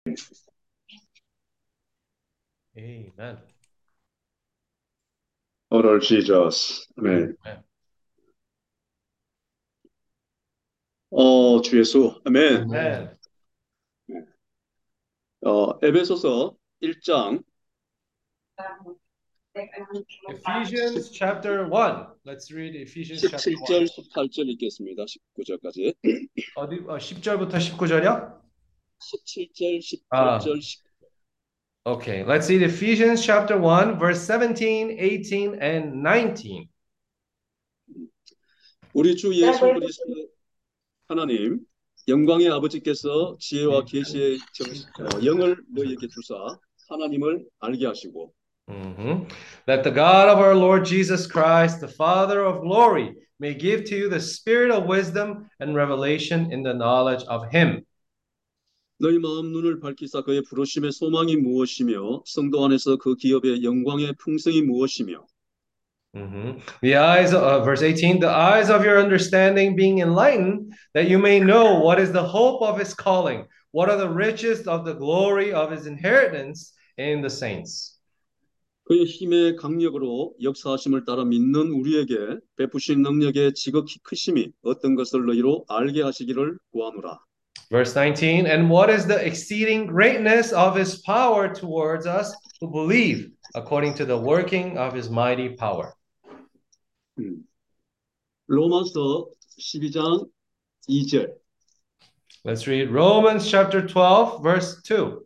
Amen. Oh Lord Jesus. 아멘. Amen. 주 예수. 아멘. Amen. 에베소서 1장 Ephesians chapter 1. Let's read Ephesians chapter 1. 17절, 18절 읽겠습니다. 19절까지. 어디 10절부터 19절이야? 17절, 아, 18절, 19절. okay. Let's read Ephesians chapter 1 verse 17, 18 and 19. 우리 주 예수 그리스도 하나님, 영광의 아버지께서 지혜와 계시의 영을 너희에게 주사 하나님을 알게 하시고 That the God of our Lord Jesus Christ, the Father of glory, may give to you the spirit of wisdom and revelation in the knowledge of him. 너희 마음 눈을 밝히사 그의 부르심의 소망이 무엇이며 성도 안에서 그 기업의 영광의 풍성이 무엇이며 The eyes of verse 18, the eyes of your understanding being enlightened, that you may know what is the hope of his calling, what are the riches of the glory of his inheritance in the saints. 그의 힘의 강력으로 역사하심을 따라 믿는 우리에게 베푸신 능력의 지극히 크심이 어떤 것을 너희로 알게 하시기를 구하노라. Verse 19, and what is the exceeding greatness of his power towards us who believe, according to the working of his mighty power. 음. 로마서 12장 2절. Let's read Romans chapter 12, verse 2.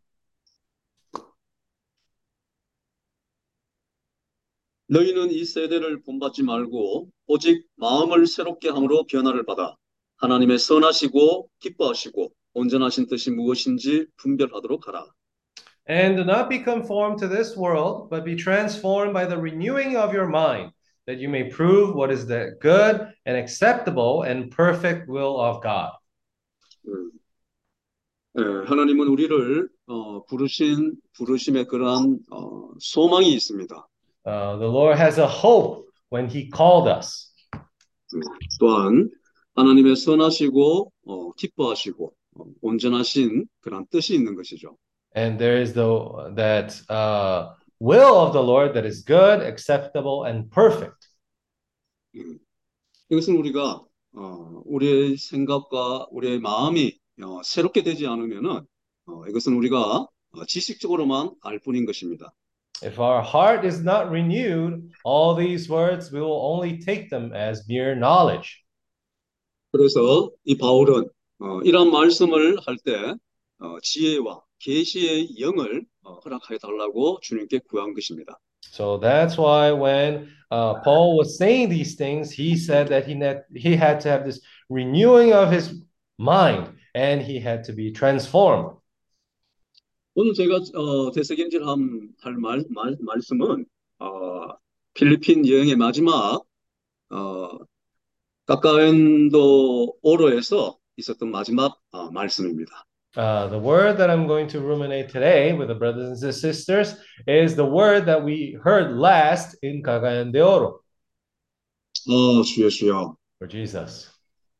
너희는 이 세대를 본받지 말고 오직 마음을 새롭게 함으로 변화를 받아 하나님의 선하시고 기뻐하시고 온전하신 뜻이 무엇인지 분별하도록 하라. And do not be conformed to this world, but be transformed by the renewing of your mind, that you may prove what is the good and acceptable and perfect will of God. 음. 하나님은 우리를 부르심의 그러한 소망이 있습니다. The Lord has a hope when He called us. 또한 하나님의 선하시고 기뻐하시고 온전하신 그런 뜻이 있는 것이죠. And there is that will of the Lord that is good, acceptable, and perfect. 음, 이것은 우리가 우리의 생각과 우리의 마음이 새롭게 되지 않으면은 이것은 우리가 지식적으로만 알 뿐인 것입니다. If our heart is not renewed, all these words we will only take them as mere knowledge. 그래서 이 바울은 이러한 말씀을 할 때 지혜와 계시의 영을 허락하여 달라고 주님께 구한 것입니다. So that's why when Paul was saying these things, he said that he had to have this renewing of his mind and he had to be transformed. 오늘 제가 할 말씀은 필리핀 여행의 마지막 어, 까까엔도 오로에서 있었던 마지막 말씀입니다. The word that I'm going to ruminate today with the brothers and sisters is the word that we heard last in Cagayan de Oro 주여 주여. for Jesus.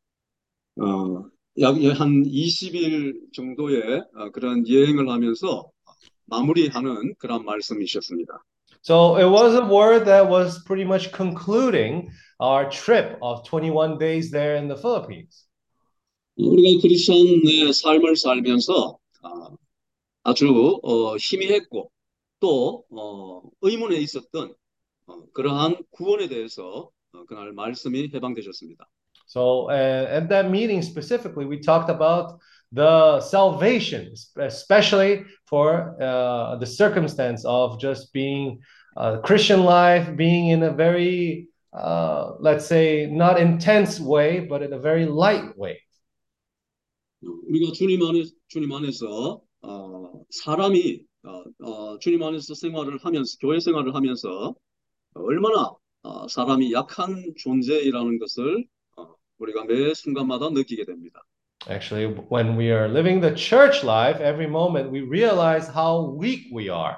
약 한 20일 정도의 그런 여행을 하면서 마무리하는 그런 말씀이셨습니다. So it was a word that was pretty much concluding our trip of 21 days there in the Philippines. 우리가 크리스천의 삶을 살면서 아주 희미했고 또 의문에 있었던 그러한 구원에 대해서 그날 말씀이 해방되셨습니다. So at that meeting specifically, we talked about the salvation, especially for the circumstance of just being Christian life, being in a very, let's say, not intense way, but in a very light way. 우리가 주님 안에서 사람이 주님 안에서 생활을 하면서 교회 생활을 하면서 얼마나 사람이 약한 존재이라는 것을 우리가 매 순간마다 느끼게 됩니다. Actually, when we are living the church life, every moment we realize how weak we are.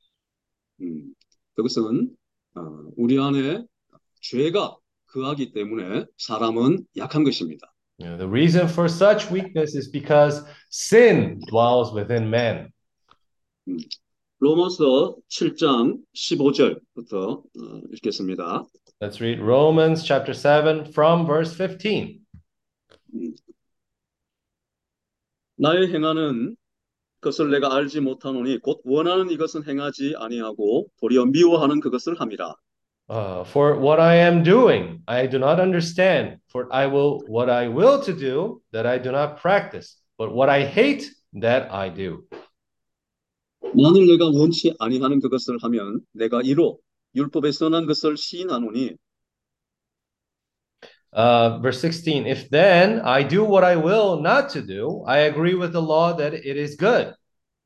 그것은 우리 안에 죄가 거하기 때문에 사람은 약한 것입니다. The reason for such weakness is because sin dwells within man. 음, 로마서 7장 15절부터 읽겠습니다. Let's read Romans chapter 7 from verse 15. 음, 나의 행하는 것을 내가 알지 못하노니 곧 원하는 이것은 행하지 아니하고 도리어 미워하는 그것을 함이라. For what I am doing, I do not understand. For what I will to do, that I do not practice. But what I hate, that I do. 만일 내가 원치 아니하는 그것을 하면 내가 이로 율법에 선한 것을 시인하노니 Verse 16, if then I do what I will not to do, I agree with the law that it is good.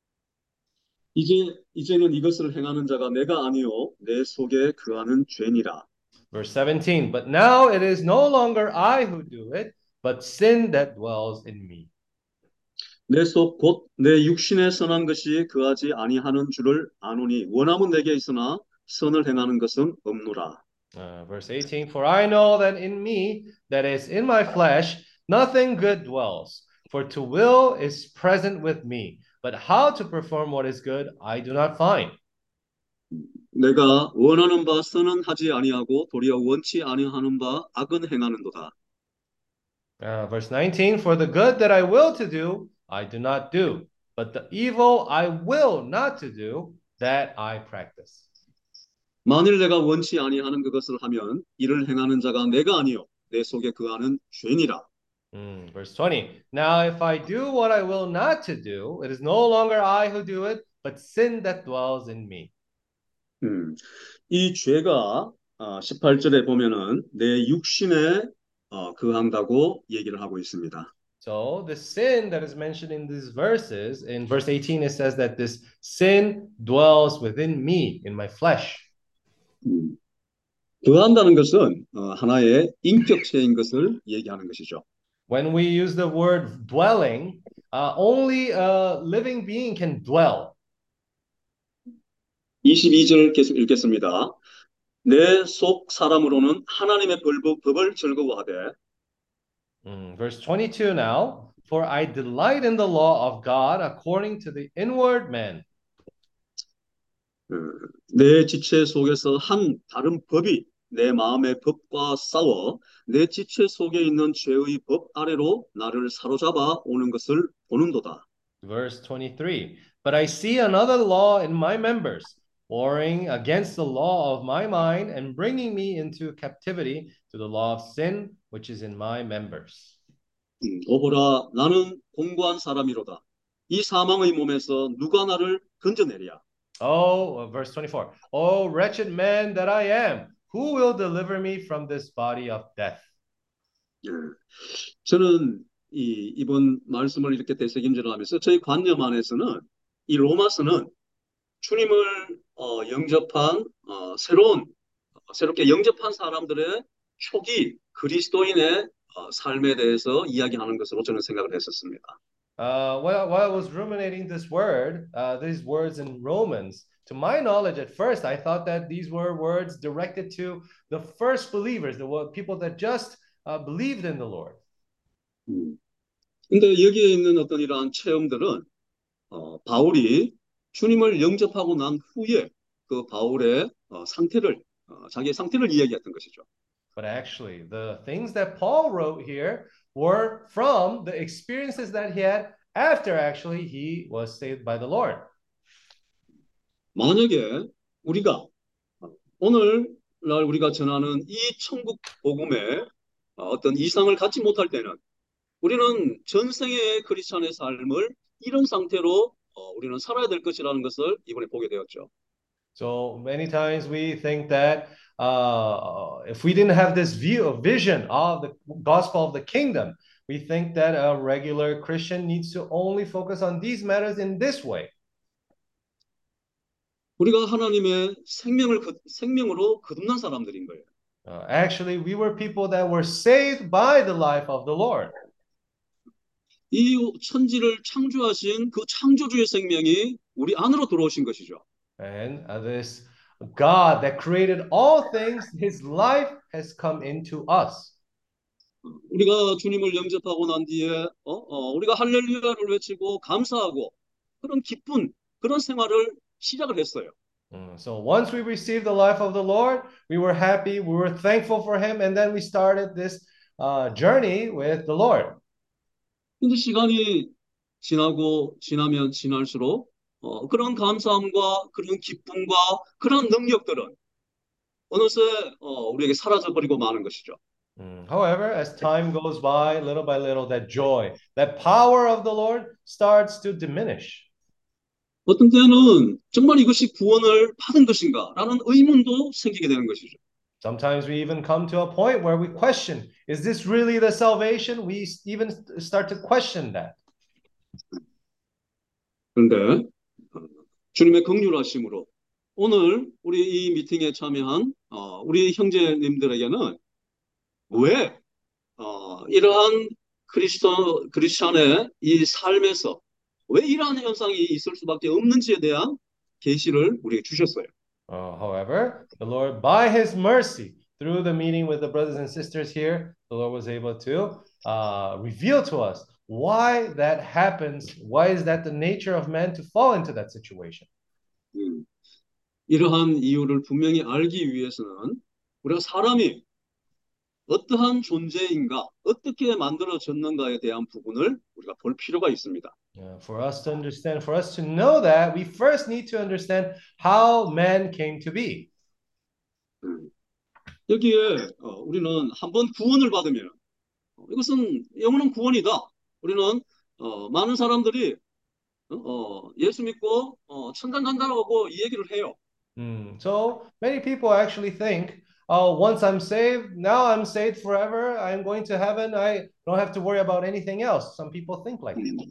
이제는 이것을 행하는 자가 내가 아니요 내 속에 거하는 죄니라. Verse 17, but now it is no longer I who do it, but sin that dwells in me. 내 속 곧 내 육신에 선한 것이 거하지 아니하는 줄을 아노니 원함은 내게 있으나 선을 행하는 것은 없노라. Verse 18, for I know that in me, that is in my flesh, nothing good dwells. For to will is present with me, but how to perform what is good, I do not find. 내가 원하는 바 선은 하지 아니하고 도리어 원치 아니하는 바 악은 행하는도다. Verse 19, for the good that I will to do, I do not do, but the evil I will not to do, that I practice. 만일 내가 원치 아니하는 그것을 하면 이를 행하는 자가 내가 아니요 내 속에 거하는 죄니라. Verse 20, now if I do what I will not to do, it is no longer I who do it, but sin that dwells in me. 이 죄가 18절에 보면은 내 육신에 거한다고 얘기를 하고 있습니다. So the sin that is mentioned in these verses, in verse 18, it says that this sin dwells within me, in my flesh. 거한다는 것은 하나의 인격체인 것을 얘기하는 것이죠. When we use the word dwelling, only a living being can dwell. 22절 계속 읽겠습니다. 내 속 사람으로는 하나님의 법을 즐거워하되 Verse 22 now, for I delight in the law of God according to the inward man. 내 지체 속에서 한 다른 법이 내 마음의 법과 싸워 내 지체 속에 있는 죄의 법 아래로 나를 사로잡아 오는 것을 보는도다. Verse 23, but I see another law in my members, warring against the law of my mind and bringing me into captivity to the law of sin, which is in my members. 오호라 나는 공고한 사람이로다. 이 사망의 몸에서 누가 나를 건져내랴. Oh, verse 24. Oh, wretched man that I am, who will deliver me from this body of death? 예. 저는 이번 말씀을 이렇게 되새김질을 하면서 저희 관념 안에서는 이 로마서는 주님을 영접한 새롭게 영접한 사람들의 초기 그리스도인의 삶에 대해서 이야기하는 것으로 저는 생각을 했었습니다. While I was ruminating these words in Romans, to my knowledge, at first, I thought that these were words directed to the first believers, the people that just believed in the Lord. 근데 여기에 있는 어떤 이러한 체험들은 바울이 주님을 영접하고 난 후에 그 바울의 자기의 상태를 이야기했던 것이죠. But actually, the things that Paul wrote here were from the experiences that he had after actually he was saved by the Lord. 만약에 우리가 오늘날 우리가 전하는 이 천국 복음의 어떤 이상을 갖지 못할 때는 우리는 전생의 크리스찬의 삶을 이런 상태로 우리는 살아야 될 것이라는 것을 이번에 보게 되었죠. So many times we think that if we didn't have this vision of the gospel of the kingdom, we think that a regular Christian needs to only focus on these matters in this way. 우리가 하나님의 생명으로 거듭난 사람들인 거예요. Actually, we were people that were saved by the life of the Lord. 이 천지를 창조하신 그 창조주의 생명이 우리 안으로 들어오신 것이죠. And this God that created all things, his life has come into us. 우리가 주님을 영접하고 난 뒤에 우리가 할렐루야를 외치고 감사하고 그런 기쁜 그런 생활을 시작을 했어요. So once we received the life of the Lord, we were happy, we were thankful for Him, and then we started this journey with the Lord. 근데 시간이 지나고 지나면 지날수록 그런 감사함과 그런 기쁨과 그런 능력들은 어느새 우리에게 사라져 버리고 마는 것이죠. However, as time goes by little, that joy, that power of the Lord starts to diminish. 어떤 때는 정말 이것이 구원을 받은 것인가라는 의문도 생기게 되는 것이죠. Sometimes we even come to a point where we question, is this really the salvation? We even start to question that. 그런데 주님의 긍휼하심으로 오늘 우리 이 미팅에 참여한 우리 형제님들에게는 왜 이러한 크리스천의 이 삶에서 왜 이러한 현상이 있을 수밖에 없는지에 대한 계시를 우리에게 주셨어요. However, the Lord, by His mercy, through the meeting with the brothers and sisters here, the Lord was able to reveal to us why that happens. Why is that the nature of man to fall into that situation? 음, 이러한 이유를 분명히 알기 위해서는 우리가 사람이 어떠한 존재인가, 어떻게 만들어졌는가에 대한 부분을 우리가 볼 필요가 있습니다. For us to understand, for us to know that, we first need to understand how man came to be. 여기에 우리는 한번 구원을 받으면 이것은 영원한 구원이다. 우리는 많은 사람들이 예수 믿고 천당 간다고 이 얘기를 해요. So many people actually think, oh, once I'm saved, now I'm saved forever. I'm going to heaven. I don't have to worry about anything else. Some people think like that.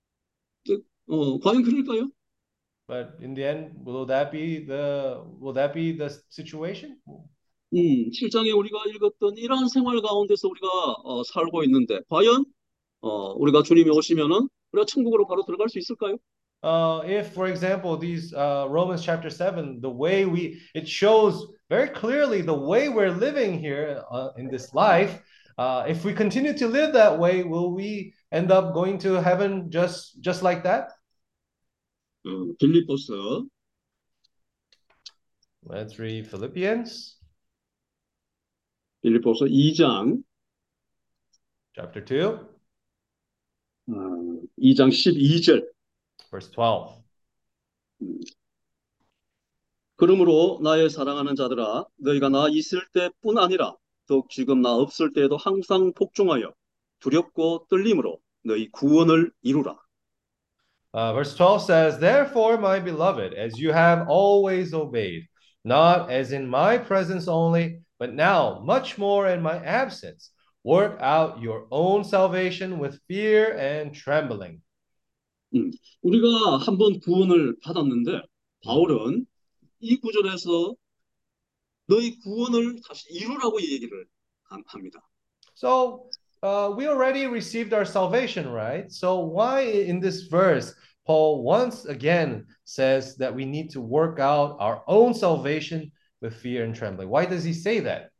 과연 그럴까요? But in the end, will that be the situation? 7장에 우리가 읽었던 이러한 생활 가운데서 우리가 살고 있는데 과연 우리가 주님이 오시면은 우리가 천국으로 바로 들어갈 수 있을까요? If, for example, these Romans chapter 7, the way it shows very clearly the way we're living here in this life. If we continue to live that way, will we end up going to heaven just like that? 빌립보서 Let's read Philippians 빌립보서 2장 chapter 2, 2장 12절 verse 12. 그러므로 나의 사랑하는 자들아 너희가 나 있을 때뿐 아니라 더욱 지금 나 없을 때에도 항상 복종하여 두렵고 떨림으로 너희 구원을 이루라. Verse 12 says, therefore, my beloved, as you have always obeyed, not as in my presence only, but now much more in my absence, work out your own salvation with fear and trembling. 우리가 한번 구원을 받았는데 바울은 이 구절에서 너희 구원을 다시 이루라고 얘기를 합니다. So we already received our salvation, right? So why in this verse Paul once again says that we need to work out our own salvation with fear and trembling? Why does he say that?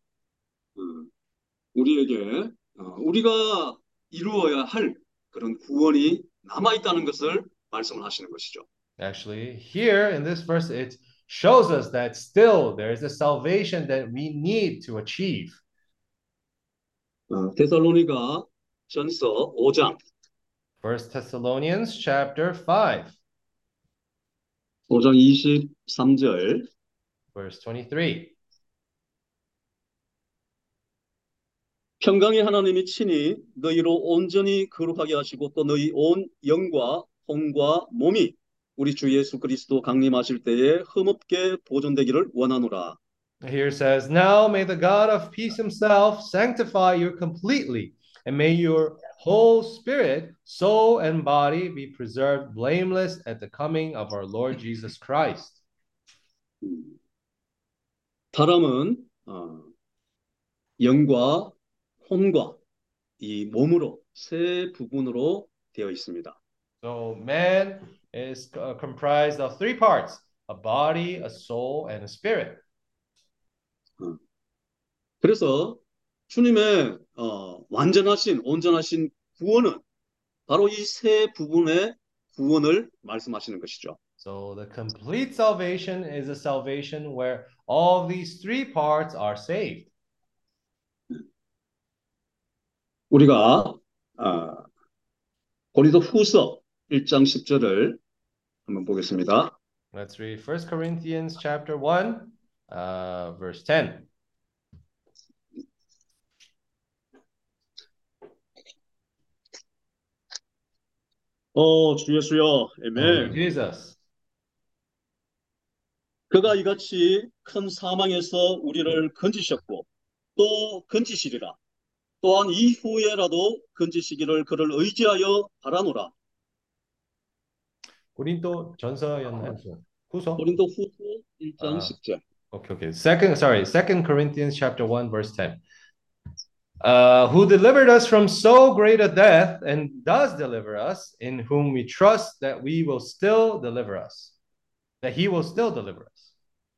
우리에게 우리가 이루어야 할 그런 구원이 남아 있다는 것을 말씀을 하시는 것이죠. Actually, here in this verse, it shows us that still there is a salvation that we need to achieve. 데살로니가 전서 5장 1 Thessalonians chapter 5, 5장 23절 verse 23. 평강의 하나님이 친히 너희로 온전히 거룩하게 하시고 또 너희 온 영과 혼과 몸이 우리 주 예수 그리스도 강림하실 때에 흠없게 보존되기를 원하노라. Here says, now may the God of peace himself sanctify you completely, and may your whole spirit, soul, and body be preserved blameless at the coming of our Lord Jesus Christ. 사람은 영과 혼과 이 몸으로 세 부분으로 되어 있습니다. So man is comprised of three parts: a body, a soul, and a spirit. 그래서 주님의 완전하신 온전하신 구원은 바로 이 세 부분의 구원을 말씀하시는 것이죠. So the complete salvation is a salvation where all these three parts are saved. 우리가 고린도후서 1장 10절을 한번 보겠습니다. Let's read 1 Corinthians chapter 1, verse 10. 주 예수여, Oh, Lord 아멘. Jesus. 그가 이같이 큰 사망에서 우리를 건지셨고 또 건지시리라. 또한 이후에라도 건지시기를 그를 의지하여 바라노라. 고린도 전서였나요? 후서? 고린도후서 1장 Uh, 10절. okay. Second Corinthians chapter 1, verse 10. Who delivered us from so great a death and does deliver us, in whom we trust that we will still deliver us, that he will still deliver us.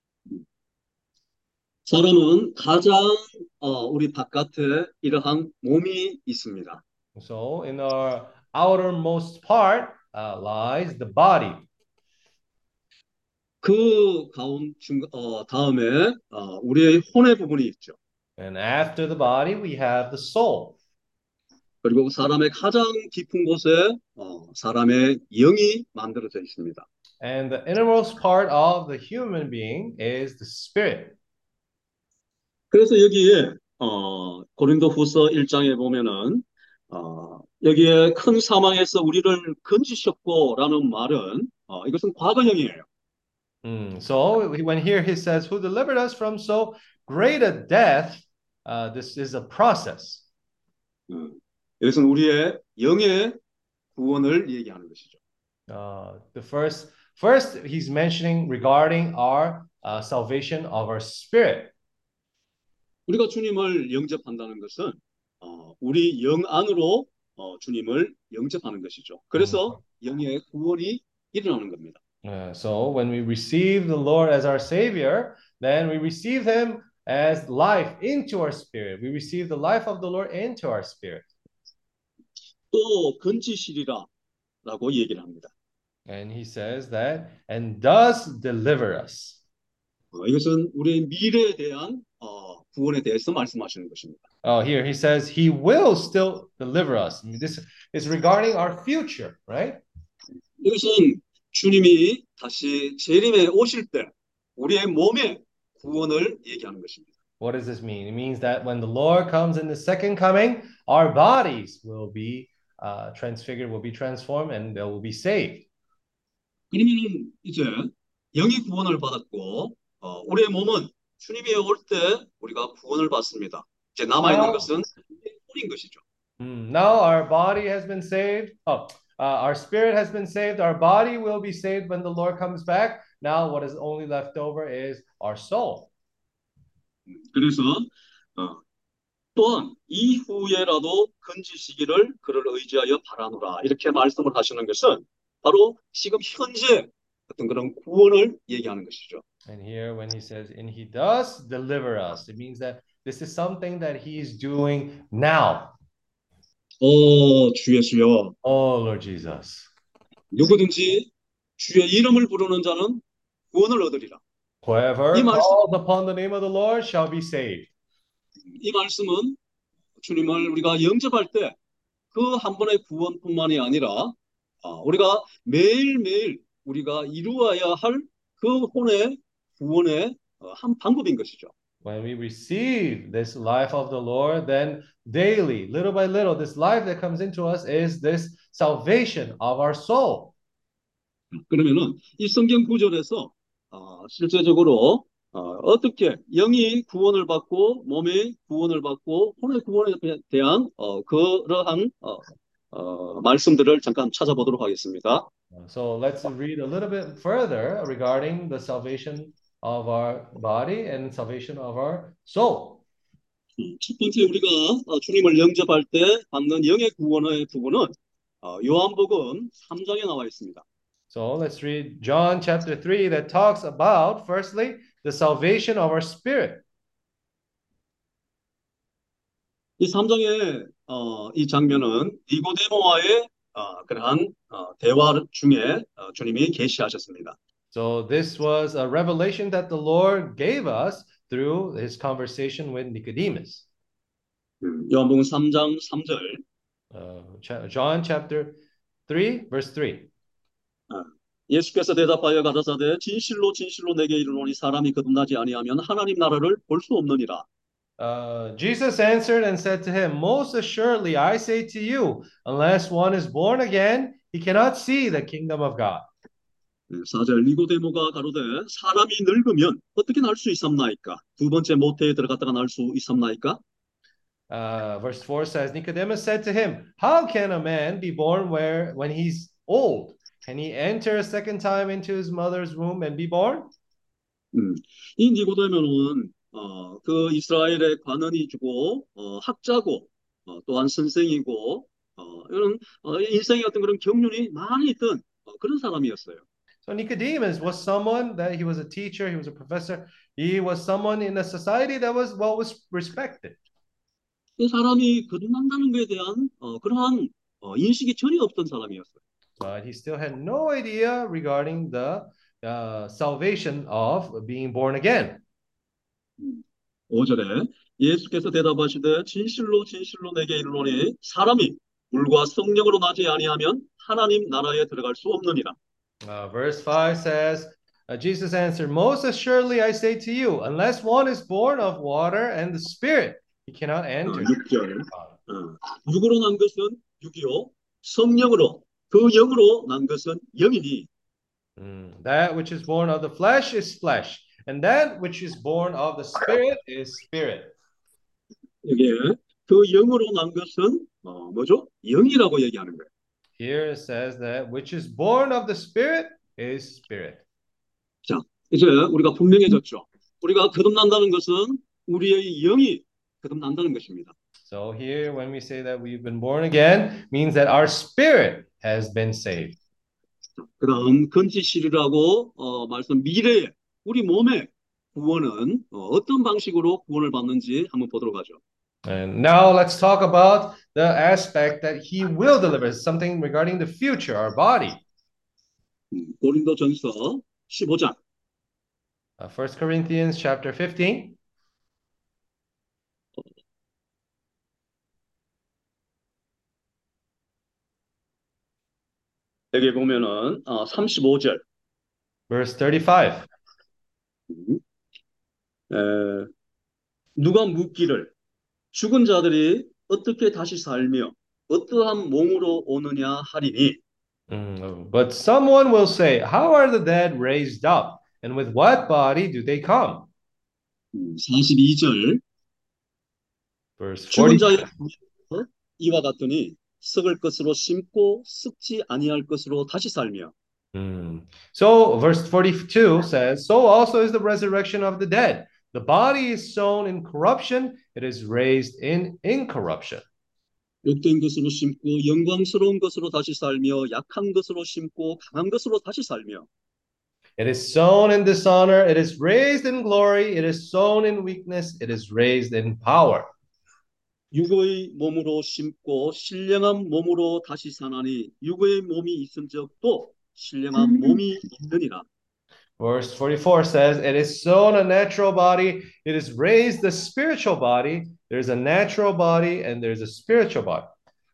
사람은 가장 우리 바깥에 이러한 몸이 있습니다. So in our outermost part lies the body. 그 다음에 우리의 혼의 부분이 있죠. And after the body, we have the soul. 그리고 사람의 가장 깊은 곳에 사람의 영이 만들어져 있습니다. And the innermost part of the human being is the spirit. 그래서 여기에 고린도후서 1장에 보면은 여기에 큰 사망에서 우리를 건지셨고라는 말은 이것은 과거형이에요. So when here he says, who delivered us from so great a death, this is a process. 이것은 우리의 영의 구원을 얘기하는 것이죠. The first he's mentioning regarding our salvation of our spirit. 우리가 주님을 영접한다는 것은 우리 영 안으로 주님을 영접하는 것이죠. 그래서 영의 구원이 일어나는 겁니다. So when we receive the Lord as our Savior, then we receive Him as life into our spirit. We receive the life of the Lord into our spirit. 또 건지시리라라고 얘기를 합니다. And He says that, and does deliver us. 이것은 우리의 미래에 대한 구원에 대해서 말씀하시는 것입니다. Here he says He will still deliver us. This is regarding our future, right? 이것은 주님이 다시 재림에 오실 때 우리의 몸의 구원을 얘기하는 것입니다. What does this mean? It means that when the Lord comes in the second coming, our bodies will be transfigured, will be transformed, and they will be saved. 그러면은 이제 영이 구원을 받았고 우리의 몸은 주님이 올 때 우리가 구원을 받습니다. 이제 남아 있는 것은 혼인 것이죠. Now our body has been saved. Our spirit has been saved. Our body will be saved when the Lord comes back. Now what is only left over is our soul. 그래서 또한 이후에라도 건지시기를 그를 의지하여 바라노라 이렇게 말씀을 하시는 것은 바로 지금 현재 어떤 그런 구원을 얘기하는 것이죠. And here when he says, and he does deliver us, it means that this is something that he is doing now. 주 예수여. Oh, Lord Jesus. 누구든지 주의 이름을 부르는 자는 구원을 얻으리라. Whoever calls upon the name of the Lord shall be saved. 이 말씀은 주님을 우리가 영접할 때 그 한 번의 구원뿐만이 아니라 우리가 매일매일 우리가 이루어야 할 그 혼의 구원의 한 방법인 것이죠. When we receive this life of the Lord, then daily, little by little, this life that comes into us is this salvation of our soul. 그러면은 이 성경 구절에서 실제적으로 어떻게 영이 구원을 받고 몸이 구원을 받고 혼의 구원에 대한 그러한 말씀들을 잠깐 찾아보도록 하겠습니다. So let's read a little bit further regarding the salvation of our body and salvation of our soul. 첫 번째 우리가 주님을 영접할 때 받는 영의 구원의 부분은 요한복음 3장에 나와 있습니다. So let's read John chapter 3 that talks about, firstly, the salvation of our spirit. 이 3장의 이 장면은 니고데모와의 그러한 대화 중에 주님이 계시하셨습니다. So this was a revelation that the Lord gave us through his conversation with Nicodemus. 요한복음 3장 3절. John chapter 3, verse 3. 예수께서 대답하여 가라사대 진실로 진실로 내게 이르노니 사람이 거듭나지 아니하면 하나님 나라를 볼 수 없느니라. Jesus answered and said to him, Most assuredly I say to you, unless one is born again, he cannot see the kingdom of God. 4절 니고데모가 가로되 사람이 늙으면 어떻게 날 수 있삼나이까? 두 번째 모태에 들어갔다가 날 수 있삼나이까? Verse 4 says, Nicodemus said to him, How can a man be born when he's old? Can he enter a second time into his mother's womb and be born? 이 니고데모는 그 이스라엘의 관원이고 학자고 또한 선생이고 이런 인생의 어떤 그런 경륜이 많이 있던 그런 사람이었어요. So Nicodemus was someone that he was a teacher, he was a professor, he was someone in a society that was respected. 이 사람이 거듭난다는 것에 대한 그러한 인식이 전혀 없던 사람이었어요. But he still had no idea regarding the salvation of being born again. 5절에 예수께서 대답하시되 진실로 진실로 내게 이르노니 사람이 물과 성령으로 나지 아니하면 하나님 나라에 들어갈 수 없느니라. Verse 5 says, Jesus answered, Most assuredly I say to you, unless one is born of water and the Spirit, he cannot enter. 6절 육으로 난 것은 육이요 성령으로 그 영으로 난 것은 영이니 That which is born of the flesh is flesh, and that which is born of the Spirit is spirit. 이게 그 영으로 난 것은 뭐죠? 영이라고 얘기하는 거예요. Here it says that which is born of the Spirit is spirit. 자, 이제 우리가 분명해졌죠. 우리가 거듭난다는 것은 우리의 영이 거듭난다는 것입니다. So here when we say that we've been born again means that our spirit has been saved. 그다음 건지실이라고 말씀 미래에 우리 몸의 구원은 어떤 방식으로 구원을 받는지 한번 보도록 하죠. And now let's talk about the aspect that he will deliver, something regarding the future, our body. 고린도전서 15장 1 Corinthians chapter 15. 여기 보면은 35절 Verse 35. 누가 묻기를 죽은 자들이 어떻게 다시 살며 어떠한 몸으로 오느냐 하리니 But someone will say, How are the dead raised up? And with what body do they come? 42절 Verse 죽은 40. 자의 부위에서 이와 같으니 썩을 것으로 심고 썩지 아니할 것으로 다시 살며 So verse 42 says, So also is the resurrection of the dead. The body is sown in corruption, it is raised in incorruption. 욕된 것으로 심고 영광스러운 것으로 다시 살며 약한 것으로 심고 강한 것으로 다시 살며 It is sown in dishonor, it is raised in glory, it is sown in weakness, it is raised in power. 육의 몸으로 심고 신령한 몸으로 다시 사나니 육의 몸이 있은즉 또 신령한 몸이 있느니라. Verse 44 says, It is sown a natural body, it is raised the spiritual body. There's a natural body and there's a spiritual body.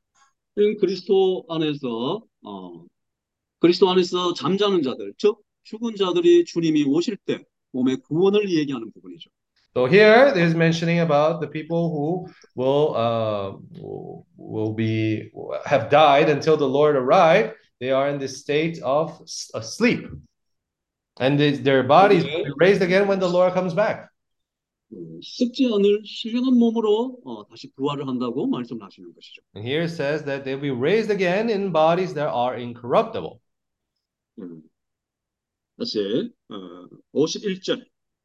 그리스도 안에서 잠자는 자들, 즉 죽은 자들이 주님이 오실 때 몸의 구원을 얘기하는 부분이죠. So here there's mentioning about the people who have died until the Lord arrived. They are in this state of sleep. And their bodies will be raised again when the Lord comes back. 썩지 않을 신령한 몸으로 다시 부활을 한다고 말씀하시는 것이죠. And here it says that they'll be raised again in bodies that are incorruptible. 다시 51절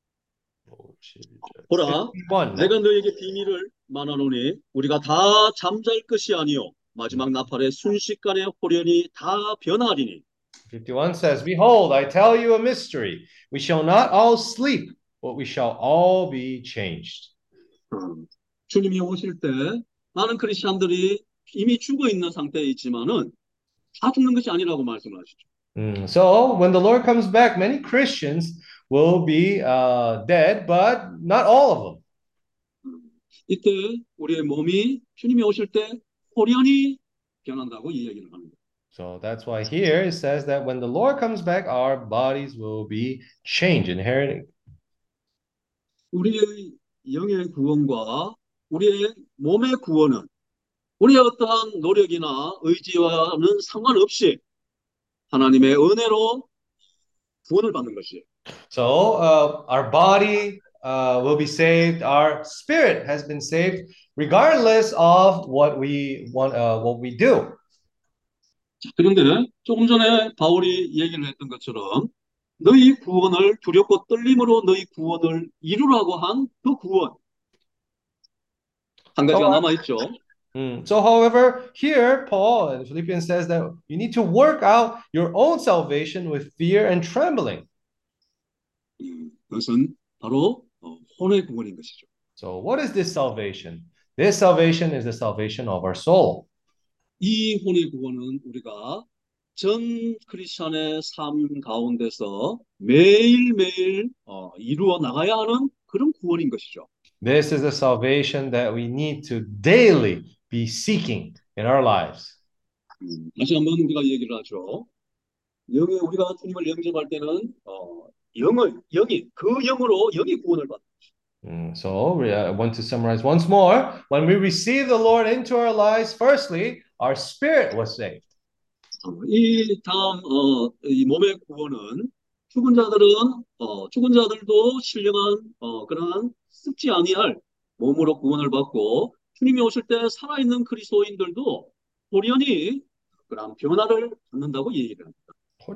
보라, 내가 너에게 비밀을 말하노니 우리가 다 잠잘 것이 아니요 마지막 나팔의 순식간에 호련히 다 변하리니 51 says, Behold, I tell you a mystery. We shall not all sleep, but we shall all be changed. 주님이 오실 때 많은 크리스천들이 이미 죽어 있는 상태에 있지만은 다 죽는 것이 아니라고 말씀을 하시죠. So when the Lord comes back, many Christians will be dead, but not all of them. 이때 우리의 몸이 주님이 오실 때 호련히 변한다고 이 얘기를 합니다. So that's why here it says that when the Lord comes back, our bodies will be changed, inheriting. 우리의 영의 구원과 우리의 몸의 구원은 우리의 어떠한 노력이나 의지와는 상관없이 하나님의 은혜로 구원을 받는 것이에요. So our body will be saved. Our spirit has been saved, regardless of what we want, what we do. 그런데 조금 전에 바울이 얘기를 했던 것처럼 너희 구원을 두렵고 떨림으로 너희 구원을 이루라고 한 그 구원 한 가지가 So, 남아있죠. however, here Paul in Philippians says that you need to work out your own salvation with fear and trembling. 그것은 바로 혼의 구원인 것이죠. So, what is this salvation? This salvation is the salvation of our soul. 이 혼의 구원은 우리가 전 크리스천의 삶 가운데서 매일매일 이루어 나가야 하는 그런 구원인 것이죠. This is the salvation that we need to daily be seeking in our lives. 다시 한번 우리가 얘기를 하죠. 영에 우리가 주님을 영접할 때는 영이 그 영으로 영이 구원을 받는 So I want to summarize once more. When we receive the Lord into our lives, firstly, our spirit was saved. 이 다음 이 몸의 구원은 죽은 자들은 죽은 자들도 신령한 그러한 썩지 아니할 몸으로 구원을 받고 주님이 오실 때 살아있는 그리스도인들도 호련히 그런 변화를 받는다고 얘기를 합니다.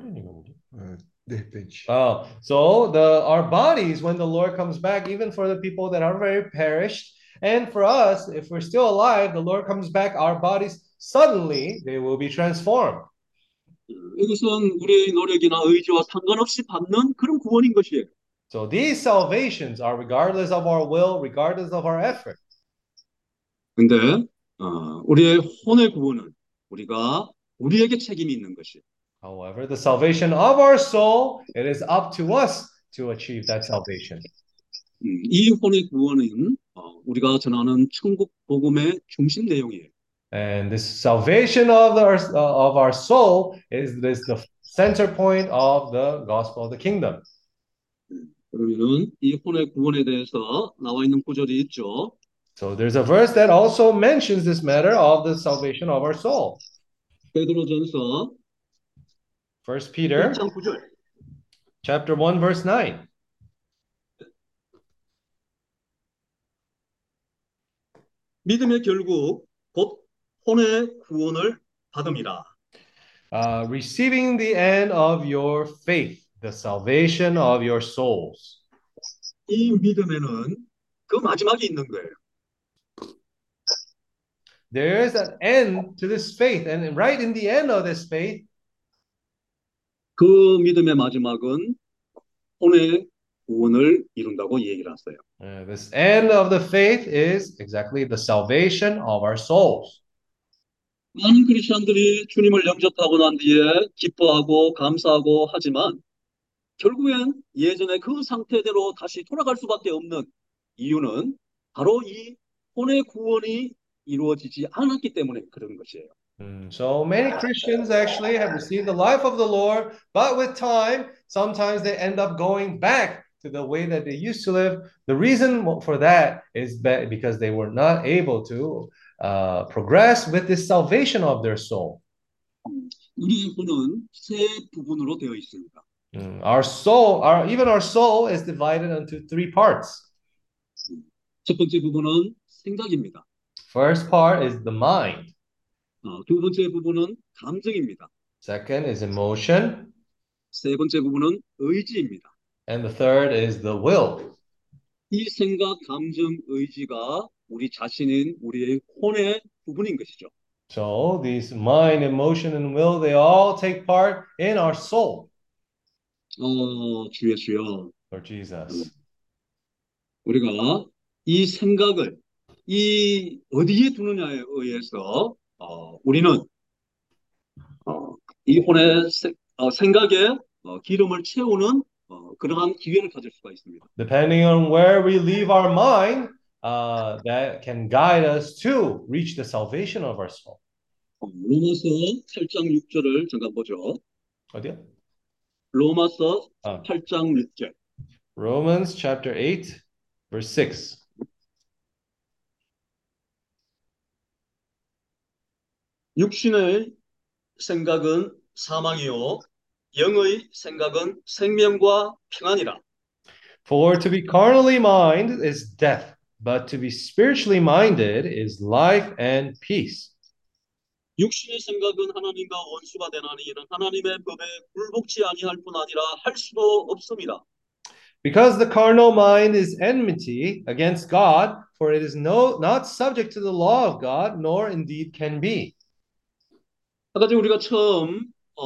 네, 벤치. So our bodies, when the Lord comes back, even for the people that are very perished, and for us, if we're still alive, the Lord comes back, our bodies suddenly they will be transformed. 이것은 우리의 노력이나 의지와 상관없이 받는 그런 구원인 것이에요. So these salvations are regardless of our will, regardless of our effort. 근데 우리의 혼의 구원은 우리에게 책임이 있는 것이에요. However, the salvation of our soul, it is up to us to achieve that salvation. 이 혼의 구원은 우리가 전하는 천국 복음의 중심 내용이에요. And this salvation of our soul is the center point of the gospel of the kingdom. 그러면은 이 혼의 구원에 대해서 나와 있는 구절이 있죠. So there's a verse that also mentions this matter of the salvation of our soul. 베드로전서 1 Peter 1장 9절. chapter 1 verse 9. 믿음의 결국 곧 혼의 구원을 받음이라. Receiving the end of your faith, the salvation of your souls. 이 믿음에는 그 마지막이 있는 거예요. There is an end to this faith, and right in the end of this faith, 그 믿음의 마지막은 혼의 구원을 이룬다고 얘기를 했어요. this end of the faith is exactly the salvation of our souls. 많은 크리스천들이 주님을 영접하고 난 뒤에 기뻐하고 감사하고 하지만 결국엔 예전의 그 상태대로 다시 돌아갈 수밖에 없는 이유는 바로 이 혼의 구원이 이루어지지 않았기 때문에 그런 것이에요. So many Christians actually have received the life of the Lord, but with time, sometimes they end up going back to the way that they used to live. The reason for that is because they were not able to progress with this salvation of their soul. 우리의 혼은 세 부분으로 되어 있습니다. Our soul, even our soul is divided into three parts. 첫 번째 부분은 생각입니다. First part is the mind. 두 번째 부분은 감정입니다. Second is emotion. 세 번째 부분은 의지입니다. And the third is the will. 이 생각, 감정, 의지가 우리 자신인 우리의 혼의 부분인 것이죠. So these mind, emotion, and will, they all take part in our soul. 주여. Lord Jesus. 우리가 이 생각을 이 어디에 두느냐에 의해서 우리는 이 혼의 생각에 기름을 채우는 그러한 기회를 가질 수가 있습니다. Depending on where we leave our mind, that can guide us to reach the salvation of our soul. 로마서 8장 6절을 잠깐 보죠. 어디요? 로마서 아. 8장 6절. Romans chapter 8, verse 6. 육신의 생각은 사망이요 영의 생각은 생명과 평안이라. For to be carnally minded is death, but to be spiritually minded is life and peace. 육신의 생각은 하나님과 원수가 되나니 이는 하나님의 법에 굴복치 아니할 뿐 아니라 할 수도 없습니다. Because the carnal mind is enmity against God, for it is not subject to the law of God, nor indeed can be. 아까 우리가 처음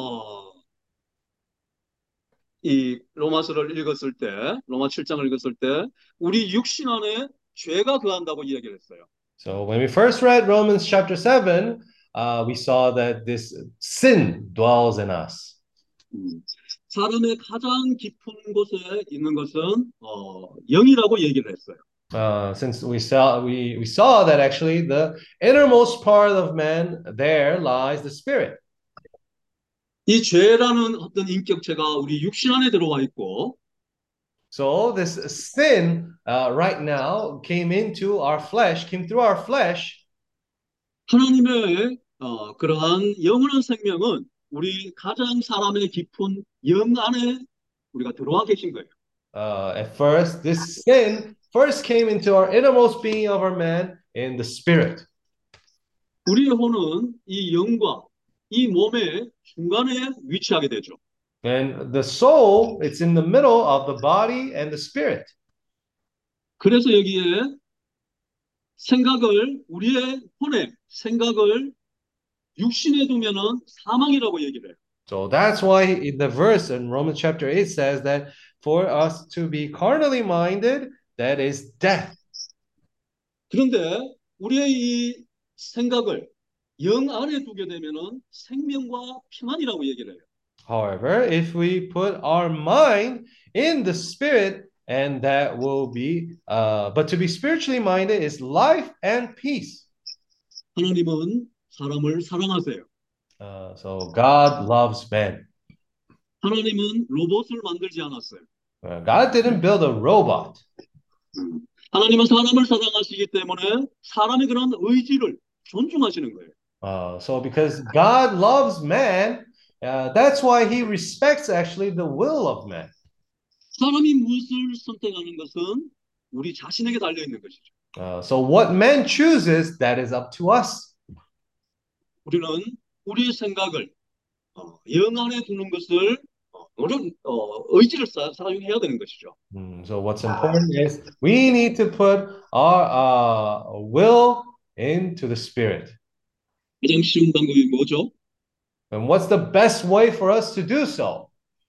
이 로마서를 읽었을 때, 로마 7장을 읽었을 때 우리 육신 안에 죄가 거한다고 이야기를 했어요. So when we first read Romans chapter 7, we saw that this sin dwells in us. 사람의 가장 깊은 곳에 있는 것은 영이라고 얘기를 했어요. Since we saw that actually the innermost part of man, there lies the spirit. 이 죄라는 어떤 인격체가 우리 육신 안에 들어와 있고, So this sin right now came through our flesh. 하나님의 그러한 영원한 생명은 우리 가장 사람의 깊은 영 안에 우리가 들어와 계신 거예요. At first, this sin first came into our innermost being of our man in the spirit. 우리의 혼은 이 영과 이 몸의 중간에 위치하게 되죠. And the soul, it's in the middle of the body and the spirit. 그래서 여기에 우리의 혼의 생각을 육신에 두면은 사망이라고 얘기를 해요. So that's why in the verse in Romans chapter 8 says that for us to be carnally minded, that is death. 그런데 우리의 이 생각을 영 안에 두게 되면은 생명과 평안이라고 얘기를 해요. However, if we put our mind in the spirit, and that will be, but to be spiritually minded is life and peace. 하나님은 사람을 사랑하세요. So God loves man. 하나님은 로봇을 만들지 않았어요. God didn't build a robot. 하나님은 사람을 사랑하시기 때문에 사람의 그런 의지를 존중하시는 거예요. So because God loves man, that's why he respects actually the will of man. 사람이 무엇을 선택하는 것은 우리 자신에게 달려 있는 것이죠. So what man chooses, that is up to us. 우리는 우리의 생각을 영 안에 두는 것을 의지를 사용해야 되는 것이죠. So what's important is we need to put our will into the spirit. 가장 쉬운 방법이 뭐죠? And what's the best way for us to do so?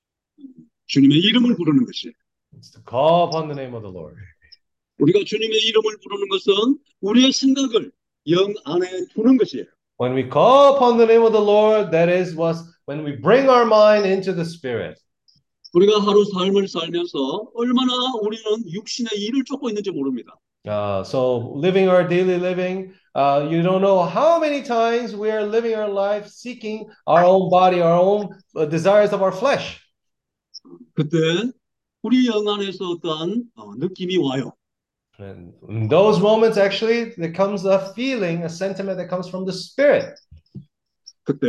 주님의 이름을 부르는 것이에요. It's to call upon the name of the Lord. 우리가 주님의 이름을 부르는 것은 우리의 생각을 영 안에 두는 것이에요. When we call upon the name of the Lord, that is when we bring our mind into the spirit. 우리가 하루 삶을 살면서 얼마나 우리는 육신의 일을 쫓고 있는지 모릅니다. So living our daily living, you don't know how many times we are living our life seeking our own body, our own desires of our flesh. 그때 우리 영 안에서 어떠한 느낌이 와요. And in those moments, actually, there comes a feeling, a sentiment that comes from the spirit. 그때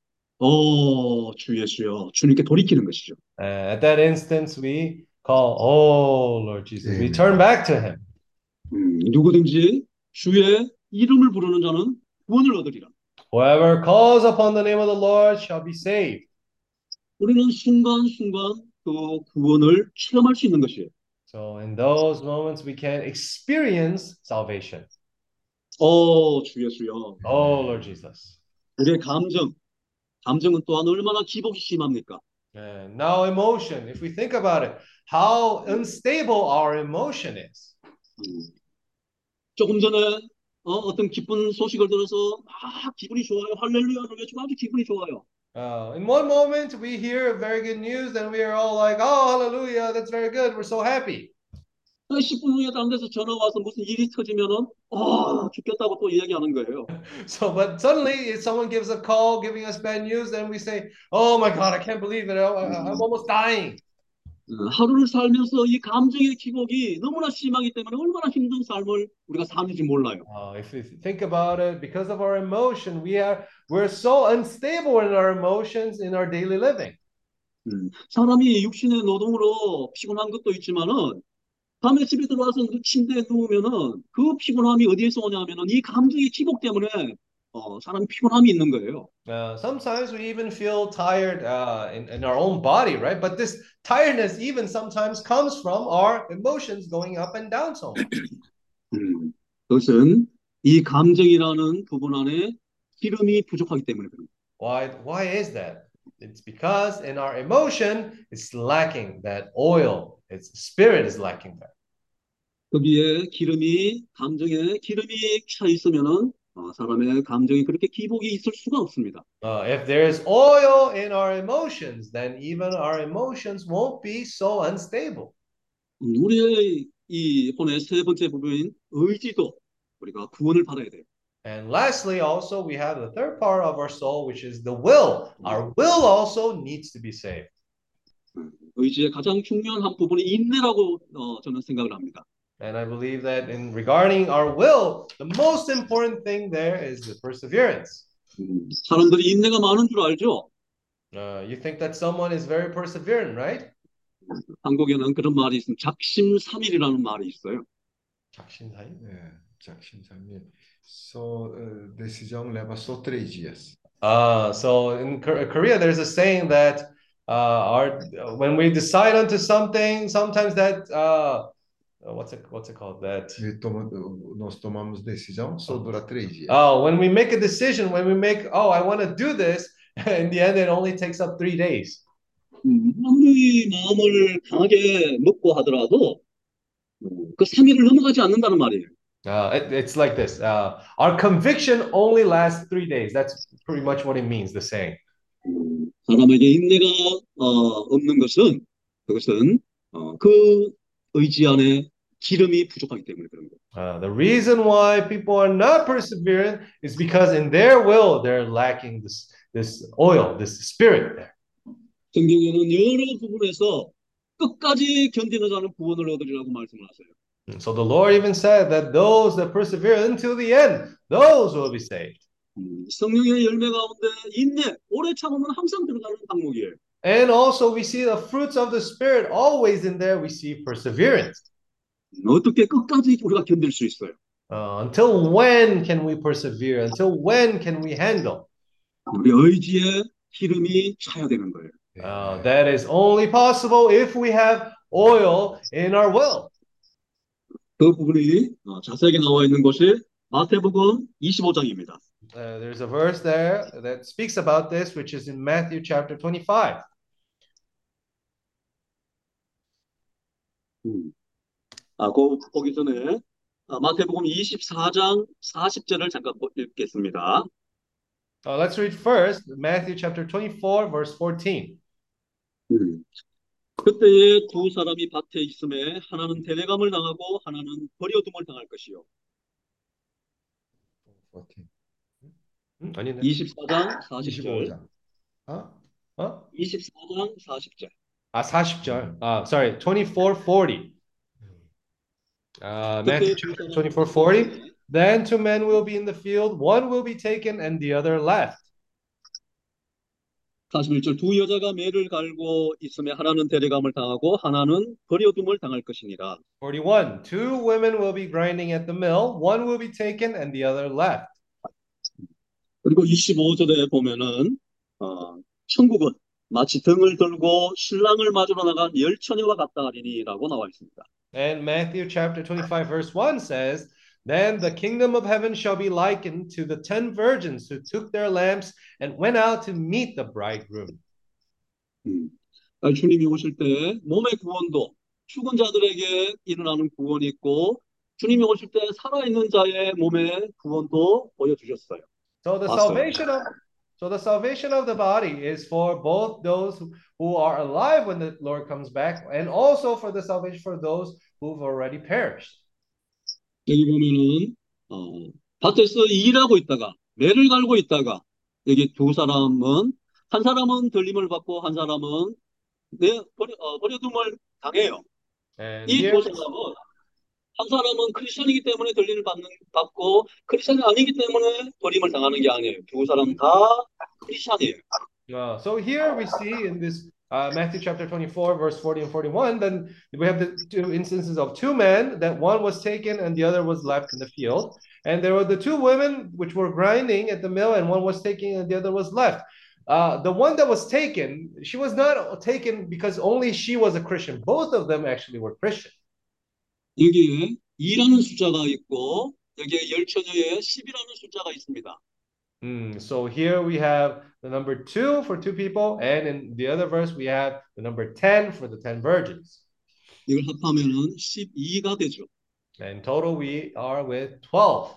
주 예수여 주님께 돌이키는 것이죠. At that instance, we call, "Oh Lord Jesus." We turn back to Him. 누구든지 주의 이름을 부르는 자는 구원을 얻으리라. Whoever calls upon the name of the Lord shall be saved. 우리는 순간순간 그 구원을 체험할 수 있는 것이에요. So in those moments, we can experience salvation. 주 예수여. Oh Lord Jesus. 우리의 감정은 또한 얼마나 기복이 심합니까? And now emotion, if we think about it, how unstable our emotion is. 조금 전에 어떤 기쁜 소식을 들어서 막 기분이 좋아요. 할렐루야를 외치고 아주 기분이 좋아요. In one moment, we hear very good news, and we are all like, oh, hallelujah, that's very good. We're so happy. 10분 후에 다른 데서 전화 와서 무슨 일이 터지면은 죽겠다고 또 이야기하는 거예요. So, but suddenly, if someone gives a call giving us bad news, then we say, oh my God, I can't believe it. I'm almost dying. 하루를 살면서 이 감정의 기복이 너무나 심하기 때문에 얼마나 힘든 삶을 우리가 사는지 몰라요. If you think about it, because of our emotion, we're so unstable in our emotions in our daily living. 사람이 육신의 노동으로 피곤한 것도 있지만은 밤에 집에 들어와서 침대에 누우면은 그 피곤함이 어디에서 오냐면은 이 감정의 기복 때문에 사람이 피곤함이 있는 거예요. Sometimes we even feel tired in our own body, right? But this tiredness even sometimes comes from our emotions going up and down so much. 그것은 이 감정이라는 부분 안에 기름이 부족하기 때문에 그런 거예요. Why is that? It's because in our emotion, it's lacking that oil. Its spirit is lacking that. 거기에 감정에 기름이 차 있으면은 사람의 감정이 그렇게 기복이 있을 수가 없습니다. If there is oil in our emotions, then even our emotions won't be so unstable. 우리의 이 혼의 세 번째 부분인 의지도 우리가 구원을 받아야 돼요. And lastly, also, we have the third part of our soul, which is the will. Our will also needs to be saved. 의지의 가장 중요한 한 부분이 인내라고 저는 생각을 합니다. And I believe that in regarding our will, the most important thing there is the perseverance. 사람들이 인내가 많은 줄 알죠? You think that someone is very perseverant, right? 한국에는 그런 말이 있습니다. 작심삼일이라는 말이 있어요. 작심삼일? 네, 작심삼일. Decisão leva só 3 dias. So in Korea, there's a saying that when we decide onto something, sometimes that what's it called? That Nós tomamos decisão, só dura 3 dias. when we make a decision, I want to do this, in the end, it only takes up 3 days. 아무리 마음을 강하게 먹고 하더라도 그 3일을 넘어가지 않는다는 말이에요. It's like this. Our conviction only lasts 3 days. That's pretty much what it means, the saying. 사람에게 인내가 없는 것은 그것은 그 의지 안에 기름이 부족하기 때문에 그런 거예요. The reason why people are not perseverant is because in their will they're lacking this oil, this spirit there. 성경에는 여러 부분에서 끝까지 견디는 자는 구원을 얻으리라고 말씀을 하세요. So the Lord even said that those that persevere until the end, those will be saved. 성령의 열매 가운데 인내, 오래 참으면 항상 들어가는 항목이에요. And also we see the fruits of the Spirit always in there. We see perseverance. 어떻게 끝까지 우리가 견딜 수 있어요? Until when can we persevere? Until when can we handle? 우리 의지에 기름이 차야 되는 거예요. That is only possible if we have oil in our will. 그 부분이 자세하게 나와 있는 것이 마태복음 25장입니다. There's a verse there that speaks about this, which is in Matthew chapter 25. 보기 전에 마태복음 24장 40절을 잠깐 읽겠습니다. Let's read first Matthew chapter 24, verse 14. 그때에 두 사람이 밭에 있음에 하나는 데려감을 당하고 하나는 버려둠을 당할 것이요. 24장 40절. 24장 40절. 40절. Sorry, 24:40. Matthew 24:40. Then 2 men will be in the field, one will be taken and the other left. 41절 두 여자가 매를 갈고 있음에 하나는 데려감을 당하고 하나는 버려둠을 당할 것이니라. 41. 2 women will be grinding at the mill, one will be taken and the other left. 그리고 25절에 보면은 천국은 마치 등을 들고 신랑을 맞으러 나간 열 처녀와 같다 하리니라고 나와 있습니다. And Matthew chapter 25 verse 1 says, Then the kingdom of heaven shall be likened to the 10 virgins who took their lamps and went out to meet the bridegroom. 주님이 오실 때 몸의 구원도 죽은 자들에게 일어나는 구원이 있고 주님이 오실 때 살아있는 자의 몸의 구원도 보여주셨어요. So the 봤어요. salvation of so the salvation of the body is for both those who are alive when the Lord comes back, and also for the salvation for those who've already perished. 여기 보면은 밭에서 일하고 있다가 매를 갈고 있다가 여기 두 사람은 한 사람은 들림을 받고 한 사람은 버려둠을 당해요. And 이 here 두 사람은 한 사람은 크리스천이기 때문에 받고 크리스천이 아니기 때문에 버림을 당하는 게 아니에요. 두 사람 다 크리스천이에요. So here we see in this Matthew chapter 24, verse 40 and 41, then we have the two instances of two men, that one was taken and the other was left in the field. And there were the two women which were grinding at the mill, and one was taken and the other was left. The one that was taken, she was not taken because only she was a Christian. Both of them actually were Christian. 여기에 2라는 숫자가 있고 여기에 열처녀에 10이라는 숫자가 있습니다. So here we have the number 2 for 2 people, and in the other verse we have the number 10 for the 10 virgins. 이걸 합하면은 12가 되죠. In total we are with 12.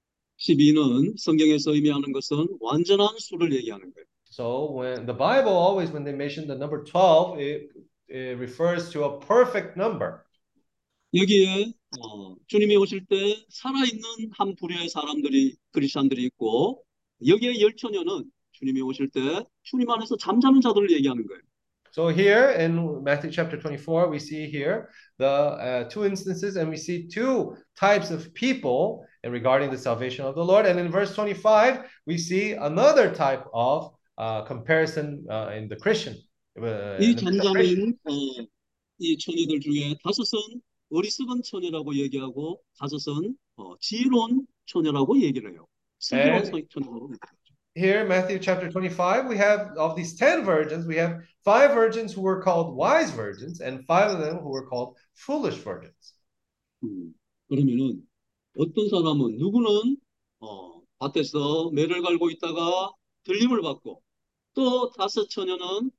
12는 성경에서 의미하는 것은 완전한 수를 얘기하는 거예요. So when the Bible always, when they mention the number 12, it refers to a perfect number. 여기에 주님이 오실 때 살아있는 한 부류의 사람들이 크리스천들이 있고 여기에 열처녀는 주님이 오실 때 주님 안에서 잠자는 자들을 얘기하는 거예요. So here in Matthew chapter 24, we see here the two instances, and we see two types of people and regarding the salvation of the Lord. And in verse 25, we see another type of comparison in the Christian. 이 잠자는 이 처녀들 중에 다섯은 어리석은 처녀라고 얘기하고 다섯은 지혜로운 처녀라고 얘기를 해요. 슬기로운 처녀라고 얘기해요. Here, Matthew chapter 25, we have of these 10 virgins, we have 5 virgins who were called wise virgins, and 5 of them who were called foolish virgins. 그러면은 어떤 사람은 누구는 밭에서 매를 갈고 있다가 들림을 받고 또 다섯 처녀는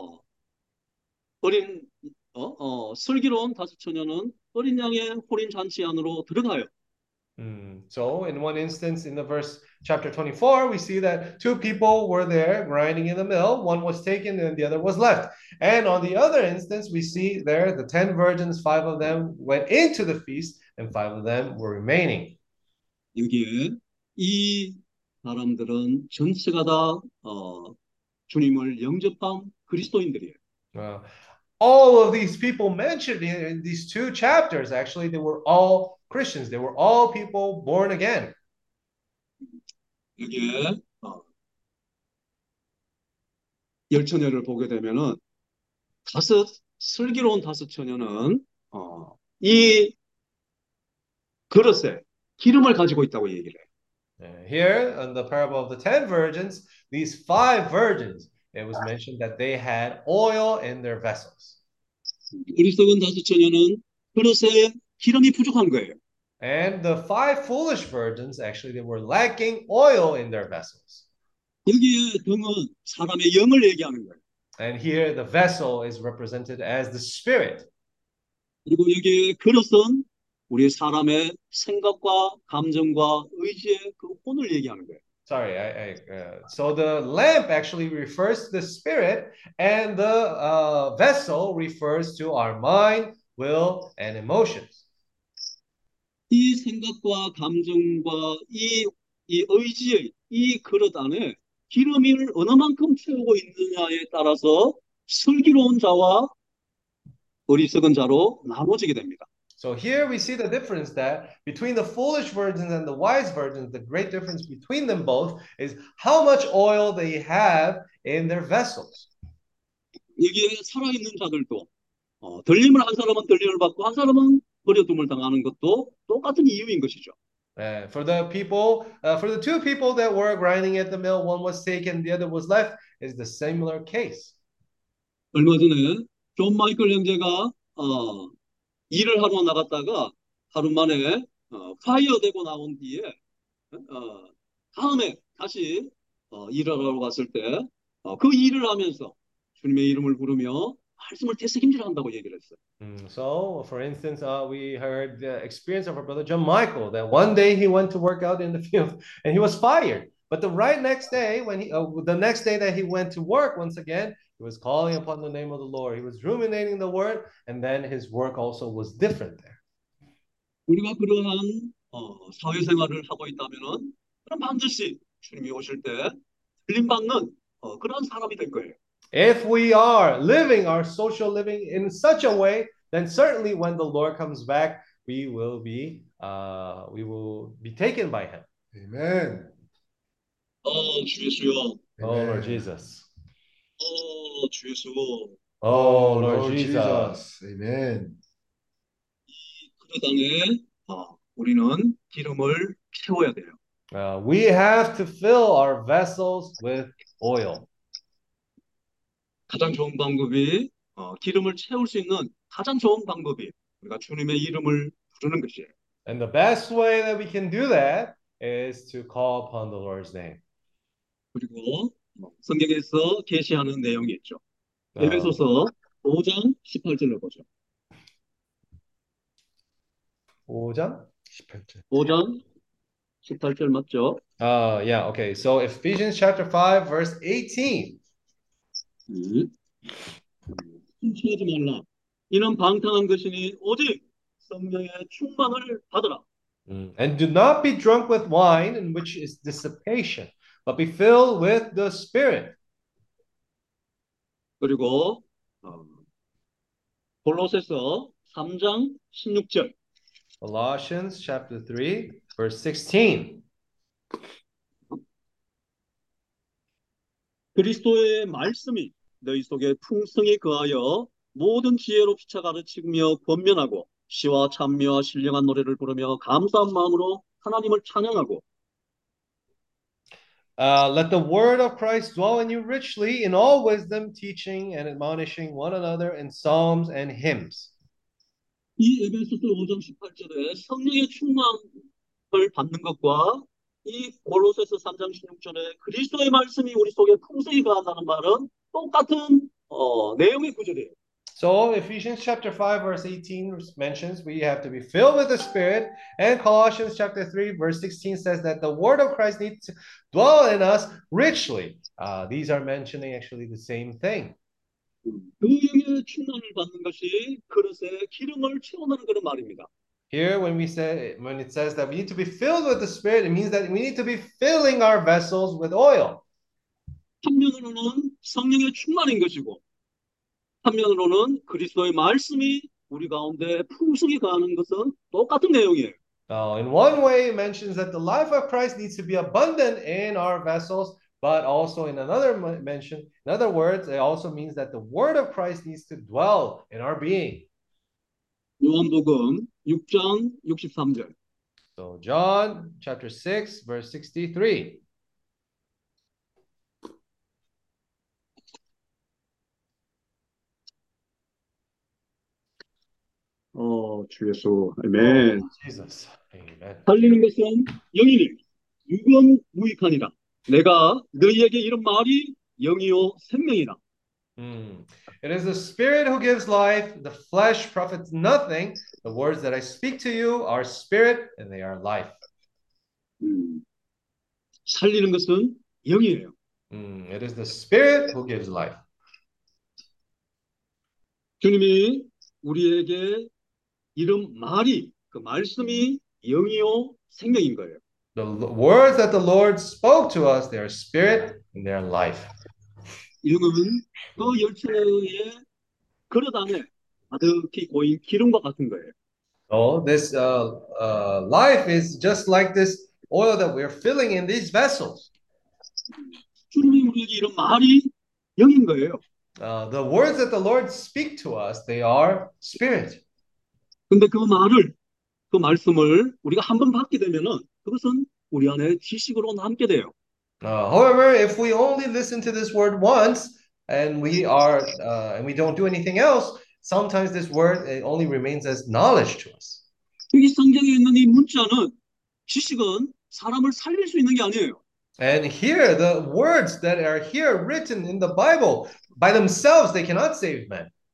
슬기로운 다섯 처녀는 어린 양의 호림 잔치 안으로 들어가요. So in one instance in the verse chapter 24, we see that 2 people were there grinding in the mill. One was taken and the other was left. And on the other instance, we see there the 10 virgins, 5 of them went into the feast and 5 of them were remaining. 여기에 이 사람들은 전체가 다 주님을 영접한 그리스도인들이에요. All of these people mentioned in these 2 chapters, actually, they were all Christians. They were all people born again. 여기에 열처녀를 보게 되면은 슬기로운 다섯 처녀는 이 그릇에 기름을 가지고 있다고 얘기를 해요. Here in the parable of the 10 virgins, these 5 virgins, it was mentioned that they had oil in their vessels. 어리석은 다섯 처녀는 그릇에 기름이 부족한 거예요. And the 5 foolish virgins, actually, they were lacking oil in their vessels. 여기에 등은 사람의 영을 얘기하는 거예요. And here the vessel is represented as the spirit. 그리고 여기에 그릇은 우리 사람의 생각과 감정과 의지의 그 혼을 얘기하는 거예요. Sorry, so the lamp actually refers to the spirit, and the vessel refers to our mind, will, and emotions. 이 생각과 감정과 이 의지의 이 그릇 안에 기름을 어느 만큼 채우고 있느냐에 따라서 슬기로운 자와 어리석은 자로 나눠지게 됩니다. So here we see the difference that between the foolish virgins and the wise virgins, the great difference between them both is how much oil they have in their vessels. 여기에 살아있는 자들도 들림을 한 사람은 들림을 받고 한 사람은 버려둠을 당하는 것도 똑같은 이유인 것이죠. For the people, for the 2 people that were grinding at the mill, one was taken, the other was left, is the similar case. 얼마 전에 존 마이클 형제가 일을 하러 나갔다가 하루 만에 파이어 되고 나온 뒤에 다음에 다시 일을 하러 갔을 때 그 일을 하면서 주님의 이름을 부르며 말씀을 되새김질한다고 얘기를 했어요. So, for instance, we heard the experience of our brother John Michael that one day he went to work out in the field and he was fired. But the right next day, the next day that he went to work once again, he was calling upon the name of the Lord. He was ruminating the word, and then his work also was different there. 우리가 그러한 사회생활을 하고 있다면은 그럼 반드시 주님이 오실 때 들림받는 그런 사람이 될 거예요. If we are living our social living in such a way, then certainly when the Lord comes back, we will be taken by Him. Amen. 주 예수요. Oh Lord Jesus. 주 예수. Oh Lord Jesus. Amen. 그 땅에 우리는 기름을 채워야 돼요. We have to fill our vessels with oil. 가장 좋은 방법이 기름을 채울 수 있는 가장 좋은 방법이 우리가 주님의 이름을 부르는 것이에요. And the best way that we can do that is to call upon the Lord's name. 그리고 성경에서 계시하는 내용이 있죠. 에베소서 5장 18절을 보죠. 5장? 18절. 5장 18절 맞죠? Yeah, okay. So Ephesians chapter 5, verse 18. 훔치지 말라. 이는 방탕한 것이니 오직 성령의 충만을 받으라. And do not be drunk with wine, in which is dissipation, but be filled with the Spirit. 그리고 골로새서 3장 16절. Colossians chapter 3, verse 16. 그리스도의 말씀이 너희 속에 풍성히 거하여 모든 지혜로 피차 가르치며 권면하고 시와 찬미와 신령한 노래를 부르며 감사한 마음으로 하나님을 찬양하고 Let the word of Christ dwell in you richly in all wisdom, teaching and admonishing one another in psalms and hymns. 이 에베소서 5장 18절에 성령의 충만을 받는 것과 이 골로새서 3장 16절에 그리스도의 말씀이 우리 속에 풍성히 거한다는 말은 똑같은 내용의 구절이에요. So Ephesians chapter 5 verse 18 mentions we have to be filled with the Spirit, and Colossians chapter 3 verse 16 says that the word of Christ needs to dwell in us richly. These are mentioning actually the same thing. 그 영의 충만을 받는 것이 그릇에 기름을 채우는 그런 말입니다. Here when it says that we need to be filled with the Spirit, it means that we need to be filling our vessels with oil. 한면으로는 성령의 충만인 것이고 한면으로는 그리스도의 말씀이 우리 가운데 풍성히 거하는 것은 똑같은 내용이에요. In one way, it mentions that the life of Christ needs to be abundant in our vessels, but also in another mention, in other words, it also means that the word of Christ needs to dwell in our being. 요한복음 6장 63절. So John chapter 6, verse 63. 주 예수. 아멘. Jesus. Amen. 살리는 것은 영이니 육은 무익하니라. 내가 너희에게 이런 말이 영이요 생명이라. It is the Spirit who gives life, the flesh profits nothing. The words that I speak to you are spirit and they are life. 살리는 것은 영이에요. It is the Spirit who gives life. 주님이 우리에게 이런 말이 그 말씀이 영이요 생명인 거예요. The words that the Lord spoke to us, they are spirit and they are life. 영은 그 열처의 그릇 안에 가득히 고인 기름과 같은 거예요. So this life is just like this oil that we're filling in these vessels. 주님이 우리에게 이런 말이 영인 거예요. The words that the Lord speak to us, they are spirit. 근데 그 말씀을 우리가 한번 받게 되면은 그것은 우리 안에 지식으로 남게 돼요. However, if we only listen to this word once and we don't do anything else, sometimes this word it only remains as knowledge to us. 여기 성경에 있는 이 문자는 지식은 사람을 살릴 수 있는 게 아니에요. And here, the words that are here written in the Bible, by themselves, they cannot save men.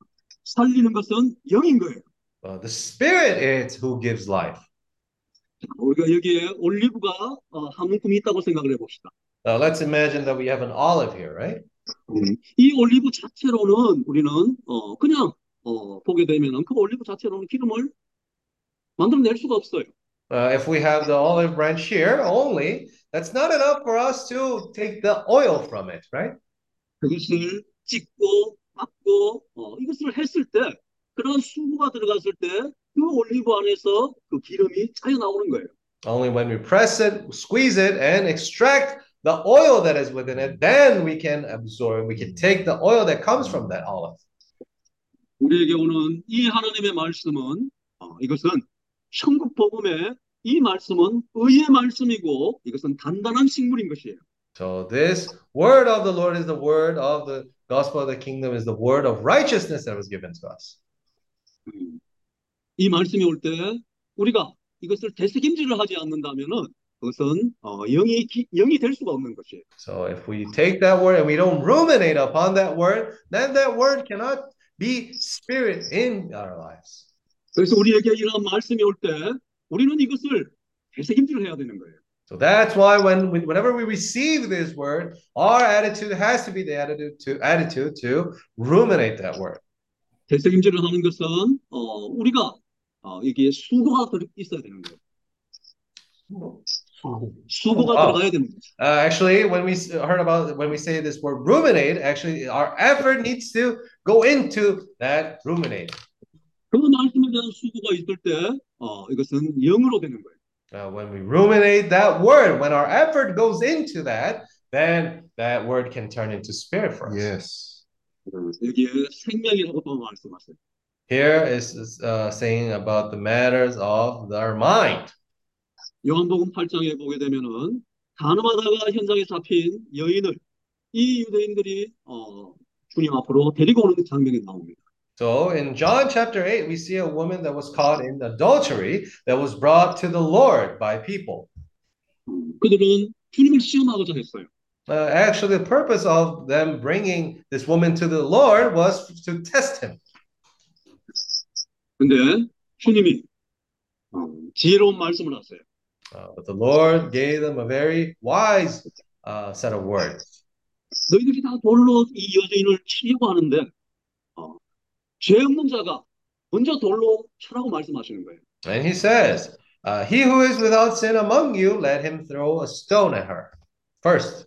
살리는 것은 영인 거예요. The Spirit is who gives life. 우리가 여기에 올리브가 한 움큼이 있다고 생각을 해봅시다. Let's imagine that we have an olive here, right? 이 올리브 자체로는 우리는 그냥 보게 되면은 그 올리브 자체로는 기름을 만들어낼 수가 없어요. If we have the olive branch here only, that's not enough for us to take the oil from it, right? 그것을 찍고 깎고 이것을 했을 때 그런 수고가 들어갔을 때 그 올리브 안에서 그 기름이 차여 나오는 거예요. Only when we press it, squeeze it, and extract the oil that is within it, then we can absorb, we can take the oil that comes from that olive. 우리에게 오는 이 하나님의 말씀은 이것은 천국 복음의 이 말씀은 의의 말씀이고 이것은 단단한 식물인 것이에요. So this word of the Lord is the word of the gospel of the kingdom, is the word of righteousness that was given to us. 이 말씀이 올 때 우리가 이것을 되새김질을 하지 않는다면은 그것은 영이 될 수가 없는 것이에요. So if we take that word and we don't ruminate upon that word, then that word cannot be spirit in our lives. 그래서 우리에게 이런 말씀이 올 때 우리는 이것을 되새김질을 해야 되는 거예요. So that's why whenever we receive this word, our attitude has to be the attitude to ruminate that word. 되새김질을 하는 것은 우리가 여기에 수고가 있어야 되는 거예요. 수고가 들어가야 되는 거죠. Actually, when we say this word ruminate, actually our effort needs to go into that ruminate. 그 말씀에 대한 수고가 있을 때 이것은 영으로 되는 거예요. When we ruminate that word, when our effort goes into that, then that word can turn into spirit for us. Yes. 여기에 생명이라고 또 말씀하세요. Here is saying about the matters of our mind. 요한복음 8장에 보게 되면은 간음하다가 현장에 잡힌 여인을 이 유대인들이 주님 앞으로 데리고 오는 장면이 나옵니다. So in John chapter 8, we see a woman that was caught in adultery that was brought to the Lord by people. 그들은 주님을 시험하고자 했어요. Actually, the purpose of them bringing this woman to the Lord was to test him. 근데 주님이 지혜로운 말씀을 하세요. But the Lord gave them a very wise set of words. 너희들이 다 돌로 이 여인을 치려고 하는데 죄 없는 자가 먼저 돌로 쳐라고 말씀하시는 거예요. And he says, he who is without sin among you, let him throw a stone at her first.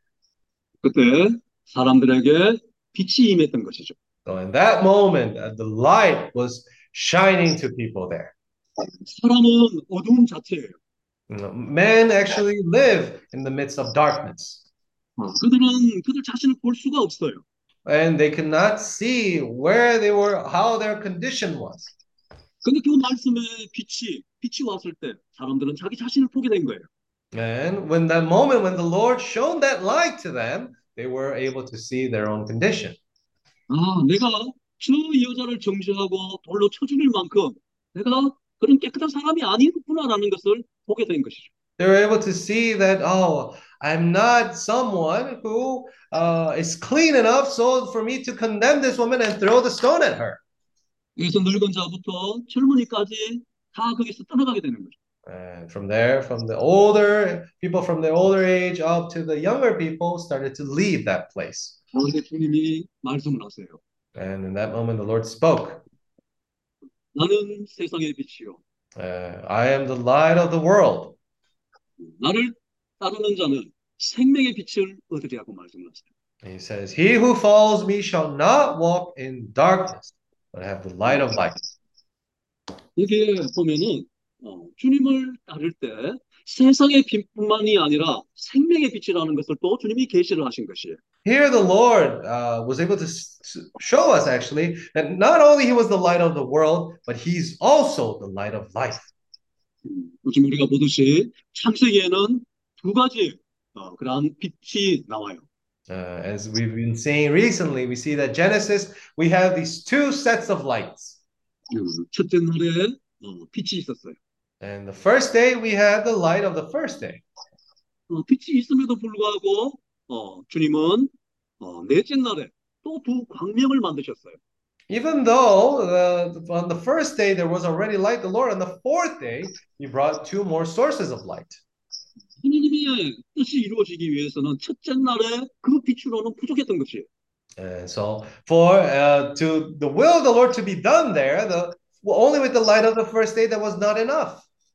그때 사람들에게 빛이 임했던 것이죠. So in that moment, the light was shining to people there. 사람은 어두움 자체예요. Men actually live in the midst of darkness. 그들은 그들 자신을 볼 수가 없어요. And they could not see where they were, how their condition was. 근데 그 말씀에 빛이 왔을 때 사람들은 자기 자신을 보게 된 거예요. And when that moment, when the Lord shone that light to them, they were able to see their own condition. 내가 저 여자를 정죄하고 돌로 쳐 죽일 만큼 내가 그런 깨끗한 사람이 아니구나라는 것을 보게 된 것이죠. They were able to see that, oh, I'm not someone who is clean enough so for me to condemn this woman and throw the stone at her. 여기서 늙은 자부터 젊은이까지 다 거기서 떠나가게 되는 거죠. And from there, from the older people from the older age up to the younger people started to leave that place. 그런데 주님이 말씀을 하세요. And in that moment, the Lord spoke. 나는 세상의 빛이요. I am the light of the world. 나를 따르는 자는 생명의 빛을 얻으리라고 말씀하세요. He says, he who follows me shall not walk in darkness, but have the light of life. 여기에 보면은 주님을 따를 때 세상의 빛뿐만이 아니라 생명의 빛이라는 것을 또 주님이 계시를 하신 것이에요. Here the Lord was able to show us actually that not only he was the light of the world, but he's also the light of life. 요즘 우리가 보듯이 창세기에는 두 가지 그러한 빛이 나와요. As we've been saying recently, we see that Genesis, we have these two sets of lights. 첫째 날에 빛이 있었어요. And the first day, we had the light of the first day. 빛이 있음에도 불구하고 주님은 넷째 날에 또 두 광명을 만드셨어요. Even though on the first day there was already light, the Lord on the fourth day he brought two more sources of light. 하나님의 뜻이 이루어지기 위해서는 첫째 날에 그 빛으로는 부족했던 것이에요. And so for to the will of the Lord to be done there, only with the light of the first day that was not enough.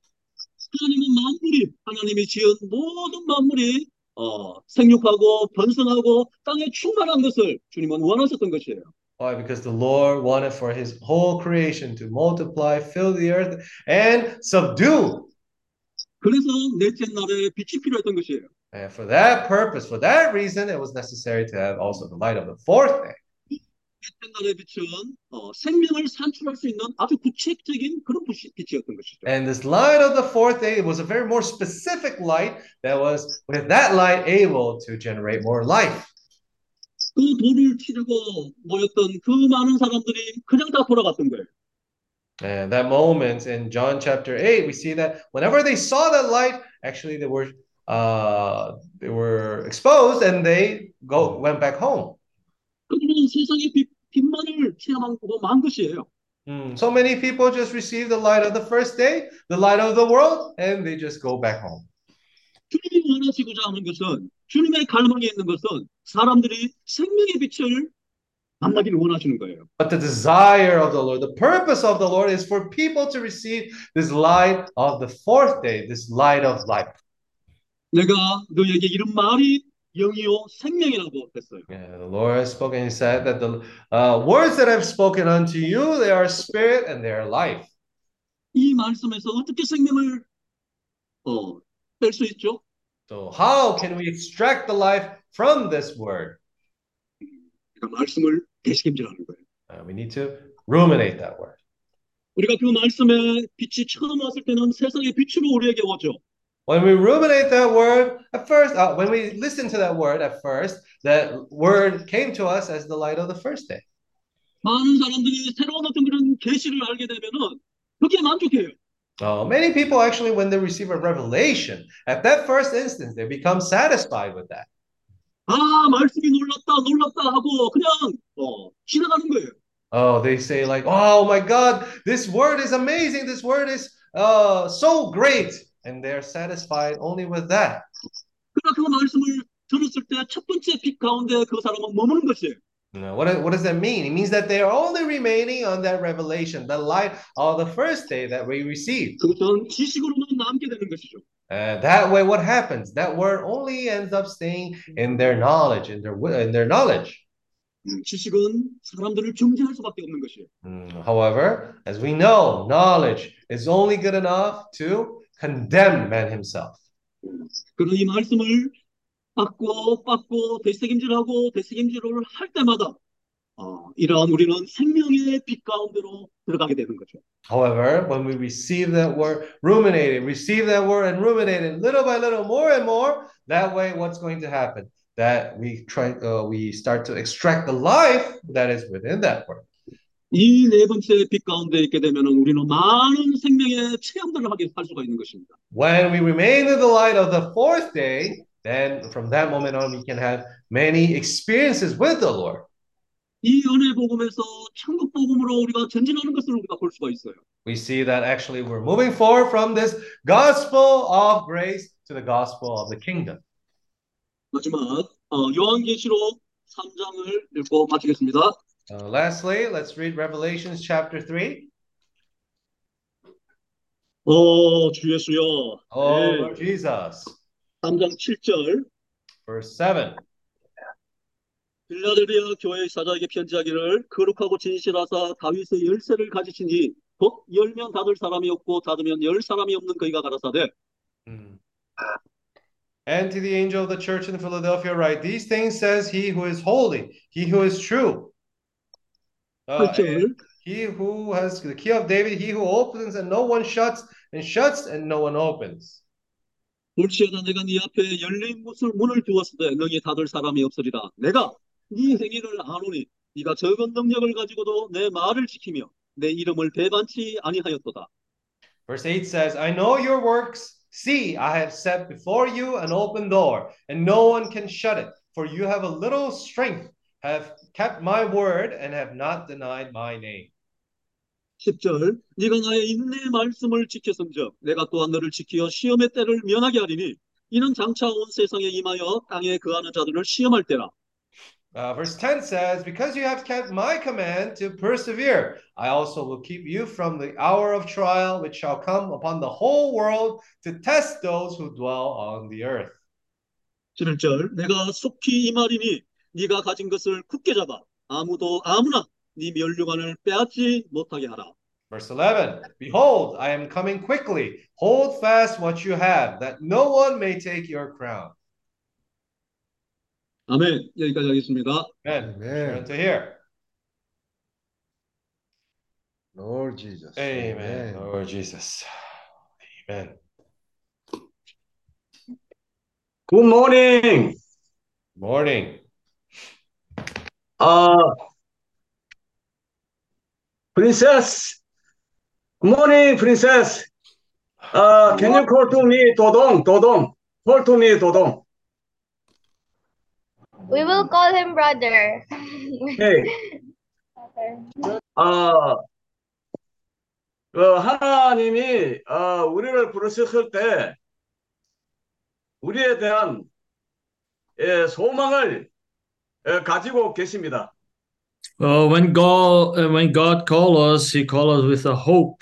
하나님이 지은 모든 만물이 생육하고 번성하고 땅에 충만한 것을 주님은 원하셨던 것이에요. Why? Because the Lord wanted for his whole creation to multiply, fill the earth, and subdue. 그래서 넷째 날에 빛이 필요했던 것이에요. And for that purpose, for that reason, it was necessary to have also the light of the fourth day. 넷째 날의 빛은 생명을 산출할 수 있는 아주 구체적인 그런 빛이었던 것이죠. And this light of the fourth day was a very more specific light that was, with that light, able to generate more life. 그 돌을 치르고 모였던 그 많은 사람들이 그냥 다 돌아갔던 거예요. And that moment in John chapter 8, we see that whenever they saw that light, actually they were exposed and they went back home. 그들은 세상의 빛만을 체험하고 만 것이에요. So many people just receive the light of the first day, the light of the world, and they just go back home. 주님이 원하시고자 하는 것은, 주님의 갈망에 있는 것은 사람들이 생명의 빛을 만나기를 원하시는 거예요. But the desire of the Lord, the purpose of the Lord is for people to receive this light of the fourth day, this light of life. 내가 너에게 이런 말이 영이요 생명이라고 했어요. Yeah, the Lord has spoken. He said that the words that I've spoken unto you, they are spirit and they are life. 이 말씀에서 어떻게 생명을 뺄 수 있죠? So how can we extract the life from this word? 그러니까 말씀을 되새김질하는 거예요. We need to ruminate that word. 우리가 그 말씀에 빛이 처음 왔을 때는 세상의 빛으로 우리에게 오죠. When we ruminate that word, at first, when we listen to that word at first, that word came to us as the light of the first day. 많은 사람들이 새로운 어떤 그런 계시를 알게 되면은 그게 만족해요. Many people actually, when they receive a revelation, at that first instance, they become satisfied with that. 말씀이 놀랍다 하고 그냥 지나가는 거예요. Oh, they say like, oh my God, this word is amazing. This word is so great. And they're satisfied only with that. 그러나 그 말씀을 들었을 때 첫 번째 빛 가운데 그 사람은 머무는 것이에요. What does that mean? It means that they are only remaining on that revelation, the light of the first day that we received. 그것은 지식으로만 남게 되는 것이죠. That way, what happens? That word only ends up staying in their knowledge, in their knowledge. 지식은 사람들을 정죄할 수밖에 없는 것이에요. However, as we know, knowledge is only good enough to condemn man himself. 그런 이 말씀을 받고 되새김질을 할 때마다 이러한 우리는 생명의 빛 가운데로 들어가게 되는 거죠. However, when we receive that word, receive that word and ruminate it little by little, more and more, that way what's going to happen? That we start to extract the life that is within that word. 이 네 번째 빛 가운데 있게 되면 우리는 많은 생명의 체험들을 할 수가 있는 것입니다. When we remain in the light of the fourth day, then from that moment on we can have many experiences with the Lord. 이 은혜 복음에서 천국 복음으로 우리가 전진하는 것을 우리가 볼 수가 있어요. We see that actually we're moving forward from this gospel of grace to the gospel of the kingdom. 마지막 요한계시록 3장을 읽고 마치겠습니다. Lastly, let's read Revelations chapter 3. 주 예수여. Lord Jesus. 3장 7절. Verse 7. 빌라델비아 교회의 사자에게 편지하기를 거룩하고 진실하사 다윗의 열쇠를 가지시니 곧 열면 닫을 사람이 없고 닫으면 열 사람이 없는 그이가 가라사대. And to the angel of the church in Philadelphia write, these things says he who is holy, he who is true. He who has the key of David, he who opens and no one shuts, and shuts and no one opens. 볼지어다 내가 네 앞에 열린 문을 두었을 때 너희 닫을 사람이 없으리라. 내가 네 행위를 아노니 네가 적은 능력을 가지고도 내 말을 지키며 내 이름을 배반치 아니하였도다. Verse 8 says, I know your works. See, I have set before you an open door, and no one can shut it. For you have a little strength, have kept my word and have not denied my name. 10절 네가 나의 인내의 말씀을 지켰음즉 내가 또한 너를 지키어 시험의 때를 면하게 하리니 이는 장차 온 세상에 임하여 땅에 거하는 자들을 시험할 때라. Verse 10 says, because you have kept my command to persevere, I also will keep you from the hour of trial which shall come upon the whole world to test those who dwell on the earth. 11절 내가 속히 임하리니 네가 가진 것을 굳게 잡아 아무나 네 면류관을 빼앗지 못하게 하라. Verse 11, behold, I am coming quickly. Hold fast what you have, that no one may take your crown. 아멘. 여기까지 하겠습니다. Amen. Amen. Turn to here. Lord Jesus. Amen. Lord Jesus. Amen. Good morning. Morning. Princess. Good morning, Princess. Can you call to me, Dodong? Dodong. Call to me, Dodong. We will call him brother. Hey. 하나님이 우리를 부르셨을 때 우리에 대한 소망을 가지고 계십니다. When God called us, He called us with a hope.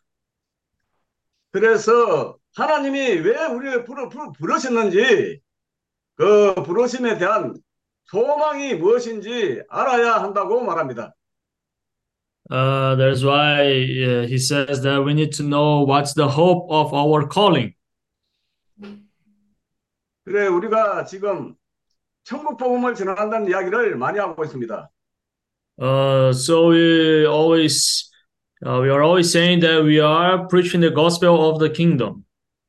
그래서 하나님이 왜 우리를 부르셨는지 그 부르심에 대한 소망이 무엇인지 알아야 한다고 말합니다. That's why He says that we need to know what's the hope of our calling. 그래 우리가 지금 천국 복음을 전한다는 이야기를 많이 하고 있습니다. So we are always saying that we are preaching the gospel of the kingdom.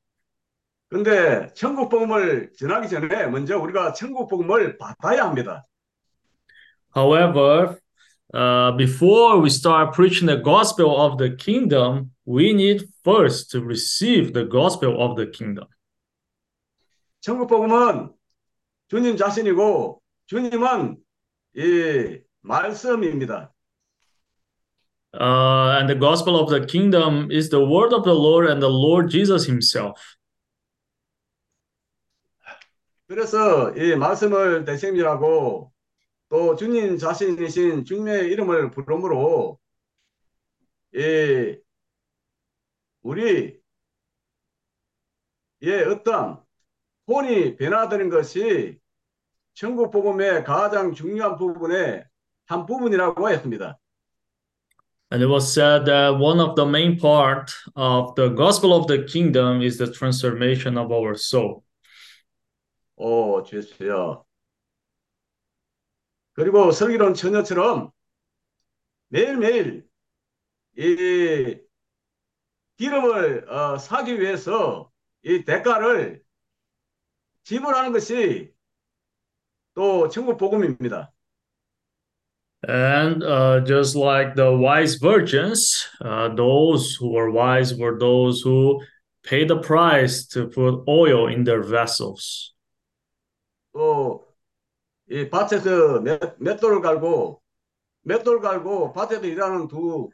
근데 천국 복음을 전하기 전에 먼저 우리가 천국 복음을 받아야 합니다. However, before we start preaching the gospel of the kingdom, we need first to receive the gospel of the kingdom. 천국 복음은 주님 자신이고 주님은 이 말씀입니다. And the gospel of the kingdom is the word of the Lord and the Lord Jesus Himself. 그래서 이 말씀을 대sem이라고 또 주님 자신이신 주님의 이름을 부르므로 우리의 어떤 혼이 변화되는 것이 천국 복음의 가장 중요한 부분의 한 부분이라고 했습니다. And it was said that one of the main part of the gospel of the kingdom is the transformation of our soul. 주여. 그리고 슬기로운 처녀처럼 매일매일 이 기름을 사기 위해서 이 대가를 지불하는 것이 또 천국 복음입니다. And just like the wise virgins, those who were wise were those who paid the price to put oil in their vessels. 또 이 밭에서 맷돌 갈고 밭에서 일하는 두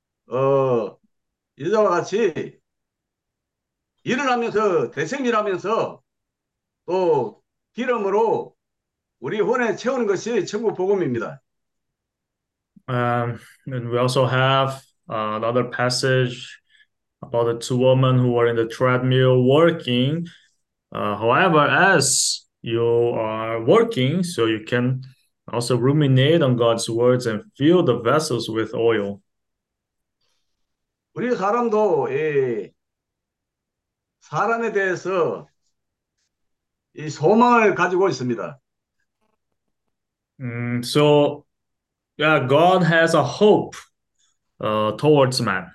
여자와 같이 일을 하면서 대생일 하면서 또 기름으로 우리 혼에 채우는 것이 천국 복음입니다. And we also have another passage about the two women who were in the treadmill working. However, as you are working, so you can also ruminate on God's words and fill the vessels with oil. 우리 사람도 사람에 대해서 이 소망을 가지고 있습니다. So, yeah, God has a hope towards man.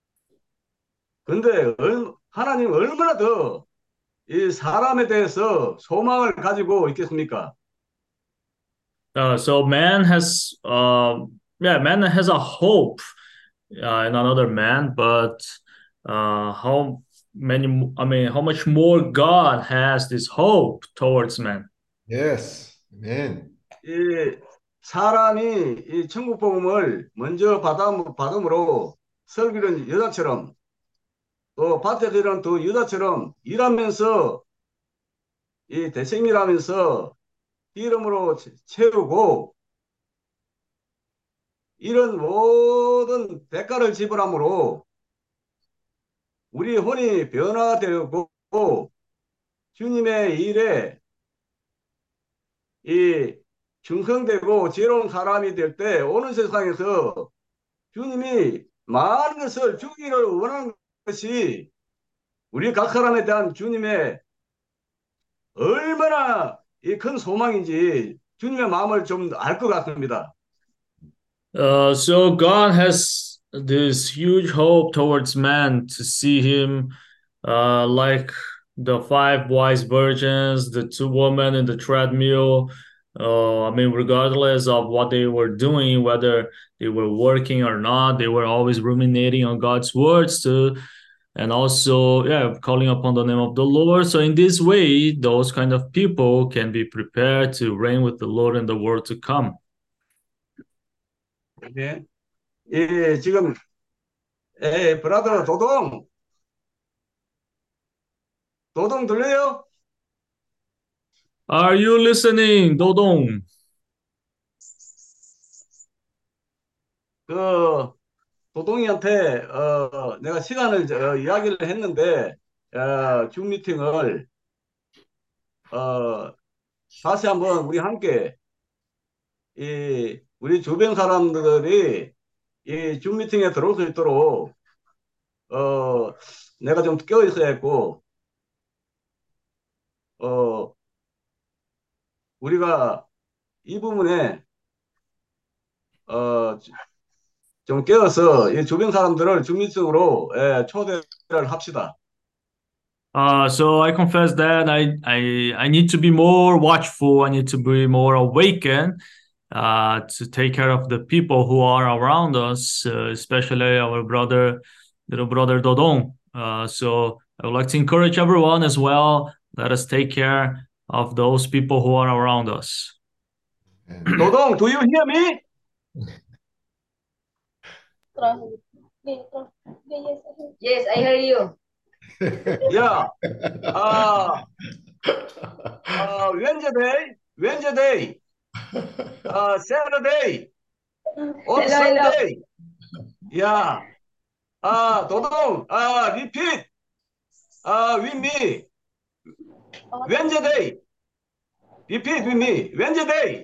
근데 하나님 얼마나 더 이 사람에 대해서 소망을 가지고 있겠습니까? So man has a hope in another man, but how much more God has this hope towards man. Yes. Amen. 이 사람이 이 천국 복음을 먼저 받음으로 설교는 여자처럼 또 밭에 들은 또 여자처럼 일하면서 이 대생일하면서 이름으로 채우고 이런 모든 대가를 지불함으로 우리 혼이 변화되고 주님의 일에 이 충성되고 지혜로운 사람이 될 때 오는 세상에서 주님이 많은 것을 주기를 원하는 것이 우리 각 사람에 대한 주님의 얼마나 이 큰 소망인지 주님의 마음을 좀 알 것 같습니다. So God has this huge hope towards man to see him like the five wise virgins, the two women in the treadmill. I mean, regardless of what they were doing, whether they were working or not, they were always ruminating on God's words to, and also, yeah, calling upon the name of the Lord. So in this way, those kind of people can be prepared to reign with the Lord in the world to come. 네. 예, 지금 브라더 도동 들려요? Are you listening, Dodong? 그 도동이한테 내가 시간을 이야기를 했는데 줌 미팅을 다시 한번 우리 함께 이 우리 주변 사람들이 이 줌 미팅에 들어올 수 있도록 내가 좀 껴 있어야 했고 우리가 이 부분에 좀 깨어서 이 주변 사람들을 줌 미팅으로 초대를 합시다. So I confess that I need to be more watchful. I need to be more awakened to take care of the people who are around us, especially our little brother Dodong. So I would like to encourage everyone as well. Let us take care of those people who are around us. 도동, do you hear me? Yes, I hear you. Yeah. Wednesday, Saturday, on Hello, hello. Sunday. Yeah. 도동, repeat. With me. Wednesday. Repeat with me. Wednesday,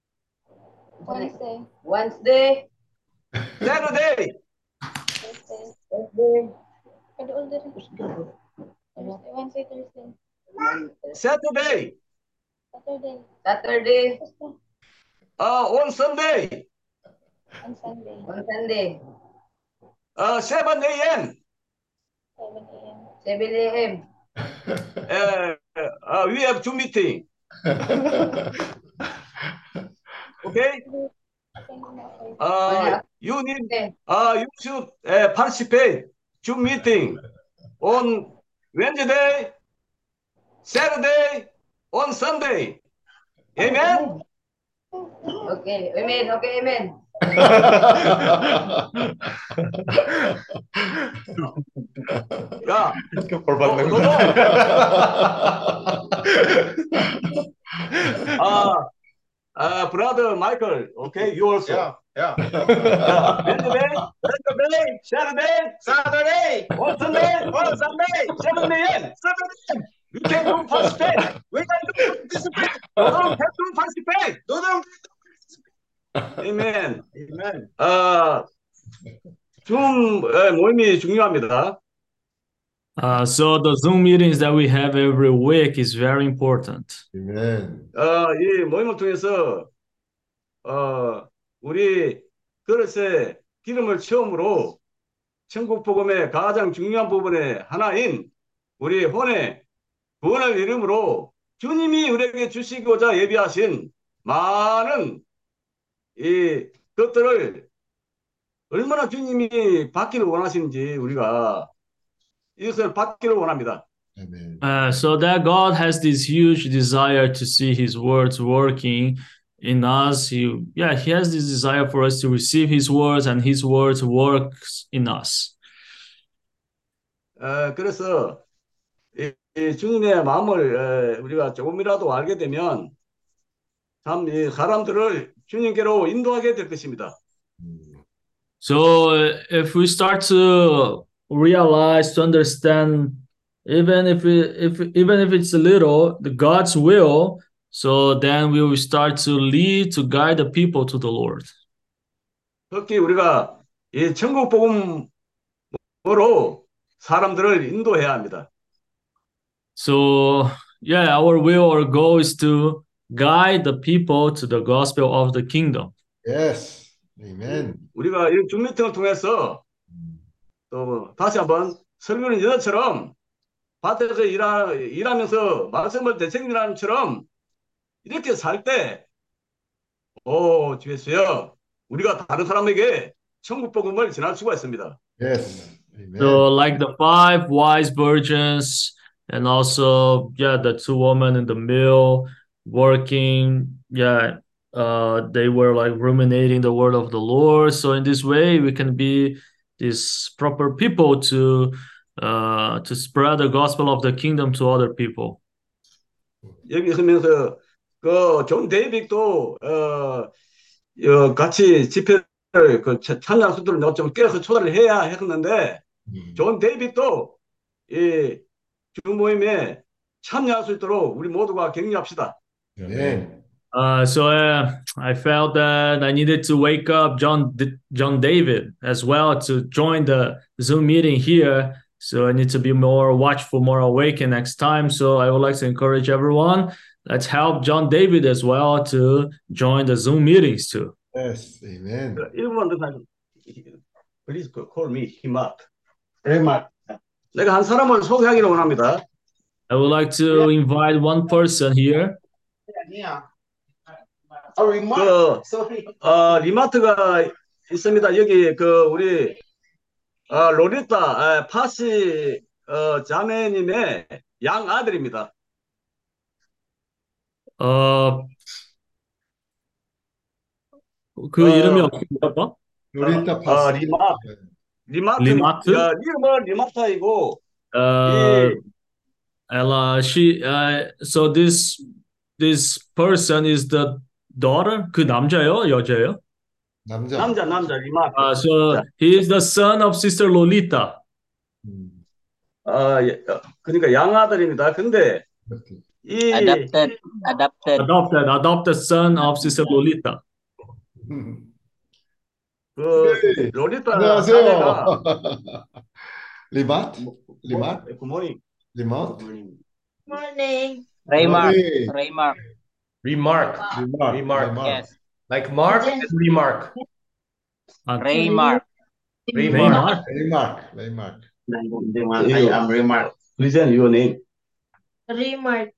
Wednesday, Saturday, Thursday, Saturday, Saturday, on Sunday, on Sunday, 7 a.m. 7 a.m. We have Zoom meeting. Okay? You should participate Zoom meeting on Wednesday, Saturday, on Sunday. Amen? Okay, amen. Okay, amen. 야, 벌 받는 너, brother Michael, okay, you also. Yeah. Wednesday, Saturday, on Sunday, 7 a.m. We can do participate. We can do participate. No, have to participate. No. Amen. 줌 모임이 중요합니다. So the Zoom meetings that we have every week is very important. Amen. 이 모임을 통해서 우리 그릇에 기름을 채움으로 천국 복음의 가장 중요한 부분의 하나인 우리 혼의 구원을 이름으로 주님이 우리에게 주시고자 예비하신 많은 이 것들을 얼마나 주님이 받기를 원하시는지 우리가 이것을 받기를 원합니다. Amen. So that God has this huge desire to see His words working in us. He has this desire for us to receive His words, and His words works in us. 그래서 이 주님의 마음을 우리가 조금이라도 알게 되면 참 이 사람들을 주님께로 인도하게 될 것입니다. So if we start to realize, to understand, even if it's a little, the God's will, so then we will start to lead, to guide the people to the Lord. 특히 우리가 이 천국 복음으로 사람들을 인도해야 합니다. So our will or goal is to guide the people to the gospel of the kingdom. Yes. Amen. 우리가 이 줌미팅을 통해서 또 다시 한번 설교는 여자처럼 밭에서 일하면서 말씀을 되새기는 처럼 이렇게 살 때, 주 예수여, 우리가 다른 사람에게 천국 복음을 전할 수가 있습니다. Yes. Amen. So like the 5 wise virgins, and also the 2 women in the mill working, they were like ruminating the word of the Lord. So in this way, we can be these proper people to spread the gospel of the kingdom to other people. 여기 있으면서 존 데이빅도 같이 집회를 찬양 수들을 좀 깨서 초대를 해야 했는데 존 데이빅도 이 주모임에 참여할 수 있도록 우리 모두가 격려합시다. Amen. So I felt that I needed to wake up John David as well to join the Zoom meeting here. So I need to be more watchful, more awakened next time. So I would like to encourage everyone. Let's help John David as well to join the Zoom meetings too. Yes. Amen. Please call me Himat. 내가 한 사람을 소개하기를 원합니다. I would like to invite one person here. 리마트가 있습니다. 여기 우리 로리타 파시 자매님의 양 아들입니다. 그 이름이 어떻게 뭐랄까? 로리타 파스. 리마트. 리마트? 이름은 리마타이고. So this person is the daughter? 그 남자예요? 여자예요? 남자 리마트. So he is the son of Sister Lolita. 그러니까 양아들입니다. 근데 이 adopted son of Sister Lolita. 로리타 안녕하세요. 리마트? 굿모닝. 리마트? Morning. Remark. Yes. Like Mark and remark. Remark. Remark. I am Remark. Present your name. Remark.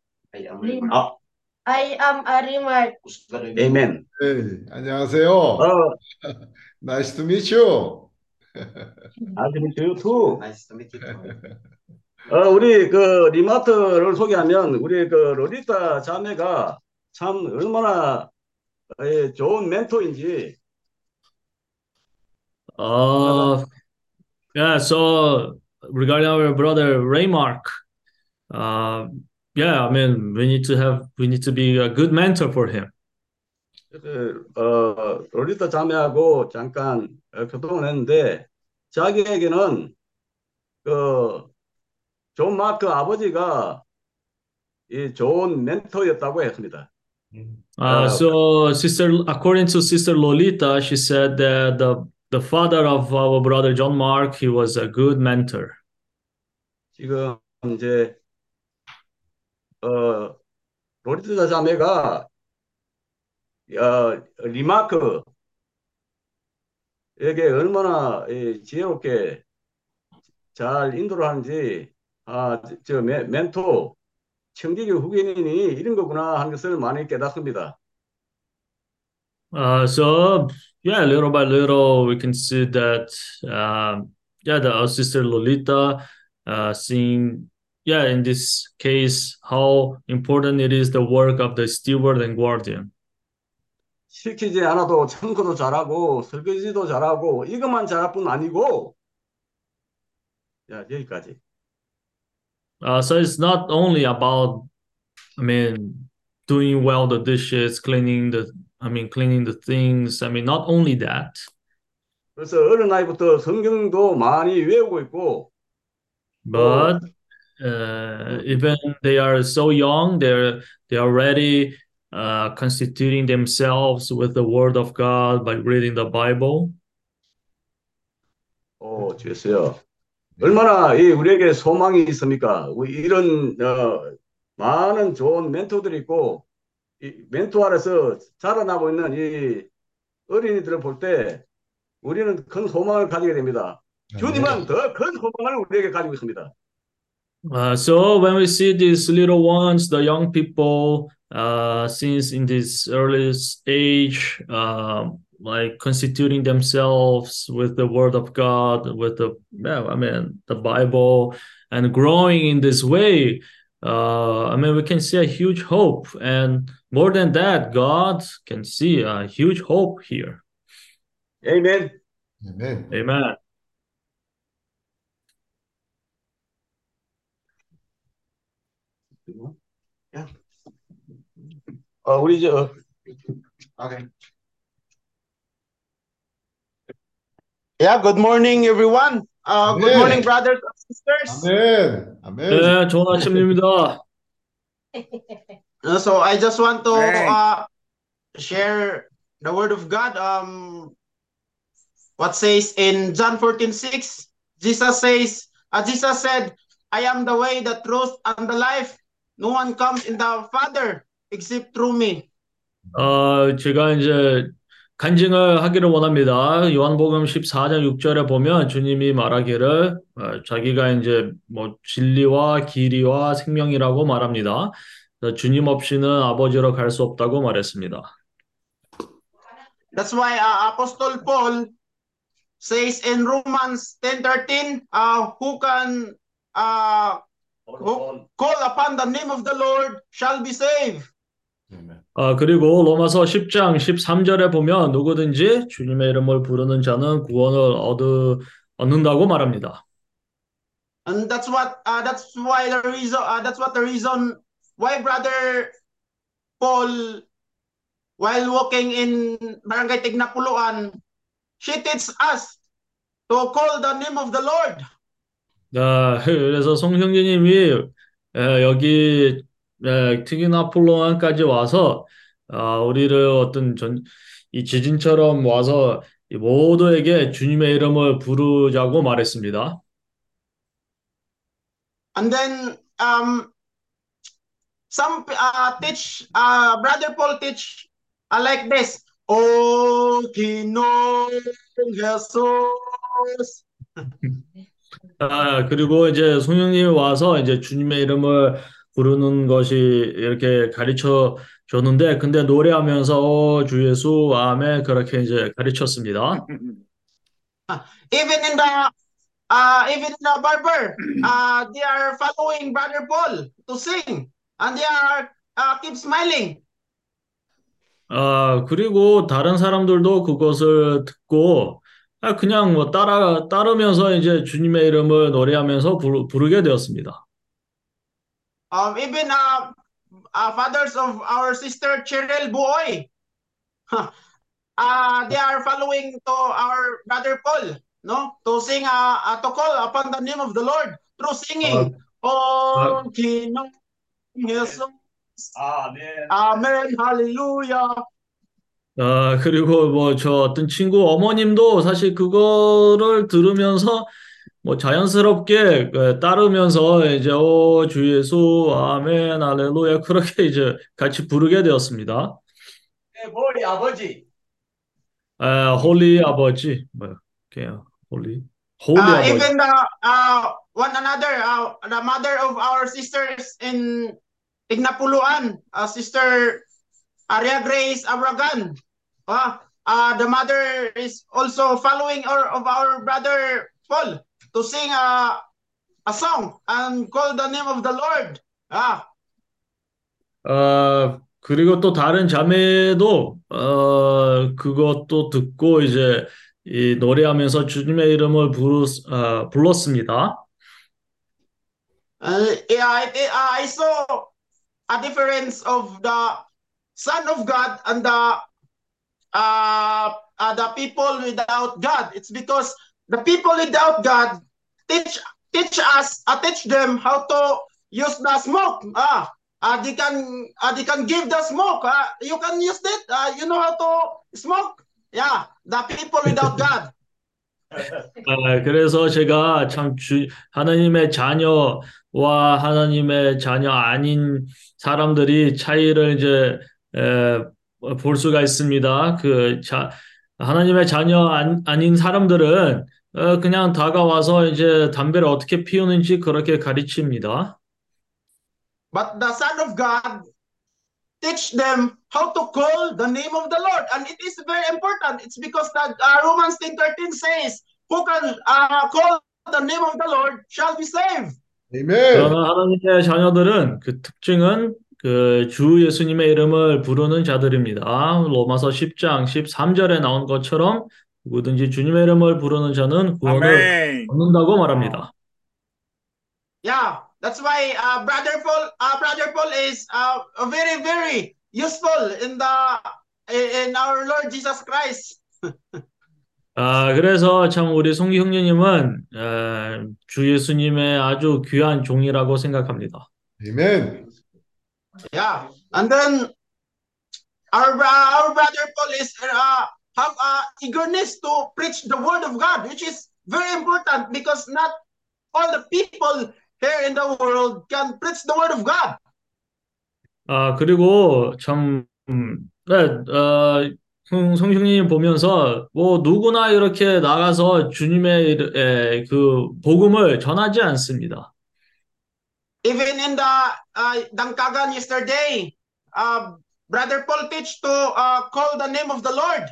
I am a remark. Amen. Hey, 안녕하세요. Nice to meet you. Nice to meet you too. Nice to meet you. 우리 리마트를 소개하면 우리 로리타 자매가 참 얼마나 좋은 멘토인지. So regarding our brother Raymark, I mean we need to be a good mentor for him. 로리타 자매하고 잠깐 교통을 했는데 자기에게는 존 마크 아버지가 이 좋은 멘토였다고 했습니다. So according to Sister Lolita, she said that the father of our brother John Mark, he was a good mentor. 지금 이제 로리타 자매가 리마크에게 얼마나 지혜롭게 잘 인도를 하는지 저 멘토 청지기 후견인이 이런 거구나 하는 것을 많이 깨닫습니다. So little by little we can see that our sister Lolita seeing in this case how important it is the work of the steward and guardian. 시키지 않아도 청소도 잘하고 설거지도 잘하고 이것만 잘할 뿐 아니고 자, 여기까지. So it's not only about, I mean, doing well the dishes, cleaning the things. I mean, not only that. 그래서 어린 나이부터 성경도 많이 외우고 있고 But even they are so young, they are already constituting themselves with the Word of God by reading the Bible. 주였어요. 얼마나 우리에게 소망이 있습니까? 이런 많은 좋은 멘토들이 있고 이 멘토 아래서 자라나고 있는 이 어린이들을 볼 때 우리는 큰 소망을 가지게 됩니다. 주님은 더 큰 소망을 우리에게 가지고 있습니다. So when we see these little ones, the young people, since in this early age, like constituting themselves with the Word of God, with the Bible, and growing in this way, we can see a huge hope, and more than that, God can see a huge hope here. Amen. Amen. Amen. Okay. Yeah, good morning, everyone. Good morning, brothers and sisters. Amen. Amen. 네, 좋은 아침입니다. So I just want to share the word of God. What says in John 14:6, Jesus said, I am the way, the truth, and the life. No one comes in the Father except through me. 제가 이제 간증을 하기를 원합니다. 요한복음 14장 6절에 보면 주님이 말하기를 자기가 이제 뭐 진리와 길이와 생명이라고 말합니다. 주님 없이는 아버지로 갈 수 없다고 말했습니다. That's why Apostle Paul says in Romans 10:13, who can call upon the name of the Lord shall be saved. 그리고 로마서 10장 13절에 보면 누구든지 주님의 이름을 부르는 자는 구원을 얻는다고 말합니다. And that's what the reason why Brother Paul, while walking in Barangay Tignapuluan, she teaches us to call the name of the Lord. 그래서 송형제님이 여기 티기나폴로안까지 와서 우리를 이 지진처럼 와서 모두에게 주님의 이름을 부르자고 말했습니다. And then some Brother Paul teach like this. O Ginoong Jesus. 그리고 이제 송영님이 와서 이제 주님의 이름을 부르는 것이 이렇게 가르쳐 줬는데, 근데 노래하면서 주 예수, 아멘, 그렇게 이제 가르쳤습니다. Even in the barber, they are following Brother Paul to sing, and they are keep smiling. 그리고 다른 사람들도 그것을 듣고 그냥 뭐 따르면서 이제 주님의 이름을 노래하면서 부르게 되었습니다. Even fathers of our sister Cheryl Boy, they are following to our Brother Paul, no, to sing, to call upon the name of the Lord through singing. Oh, King Jesus. 아멘. 아멘, 할렐루야. 그리고 뭐 저 어떤 친구 어머님도 사실 그거를 들으면서 뭐 자연스럽게 따르면서 이제 주 예수, 아멘, 할렐루야 그렇게 이제 같이 부르게 되었습니다. 머리 아버지. 홀리 아버지, 홀리 아버지. Even one another, the mother of our sisters in Tignapuluan, Sister Aria Grace Abragan. The mother is also following of our Brother Paul to sing a song and call the name of the Lord. 그리고 또 다른 자매도 그것도 듣고 이제 이 노래하면서 주님의 이름을 불렀습니다. Yeah, I saw a difference of the Son of God and the people without God. It's because the people without God teach them how to use the smoke. They can give the smoke. You can use it. You know how to smoke. Yeah, the people without God. 그래서 제가 참 하나님의 자녀와 하나님의 자녀 아닌 사람들이 차이를 이제 볼 수가 있습니다. 하나님의 자녀 아닌 사람들은 그냥 다가와서 이제 담배를 어떻게 피우는지 그렇게 가르칩니다. But the Son of God teach them how to call the name of the Lord. And it is very important. It's because that Romans 10:13 says, who can call the name of the Lord shall be saved. Amen. 그러나 하나님의 자녀들은 그 특징은 그 주 예수님의 이름을 부르는 자들입니다. 로마서 10장 13절에 나온 것처럼 누구든지 주님의 이름을 부르는 자는 구원을 얻는다고 말합니다. Yeah, that's why Brother Paul is very, very useful in our Lord Jesus Christ. 그래서 참 우리 송기 형제님은 주 예수님의 아주 귀한 종이라고 생각합니다. Amen. Yeah, and then our brother Paul is have eagerness to preach the word of God, which is very important because not all the people here in the world can preach the word of God. 그리고 참 성령님 보면서 뭐 누구나 이렇게 나가서 주님의 그 복음을 전하지 않습니다. Even in the Dangkagan yesterday, Brother Paul teach to call the name of the Lord.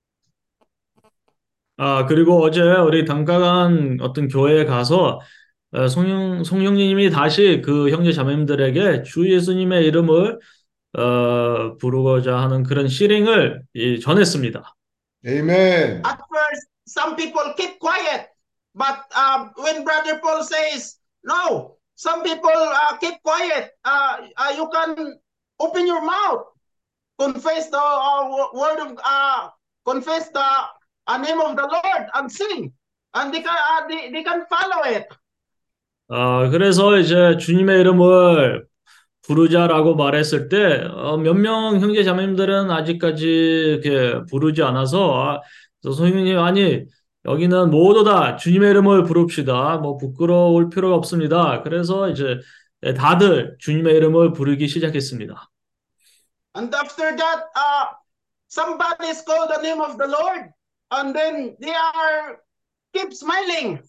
그리고 어제 우리 단가간 어떤 교회에 가서 성령님이 다시 그 형제 자매님들에게 주 예수님의 이름을 부르고자 하는 그런 시링을 전했습니다. Amen. At first, some people keep quiet, but when Brother Paul says, no, some people keep quiet. You can open your mouth, confess the word of, confess the name of the Lord, and sing, and they can follow it. 그래서 이제 주님의 이름을 부르자라고 말했을 때 몇 명 형제 자매님들은 아직까지 이렇게 부르지 않아서 성령님 아니 여기는 모두 다 주님의 이름을 부릅시다. 뭐 부끄러울 필요가 없습니다. 그래서 이제 다들 주님의 이름을 부르기 시작했습니다. And after that, somebody called the name of the Lord, and then they keep smiling.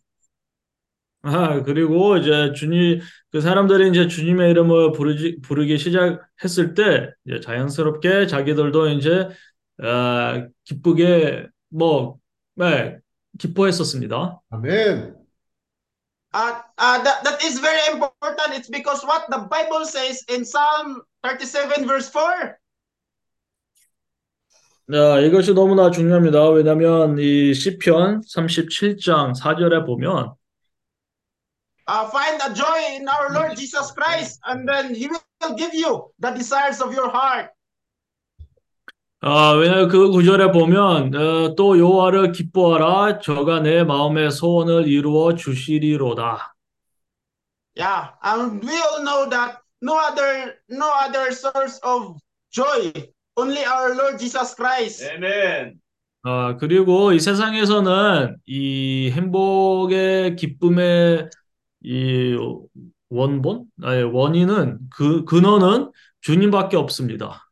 그리고 이제 그 사람들이 이제 주님의 이름을 부르기 시작했을 때 이제 자연스럽게 자기들도 이제 기쁘게 기뻐했었습니다. 아멘. That is very important. It's because what the Bible says in Psalm 37 verse 4. 이것이 너무나 중요합니다. 왜냐하면 이 시편 37장 4절에 보면 find a joy in our Lord Jesus Christ, and then He will give you the desires of your heart. 왜냐하면 그 구절에 보면 또 여호와를 기뻐하라 저가 내 마음의 소원을 이루어 주시리로다. Yeah, and we all know that no other source of joy, only our Lord Jesus Christ. Amen. 그리고 이 세상에서는 이 행복의 기쁨의 이 원인은 근원은 주님밖에 없습니다.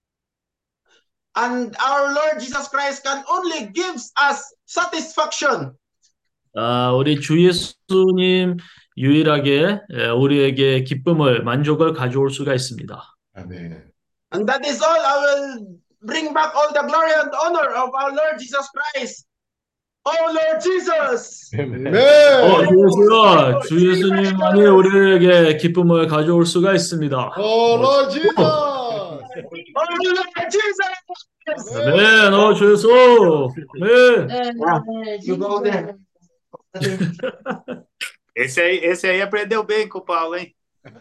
And our Lord Jesus Christ can only gives us satisfaction. 우리 주 예수님 유일하게 우리에게 기쁨을 만족을 가져올 수가 있습니다. 아멘. And that is all. I will bring back all the glory and honor of our Lord Jesus Christ. Oh Lord Jesus. 아멘. 주 예수님만이 우리에게 기쁨을 가져올 수가 있습니다. Oh Lord Jesus. Lord Jesus! 아멘. 주 예수. 아멘. You go there. Esse aí aprendeu bem com o Paulo, hein?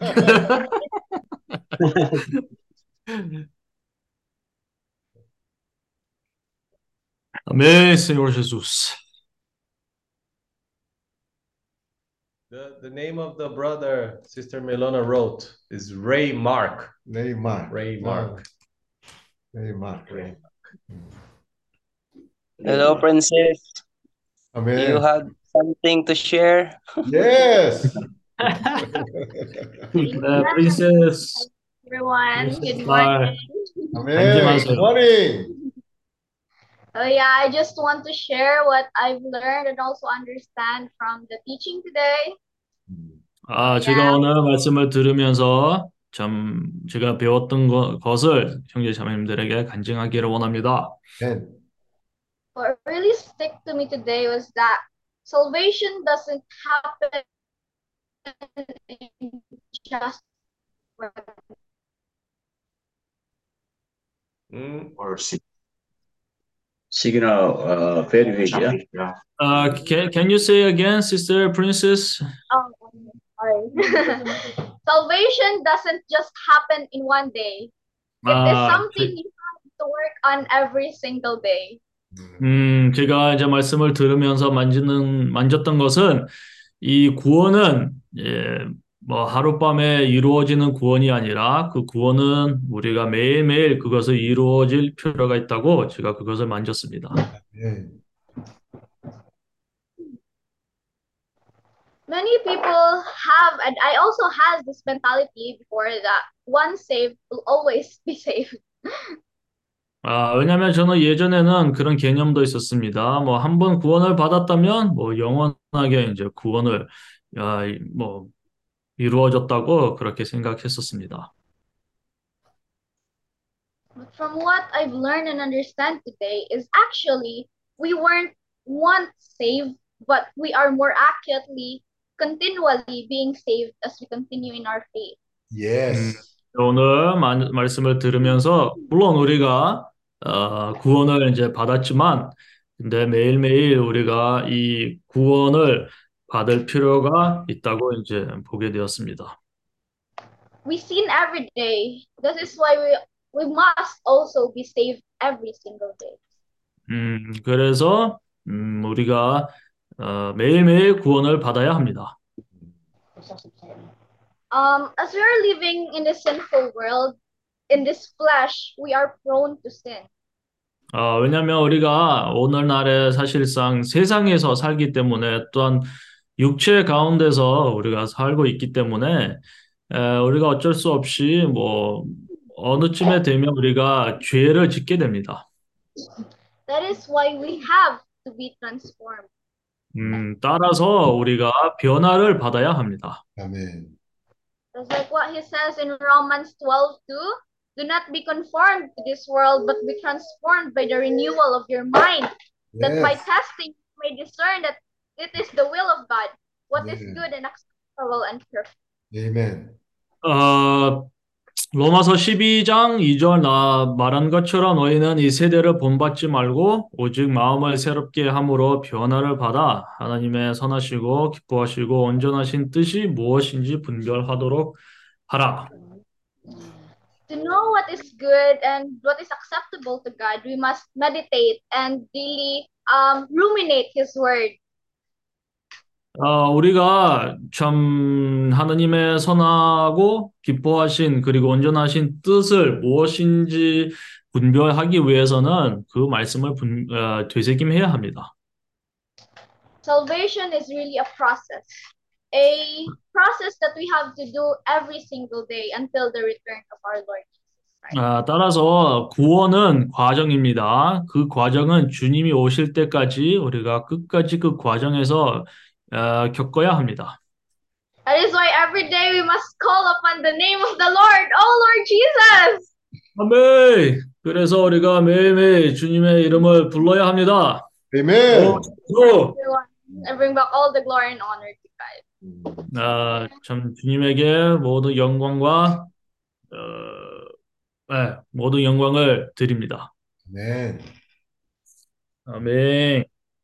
Amém, Senhor Jesus. The name of the brother Sister Melona wrote is Ray Mark. Neymar. Ray Mark. Neymar. Hello, Princess. Amen. You have something to share? Yes. Princess. Everyone, good Bye. morning. Amen. Good morning. Oh yeah, I just want to share what I've learned and also understand from the teaching today. 제가 오늘 말씀을 들으면서 참 제가 배웠던 것을 형제 자매님들에게 간증하기를 원합니다. What really stuck to me today was that salvation doesn't happen in just Or signal very weak, yeah? Can you say again, Sister Princess? Oh, sorry. Salvation doesn't just happen in one day. It is something you have to work on every single day. 제가 이제 말씀을 들으면서 만졌던 것은 이 구원은 뭐 하룻밤에 이루어지는 구원이 아니라 그 구원은 우리가 매일매일 그것을 이루어질 필요가 있다고 제가 그것을 만졌습니다. Many people have, and I also had this mentality before that once saved will always be saved. 왜냐하면 저는 예전에는 그런 개념도 있었습니다. 뭐 한 번 구원을 받았다면 뭐 영원하게 이제 구원을 뭐 이루어졌다고 그렇게 생각했었습니다. But from what I've learned and understand today is actually we weren't once saved, but we are more accurately continually being saved as we continue in our faith. Yes. 오늘 말씀을 들으면서 물론 우리가 구원을 이제 받았지만 근데 매일매일 우리가 이 구원을 받을 필요가 있다고 이제 보게 되었습니다. We sin every day. This is why we must also be saved every single day. 그래서 우리가 매일매일 구원을 받아야 합니다. As we are living in this sinful world, in this flesh, we are prone to sin. 왜냐하면 우리가 오늘날에 사실상 세상에서 살기 때문에 또한 육체 가운데서 우리가 살고 있기 때문에 우리가 어쩔 수 없이 뭐 어느 쯤에 되면 우리가 죄를 짓게 됩니다. That is why we have to be transformed. 따라서 우리가 변화를 받아야 합니다. 아멘. That's like what he says in Romans 12:2. Do not be conformed to this world, but be transformed by the renewal of your mind, that by testing you may discern that it is the will of God, what is good and acceptable and perfect. Amen. 로마서 12장 2절 말한 것처럼 너희는 이 세대를 본받지 말고 오직 마음을 새롭게 함으로 변화를 받아 하나님의 선하시고 기뻐하시고 온전하신 뜻이 무엇인지 분별하도록 하라. To know what is good and what is acceptable to God, we must meditate and really ruminate His word. 우리가 참 하나님의 선하고 기뻐하신 그리고 온전하신 뜻을 무엇인지 분별하기 위해서는 그 말씀을 되새김해야 합니다. Salvation is really a process that we have to do every single day until the return of our Lord Jesus Christ. 따라서 구원은 과정입니다. 그 과정은 주님이 오실 때까지 우리가 끝까지 그 과정에서 겪어야 합니다. That is why every day we must call upon the name of the Lord, oh Lord Jesus. 아멘. 그래서 우리가 매일매일 주님의 이름을 불러야 합니다. Amen. And bring back all the glory and honor to God. 참 주님에게 모든 영광과 네, 모든 영광을 드립니다. 아멘. 아멘.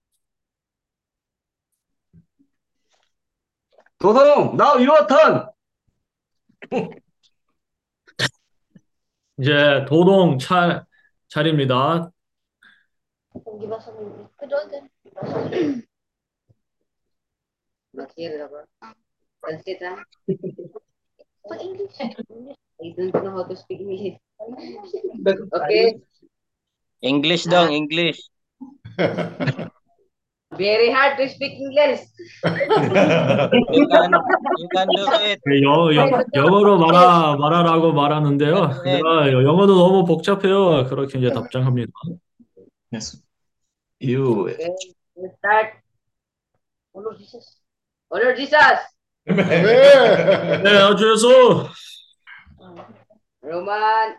도동, now your turn. 이제 도동 차례입니다. Translate, ha? I don't know how to speak English. Okay. English dong, English. Very hard to speak English. You can do it. 영어로 말하라고 말하는데요. 제가 영어도 너무 복잡해요. 그렇게 이제 답장합니다. Yes. You. Okay, let's start. Oh Lord Jesus. Oh Lord Jesus. 네, 아주 예수. Roman,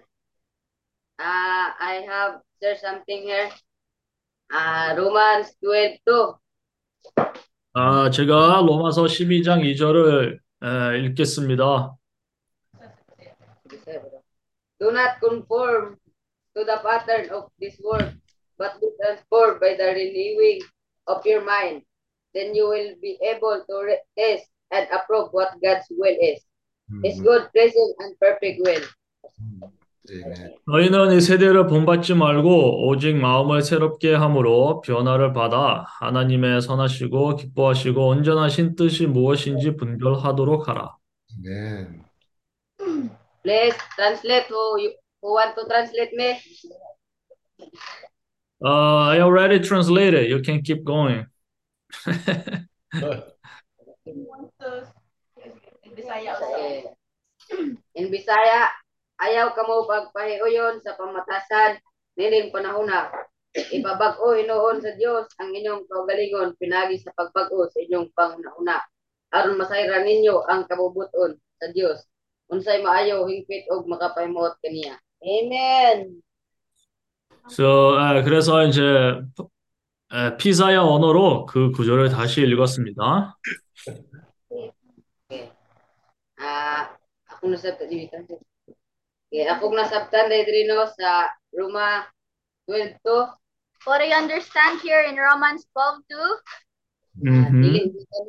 I have there's something here. Romans 12:2. 제가 로마서 12장 2절을 읽겠습니다. Do not conform to the pattern of this world, but be transformed by the renewing of your mind. Then you will be able to test and approve what God's will is. His good, pleasing, and perfect will. 너희는 이 세대를 본받지 말고 오직 마음을 새롭게 함으로 변화를 받아 하나님의 선하시고 기뻐하시고 온전하신 뜻이 무엇인지 분별하도록 하라. 아멘. Please translate who want to translate me. I already translated. You can keep going. In Bisaya, ayaw kamo pagpahiuyon sa pamatasan nining panahona. Ipabag-o hinuon sa Dios ang inyong kaugalingon pinagi sa pagbag-o sa inyong panghuna. Aron masayran ninyo ang kabubuton sa Dios. Unsay maayo hingpit og makapahimuot kaniya. Amen. So, 그래서 이제 피사야 언어로 그 구절을 다시 읽었습니다. Ako nasabtan dito. Okay, ako nasabtan diri no sa Roma 12:2. What I understand here in Romans 12:2. Mm-hmm.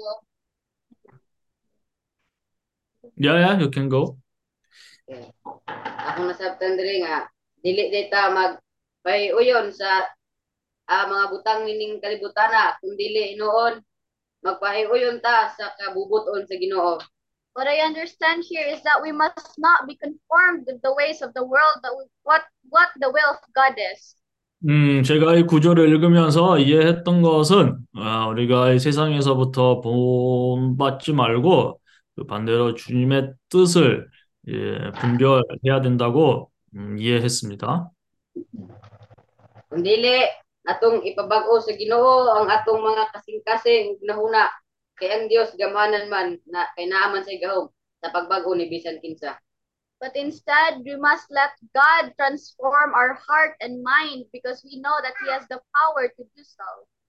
Yeah, you can go. Okay. Ako nasabtan diri nga dili data magpahiuyon sa mga butang nining kalibutana kun dili noon magpahiuyon ta sa kabubuton sa Ginoo. What I understand here is that we must not be conformed with the ways of the world, but what the will of God is. 제가 이 구절을 읽으면서 이해했던 것은 우리가 이 세상에서부터 본받지 말고 그 반대로 주님의 뜻을 분별해야 된다고 이해했습니다. Kung dili atong ipabag-o sa Ginoo ang atong mga kasing-kasing nahuna kay ang Dios gamahanan man na kay naaman sa gahom sa pagbag-o ni bisan kinsa. But instead, we must let God transform our heart and mind because we know that He has the power to do so.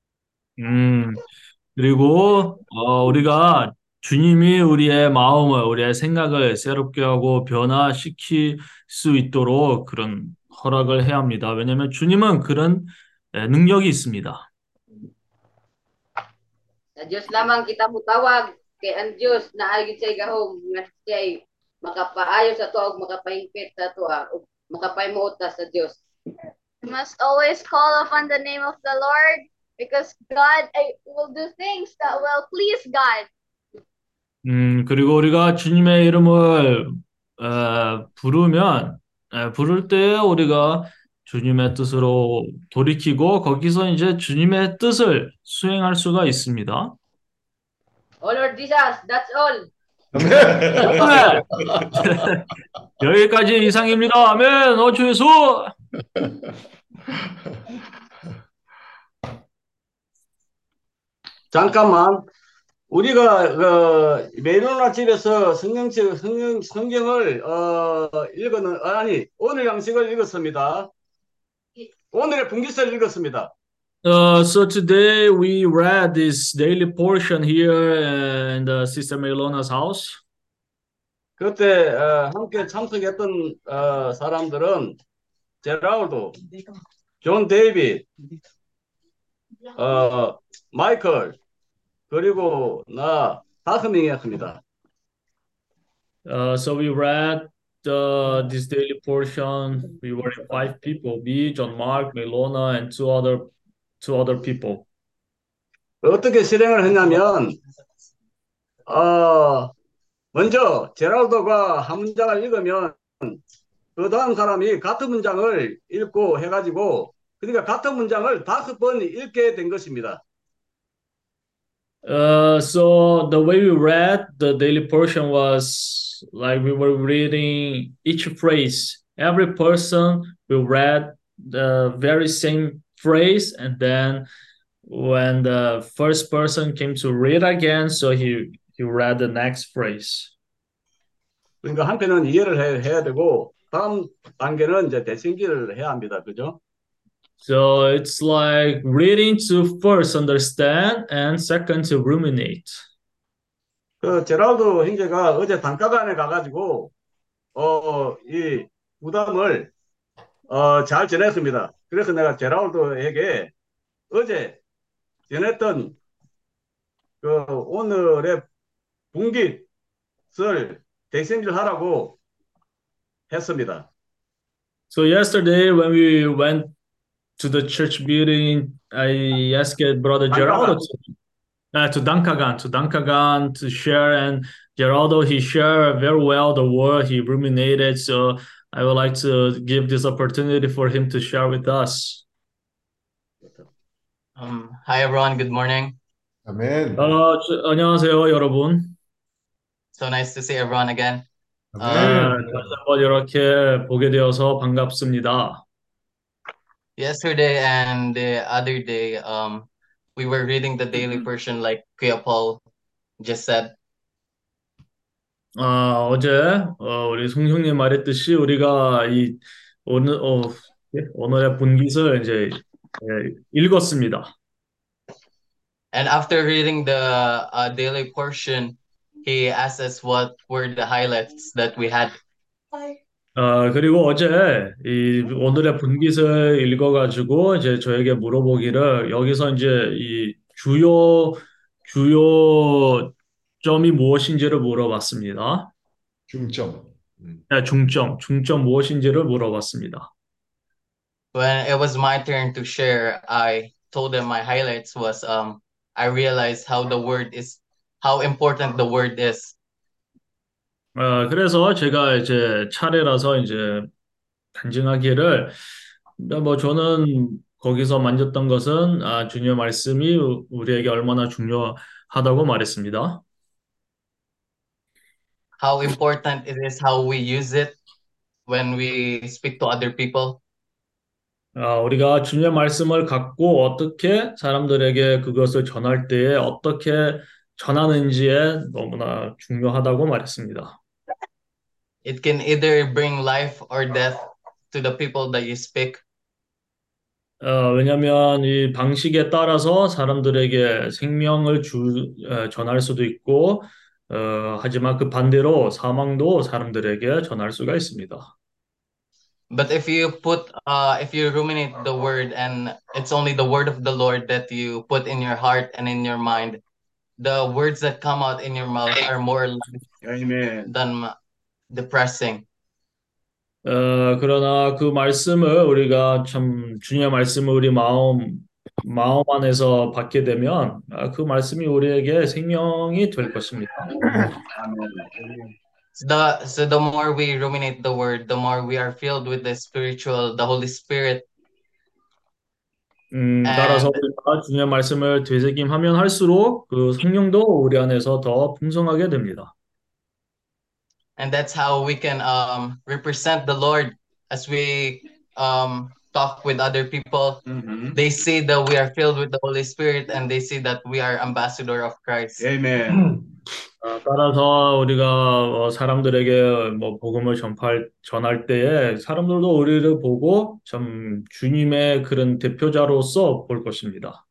그리고 우리가 주님이 우리의 마음을, 우리의 생각을 새롭게 하고 변화시킬 수 있도록 그런 허락을 해야 합니다. 왜냐하면 주님은 그런 능력이 있습니다. Sa Dios lamang kita mutawag kay ang Dios naa gid say gahom nga siya makapaayo sa tuwa ug makapahingpit sa tuwa ug makapahimuot sa Dios. We must always call upon the name of the Lord because God will do things that will please God. 그리고 우리가 주님의 이름을 부를 때 우리가 주님의 뜻으로 돌이키고 거기서 이제 주님의 뜻을 수행할 수가 있습니다. Oh Lord Jesus, that's all. 여기까지 이상입니다. 아멘. 주 예수. 잠깐만. 우리가 메로나 집에서 성경을 오늘 양식을 읽었습니다. 오늘의 분기서를 읽었습니다. So today we read this daily portion here in the Sister Melona's house. 그때 함께 참석했던 사람들은 제라울드, 존 데이빗, 마이클, 그리고 나 5명이었습니다. So we read this daily portion. We were 5 people: me, John Mark, Melona, and two other people. 어떻게 실행을 했냐면 먼저 제랄도가 한 문장을 읽으면 그 다음 사람이 같은 문장을 읽고 해가지고 그러니까 같은 문장을 5번 읽게 된 것입니다. So the way we read the daily portion was like we were reading each phrase. Every person will read the very same phrase, and then when the first person came to read again, so he read the next phrase. 그러니까 한편은 이해를 해야 되고 다음 단계는 이제 대신기를 해야 합니다. 그죠? So it's like reading to first understand and second to ruminate. 그 제랄드 형제가 어제 단가관에 가가지고 이 부담을 잘 전했습니다. 그래서 내가 제랄드에게 어제 전했던 그 오늘의 분깃을 대신기를 하라고 했습니다. So yesterday when we went to the church building, I asked Brother Geraldo to Dankagan to share, and Geraldo, he shared very well the word, he ruminated, so I would like to give this opportunity for him to share with us. Hi everyone, good morning. Amen. 안녕하세요 여러분. So nice to see everyone again. 다시 한번 이렇게 보게 되어서 반갑습니다. Yesterday and the other day, we were reading the daily portion like Kuya Paul just said. 어제 우리 송형님 말했듯이 우리가 이 오늘의 분깃을 이제 읽었습니다. And after reading the daily portion, he asked us what were the highlights that we had. 그리고 어제 이 오늘의 분깃을 읽어가지고 이제 저에게 물어보기를 여기서 이제 이 주요 점이 무엇인지를 물어봤습니다. 중점. 네, 중점 무엇인지를 물어봤습니다. When it was my turn to share, I told them my highlights was I realized how important the word is. 그래서 제가 이제 차례라서 이제 간증하기를 뭐 저는 거기서 만졌던 것은 주님의 말씀이 우리에게 얼마나 중요하다고 말했습니다. How important it is how we use it when we speak to other people. 우리가 주님의 말씀을 갖고 어떻게 사람들에게 그것을 전할 때에 어떻게 전하는지에 너무나 중요하다고 말했습니다. It can either bring life or death to the people that you speak. 왜냐하면 이 방식에 따라서 사람들에게 생명을 전할 수도 있고, 하지만 그 반대로 사망도 사람들에게 전할 수가 있습니다. But if you ruminate the word and it's only the word of the Lord that you put in your heart and in your mind, the words that come out in your mouth are more Amen. than depressing. 그러나 그 말씀을 우리가 참 주님의 말씀을 우리 마음 안에서 받게 되면 그 말씀이 우리에게 생명이 될 것입니다. So the more we ruminate the word, the more we are filled with the Holy Spirit. 따라서 우리가 주님의 말씀을 되새김하면 할수록 그 성령도 우리 안에서 더 풍성하게 됩니다. And that's how we can represent the Lord as we talk with other people. Mm-hmm. They see that we are filled with the Holy Spirit and they see that we are ambassador of Christ. Amen. 따라서 우리가 사람들에게 뭐 복음을 전할 때에 사람들도 우리를 보고 참 주님의 그런 대표자로서 볼 것입니다.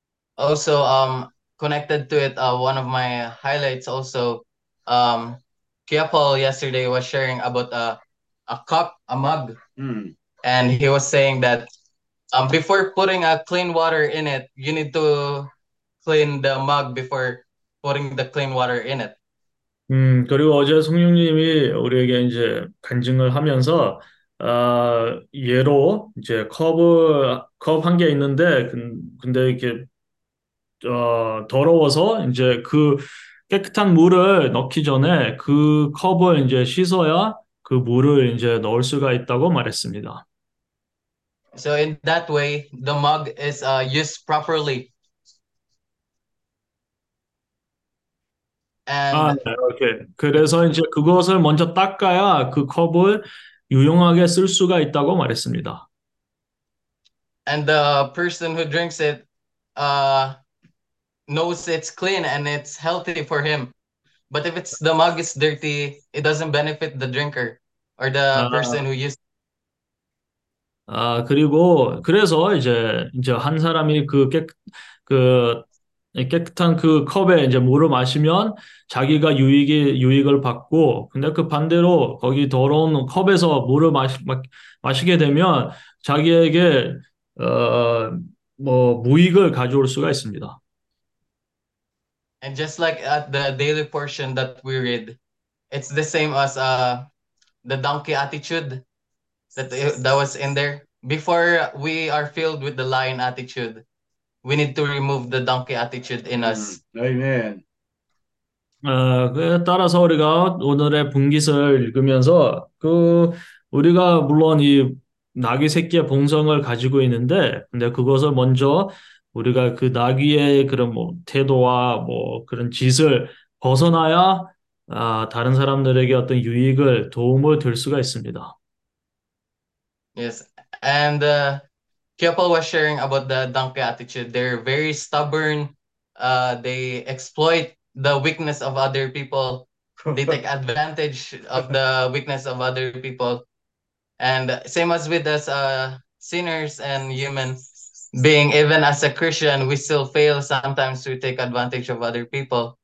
Also, connected to it, one of my highlights also, Kia Paul yesterday was sharing about a cup, a mug, and he was saying that before putting a clean water in it, you need to clean the mug before putting the clean water in it. 그리고 어제 성령님이 우리에게 이제 간증을 하면서, 예로 이제 컵 한 개 있는데, 근데 이렇게, 더러워서 이제 그 깨끗한 물을 넣기 전에 그 컵을 이제 씻어야 그 물을 이제 넣을 수가 있다고 말했습니다. So in that way, the mug is used properly. And 네, 오케이. 그래서 이제 그것을 먼저 닦아야 그 컵을 유용하게 쓸 수가 있다고 말했습니다. and the person who drinks it knows it's clean and it's healthy for him. But if the mug is dirty, it doesn't benefit the drinker or the person who used. 그리고 그래서 이제 한 사람이 그 깨끗한 그 컵에 이제 물을 마시면 자기가 유익을 받고, 근데 그 반대로 거기 더러운 컵에서 물을 마시게 되면 자기에게 뭐 무익을 가져올 수가 있습니다. And just like at the daily portion that we read, it's the same as the donkey attitude that was in there. Before we are filled with the lion attitude, we need to remove the donkey attitude in us. Amen. 그에 따라서 우리가 오늘의 분깃을 읽으면서 우리가 물론 이 나귀 새끼의 본성을 가지고 있는데, 근데 그것을 먼저 우리가 그 나귀의 그런 뭐 태도와 뭐 그런 짓을 벗어나야 다른 사람들에게 어떤 도움을 줄 수가 있습니다. Yes, and Kiapol was sharing about the donkey attitude. They're very stubborn. They exploit the weakness of other people. They take advantage of the weakness of other people. And same as with us sinners and humans, being even as a Christian, we still fail sometimes to take advantage of other people.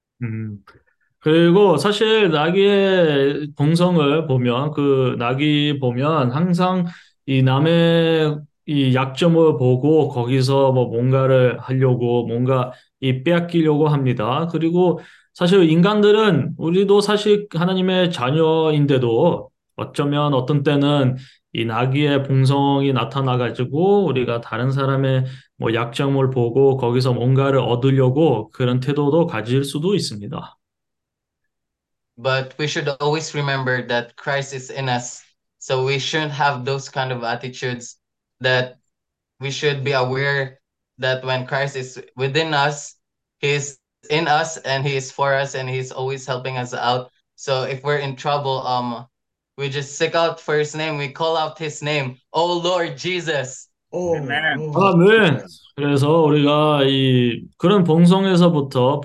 그리고 사실 나귀의 본성을 보면, 그 나귀 보면 항상 이 남의 이 약점을 보고 거기서 뭐 뭔가를 하려고, 뭔가 빼앗기려고 합니다. 그리고 사실 인간들은, 우리도 사실 하나님의 자녀인데도 어쩌면 어떤 때는 이 나귀의 본성이 나타나가지고 우리가 다른 사람의 뭐 약점을 보고 거기서 뭔가를 얻으려고 그런 태도도 가질 수도 있습니다. But we should always remember that Christ is in us. So we shouldn't have those kind of attitudes, that we should be aware that when Christ is within us, he is in us and he is for us and he's always helping us out. So if we're in trouble, we just seek out for his name. We call out his name. Oh Lord Jesus. Amen. 아멘. 그래서 우리가 그런 본성에서부터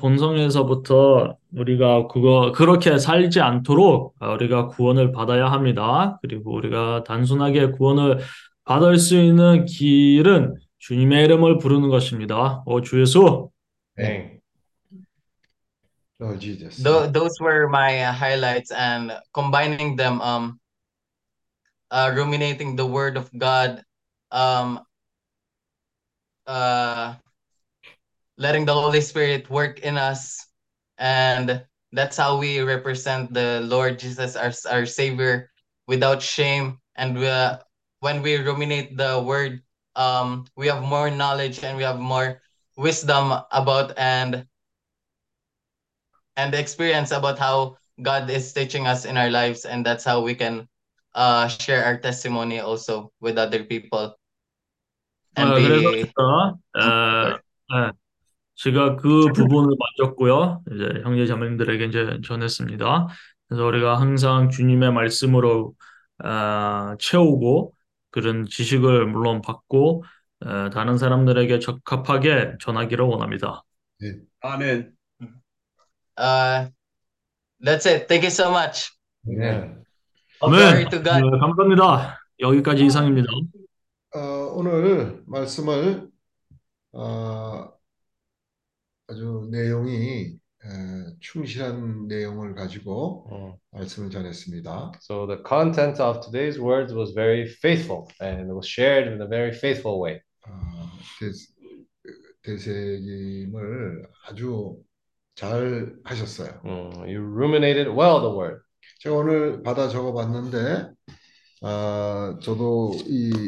우리가 그렇게 살지 않도록 우리가 구원을 받아야 합니다. 그리고 우리가 단순하게 구원을 받을 수 있는 길은 주님의 이름을 부르는 것입니다. 주 예수. 네. Lord Jesus. Those were my highlights, and combining them, ruminating the word of God, letting the Holy Spirit work in us, and that's how we represent the Lord Jesus, our Savior, without shame. And when we ruminate the word, we have more knowledge and we have more wisdom about and experience about how God is teaching us in our lives, and that's how we can share our testimony also with other people. And 그래서 제가 그 부분을 만졌고요. 이제 형제 자매님들에게 이제 전했습니다. 그래서 우리가 항상 주님의 말씀으로 채우고 그런 지식을 물론 받고 다른 사람들에게 적합하게 전하기를 원합니다. 네. 아멘. That's it. Thank you so much. 네. Glory to God. 감사합니다. 여기까지 이상입니다. 오늘 말씀을 아주 내용이 충실한 내용을 가지고 말씀을 전했습니다. So the content of today's words was very faithful and it was shared in a very faithful way. 되새김을 아주 잘 하셨어요. You ruminated well the word. 제가 오늘 받아 적어봤는데 저도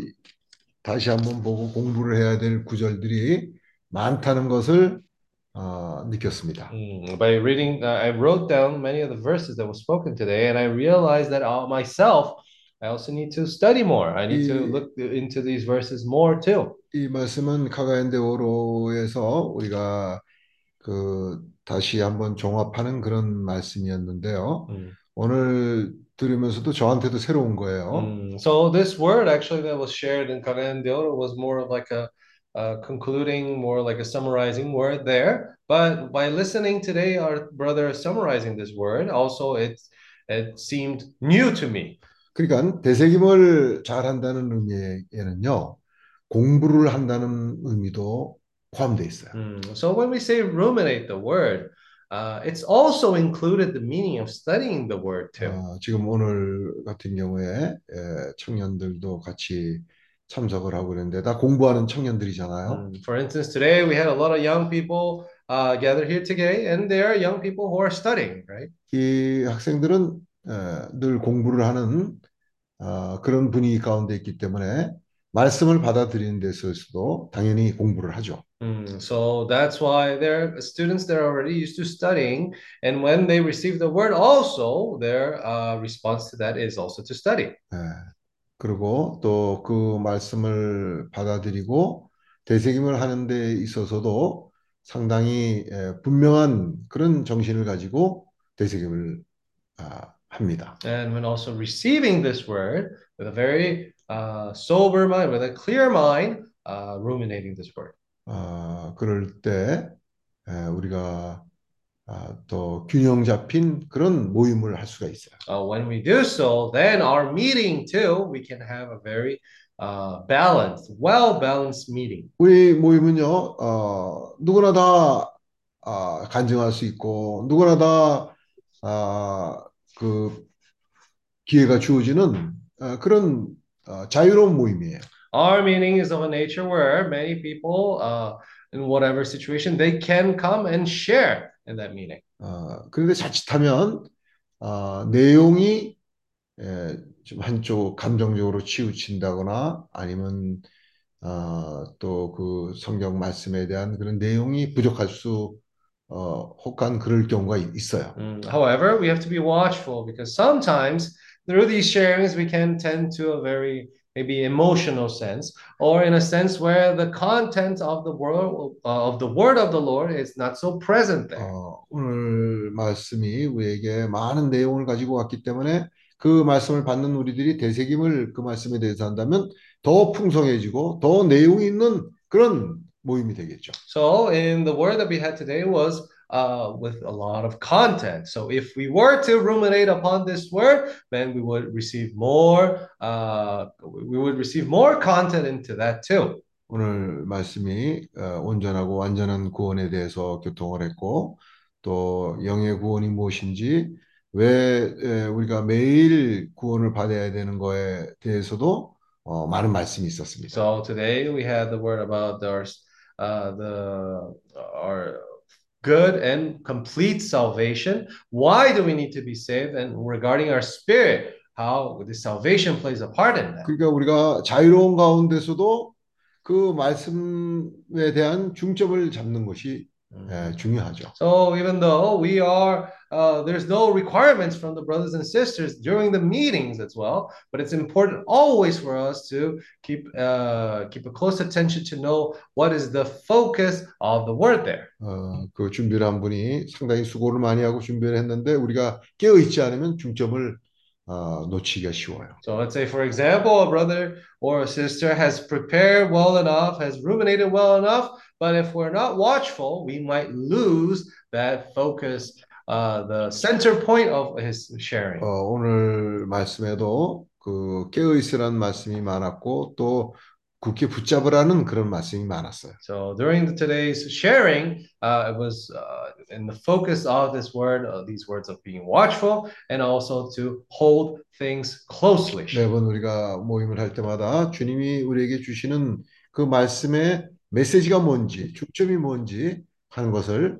다시 한번 보고 공부를 해야 될 구절들이 많다는 것을 느꼈습니다. By reading, I wrote down many of the verses that were spoken today, and I realized that myself, I also need to study more. I need to look into these verses more too. 이 말씀은 카가엔데오로에서 우리가 다시 한번 종합하는 그런 말씀이었는데요. 오늘 들으면서도 저한테도 새로운 거예요. So this word actually that was shared in Cagayan de Oro was more of like a concluding, more like a summarizing word there. But by listening today, our brother summarizing this word, also it seemed new to me. 그러니까 되새김을 잘 한다는 의미에는요, 공부를 한다는 의미도 포함되어 있어요. So when we say ruminate the word, it's also included the meaning of studying the word too. 지금 오늘 같은 경우에 청년들도 같이 참석을 하고 있는데 다 공부하는 청년들이잖아요. For instance, today we had a lot of young people gathered here today, and they are young people who are studying, right? 이 학생들은 늘 공부를 하는 그런 분위기 가운데 있기 때문에 말씀을 받아들이는 데 있어서도 당연히 공부를 하죠. So that's why they're students that are already used to studying, and when they receive the word, also their response to that is also to study. 그리고 또 그 말씀을 받아들이고 되새김을 하는 데 있어서도 상당히 분명한 그런 정신을 가지고 되새김을 합니다. And when also receiving this word with a very sober mind, with a clear mind, ruminating this word. 그럴 때 우리가 또 균형 잡힌 그런 모임을 할 수가 있어요. When we do so, then our meeting too, we can have a very balanced, well-balanced meeting. 우리 모임은요, 누구나 다 간증할 수 있고 누구나 다 그 기회가 주어지는 그런 자유로운 모임이에요. Our meeting is of a nature where many people, in whatever situation, they can come and share in that meeting. 그런데 자칫하면 내용이 좀 한쪽 감정적으로 치우친다거나 아니면 또 그 성경 말씀에 대한 그런 내용이 부족할 수 혹한 그럴 경우가 있어요. However, we have to be watchful because sometimes through these sharings we can tend to a very maybe emotional sense, or in a sense where the content of the word of the Lord is not so present there. 오늘 말씀이 우리에게 많은 내용을 가지고 왔기 때문에 그 말씀을 받는 우리들이 되새김을 그 말씀에 대해서 한다면 더 풍성해지고 더 내용이 있는 그런 모임이 되겠죠. So in the word that we had today was with a lot of content. So if we were to ruminate upon this word, then we would receive more content into that too. 오늘 말씀이 온전하고 완전한 구원에 대해서 교통을 했고 또 영의 구원이 무엇인지 왜 우리가 매일 구원을 받아야 되는 거에 대해서도 많은 말씀이 있었습니다. So today we had the word about our good and complete salvation. Why do we need to be saved? And regarding our spirit, how the salvation plays a part in that. 그러니까 우리가 자유로운 가운데서도 그 말씀에 대한 중점을 잡는 것이 중요하죠. So even though we are, there's no requirements from the brothers and sisters during the meetings as well, but it's important always for us to keep a close attention to know what is the focus of the word there. 그 준비를 한 분이 상당히 수고를 많이 하고 준비를 했는데 우리가 깨어 있지 않으면 중점을 놓치기가 쉬워요. So let's say, for example, a brother or a sister has prepared well enough, has ruminated well enough, but if we're not watchful, we might lose that focus, the center point of his sharing. 오늘 말씀에도 그 깨어 있으라는 말씀이 많았고 또 굳게 붙잡으라는 그런 말씀이 많았어요. So during today's sharing, it was and the focus of this word, these words of being watchful, and also to hold things closely. 매번 우리가 모임을 할 때마다 주님이 우리에게 주시는 그 말씀의 메시지가 뭔지, 중점이 뭔지 하는 것을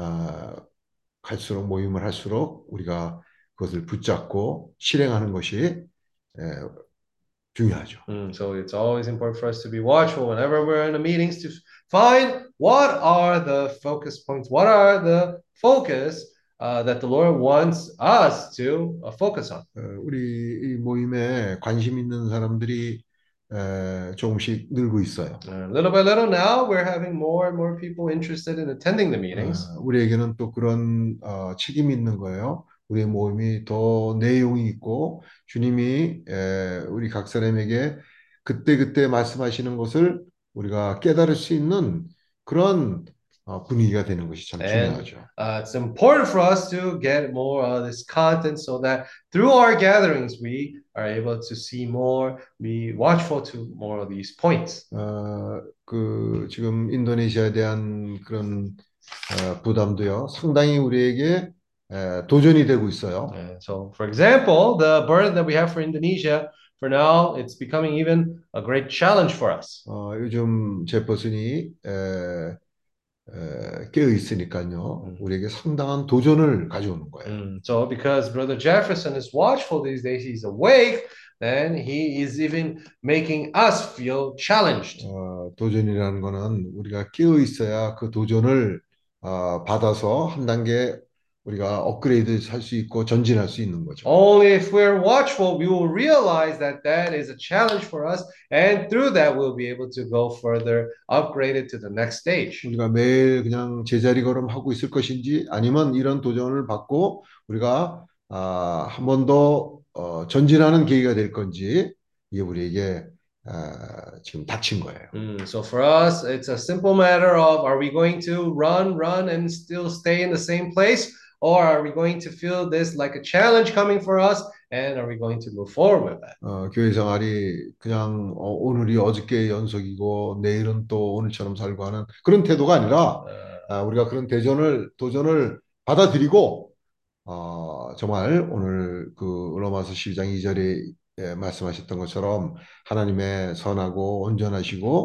갈수록 모임을 할수록 우리가 그것을 붙잡고 실행하는 것이 중요하죠. So it's always important for us to be watchful whenever we're in the meetings to find what are the focus points, what are the focus that the Lord wants us to focus on. 우리 이 모임에 관심 있는 사람들이 조금씩 늘고 있어요. Little by little now, we're having more and more people interested in attending the meetings. 우리에게는 또 그런 책임이 있는 거예요. 우리의 모임이 더 내용이 있고 주님이 우리 각 사람에게 그때그때 말씀하시는 것을 우리가 깨달을 수 있는 그런 분위기가 되는 것이 참 중요하죠. It's important for us to get more of this content so that through our gatherings we are able to see more, be watchful to more of these points. 그 지금 인도네시아에 대한 그런 부담도요. 상당히 우리에게 도전이 되고 있어요. So, for example, the burden that we have for Indonesia, for now, it's becoming even a great challenge for us. 요즘 제퍼슨이 깨어 있으니까요. 우리에게 상당한 도전을 가져오는 거예요. So, because Brother Jefferson is watchful these days, he's awake, then he is even making us feel challenged. 도전이라는 거는 우리가 깨어 있어야 그 도전을 받아서 한 단계 우리가 업그레이드 할 수 있고 전진할 수 있는 거죠. Only if we're watchful, we will realize that that is a challenge for us, and through that, we'll be able to go further, upgraded to the next stage. 우리가 매일 그냥 제자리 걸음하고 있을 것인지, 아니면 이런 도전을 받고 우리가 한 번 더 전진하는 계기가 될 건지, 이게 우리에게 지금 닥친 거예요. So for us, it's a simple matter of, are we going to run and still stay in the same place? Or are we going to feel this like a challenge coming for us? And are we going to move forward with that? 교회 생활이 그냥 오늘이 어저께의 연속이고 내일은 또 오늘처럼 살고 하는 그런 태도가 아니라 우리가 그런 도전을 받아들이고 정말 오늘 그 로마서 12장 2절에 말씀하셨던 것처럼 하나님의 선하고 온전하시고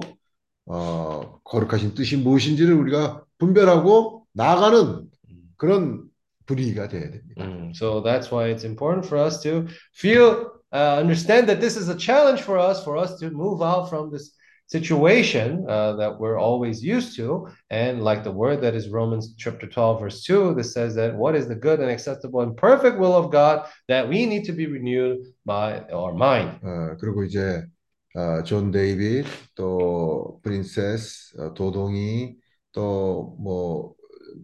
거룩하신 뜻이 무엇인지를 우리가 분별하고 나아가는 그런 분위기가 돼야 됩니다. So that's why it's important for us to understand that this is a challenge for us to move out from this situation that we're always used to, and like the word that is Romans chapter 12 verse 2 that says that what is the good and acceptable and perfect will of God, that we need to be renewed by our mind. 그리고 이제 존 데이빗 또 프린세스 도동이 또 뭐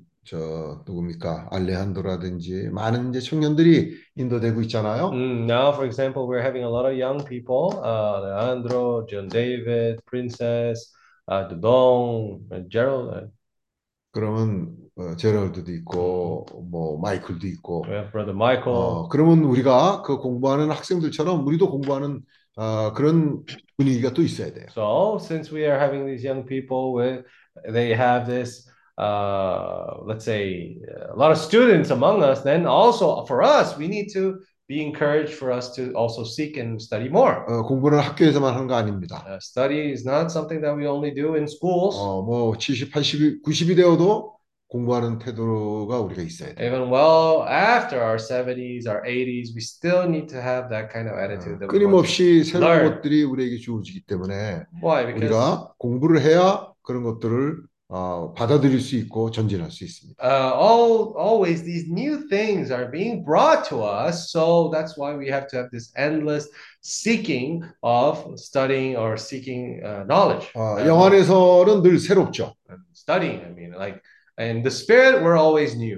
누굽니까? 알레한드로라든지 많은 이제 청년들이 인도되고 있잖아요. Now, for example, we're having a lot of young people, Alejandro, John David, Princess, Dudong, Gerald. 그러면 제럴드도 있고 뭐 마이클도 있고. Brother Michael. 그러면 우리가 그 공부하는 학생들처럼 우리도 공부하는 그런 분위기가 또 있어야 돼요. So, since we are having these young people, they have this. Let's say a lot of students among us, then also for us, we need to be encouraged for us to also seek and study more. 공부는 학교에서만 하는 거 아닙니다. Study is not something that we only do in schools. 뭐 70, 80, 90이 되어도 공부하는 태도가 우리가 있어야 돼요. Even well after our 70s, our 80s, we still need to have that kind of attitude. That 끊임없이 새로운 것들이 우리에게 주어지기 때문에 우리가 공부를 해야 그런 것들을 받아들일 수 있고 전진할 수 있습니다. Always these new things are being brought to us, so that's why we have to have this endless seeking of studying or seeking knowledge. 영 안에서는 늘 새롭죠. Studying, I mean, like in the spirit, we're always new.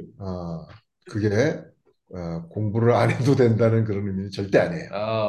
그게 공부를 안 해도 된다는 그런 의미는 절대 아니에요.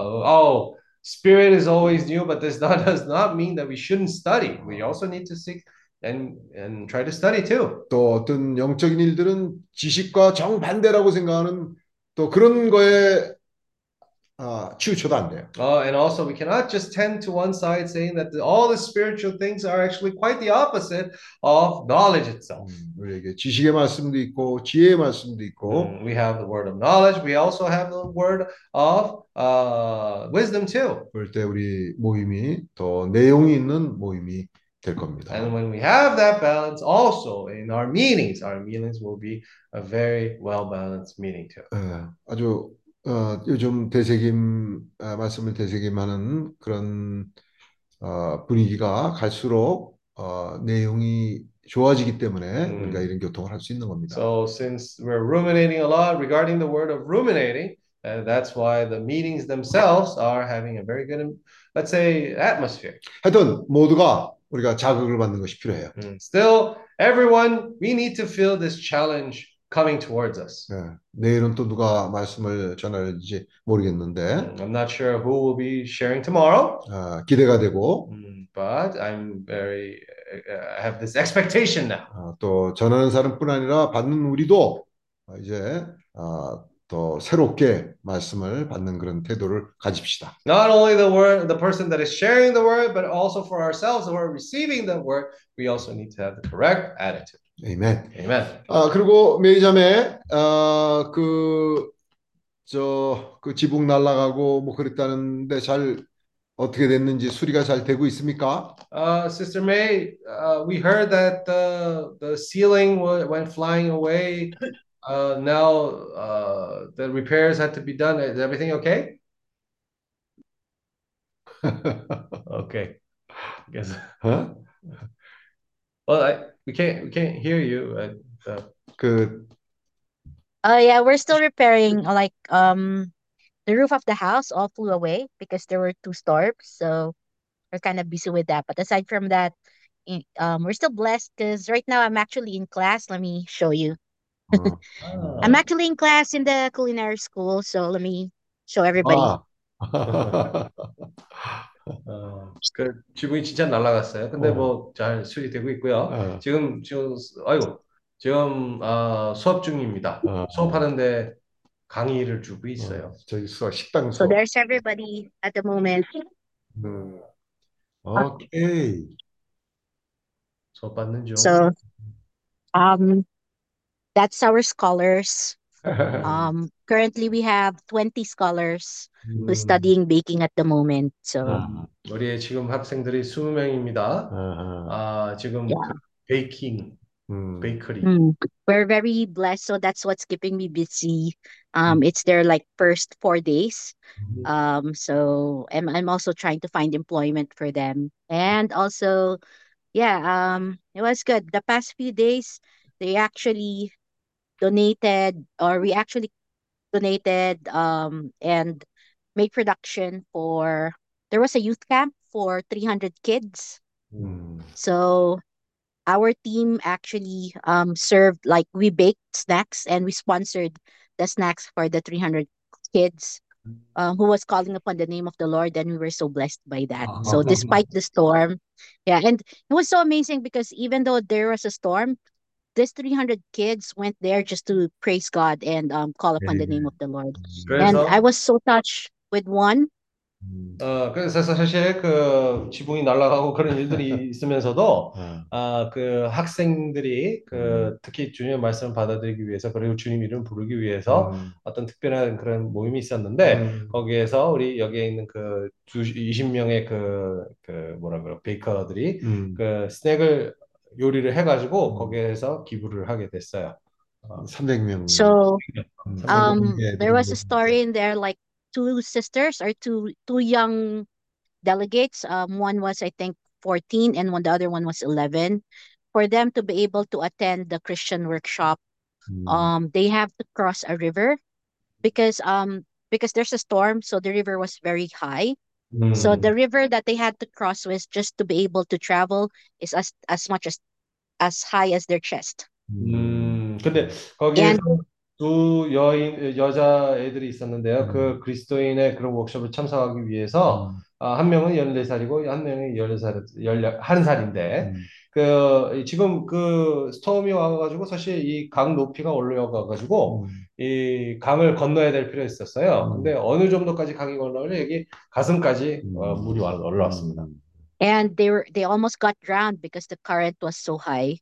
Spirit is always new, but this does not mean that we shouldn't study. We also need to seek. And try to study too. 또 어떤 영적인 일들은 지식과 정반대라고 생각하는 또 그런 거에 치우쳐도 안 돼요. And also, we cannot just tend to one side, saying that all the spiritual things are actually quite the opposite of knowledge itself. 우리에게 지식의 말씀도 있고 지혜의 말씀도 있고. We have the word of knowledge. We also have the word of wisdom too. 그럴 때 우리 모임이 더 내용이 있는 모임이 될 겁니다. And when we have that balance, also in our meetings will be a very well balanced meeting too. 아주 요즘 되새김 말씀을 되새김하는 그런 분위기가 갈수록 내용이 좋아지기 때문에 우리가 이런 교통을 할 수 있는 겁니다. So since we're ruminating a lot regarding the word of ruminating, that's why the meetings themselves are having a very good, let's say, atmosphere. 하여튼 모두가 우리가 자극을 받는 것이 필요해요. Still, everyone, we need to feel this challenge coming towards us. 내일은 또 누가 말씀을 전할지 모르겠는데. I'm not sure who will be sharing tomorrow. 기대가 되고. But I have this expectation now. 또 전하는 사람뿐 아니라 받는 우리도 이제 더 새롭게 말씀을 받는 그런 태도를 가집시다. Not only the person that is sharing the word, but also for ourselves who are receiving the word, we also need to have the correct attitude. 아멘. Amen. 그리고 메이자매 그 지붕 날아가고 뭐 그랬다는데 잘 어떻게 됐는지 수리가 잘 되고 있습니까? Sister May, we heard that the ceiling went flying away. Now the repairs had to be done. Is everything okay? Okay. Guess. Huh? Well, we can't hear you. Yeah, we're still repairing. Like the roof of the house all flew away because there were 2 storms, so we're kind of busy with that. But aside from that, we're still blessed because right now I'm actually in class. Let me show you. I'm actually in class in the culinary school, so let me show everybody. 그 지붕이 진짜 날아갔어요. 근데 뭐 잘 수리되고 있고요. 지금 수업 중입니다. 수업하는데 강의를 주고 있어요. 저기 식당 So 수업. there's everybody at the moment. 오케이. 수업 받는 중. So that's our scholars. Currently we have 20 scholars who's studying baking at the moment. So 우리 지금 학생들이 20명입니다. 지금 베이킹, 베이커리. We're very blessed. So that's what's keeping me busy. It's their like first 4 days. So I'm also trying to find employment for them. And also, it was good. The past few days, they actually donated, or we actually donated and made production for, there was a youth camp for 300 kids. So our team actually served, like we baked snacks and we sponsored the snacks for the 300 kids who was calling upon the name of the Lord, and we were so blessed by that. So despite the storm, and it was so amazing because even though there was a storm, these 300 kids went there just to praise God and call upon the name of the Lord. And I was so touched with one. 그래서 사실 그 지붕이 날아가고 그런 일들이 있으면서도 그 학생들이 그 특히 주님의 말씀을 받아들이기 위해서, 그리고 주님 이름 부르기 위해서 어떤 특별한 그런 모임이 있었는데 거기에서 우리 여기에 있는 그 20명의 그 뭐라 그래 베이커들이 그 스낵을 요리를 해가지고 거기에서 기부를 하게 됐어요. 300명. So there was a story in there, like 2 sisters or two young delegates. One was, I think, 14 and the other one was 11. For them to be able to attend the Christian workshop, they have to cross a river because there's a storm, so the river was very high. So the river that they had to cross was just to be able to travel is as much as high as their chest. 근데 거기에서 두 여자 애들이 있었는데요. 그 그리스도인의 그런 워크숍을 참석하기 위해서 한 명은 14살이고 한 명이 11살인데 지금 그 스톰이 와가지고 사실 이 강 높이가 올라가가지고 이 강을 건너야 될 필요가 있었어요. 근데 어느 정도까지 강이 건너려 여기 가슴까지 물이 올라왔습니다. And they almost got drowned because the current was so high.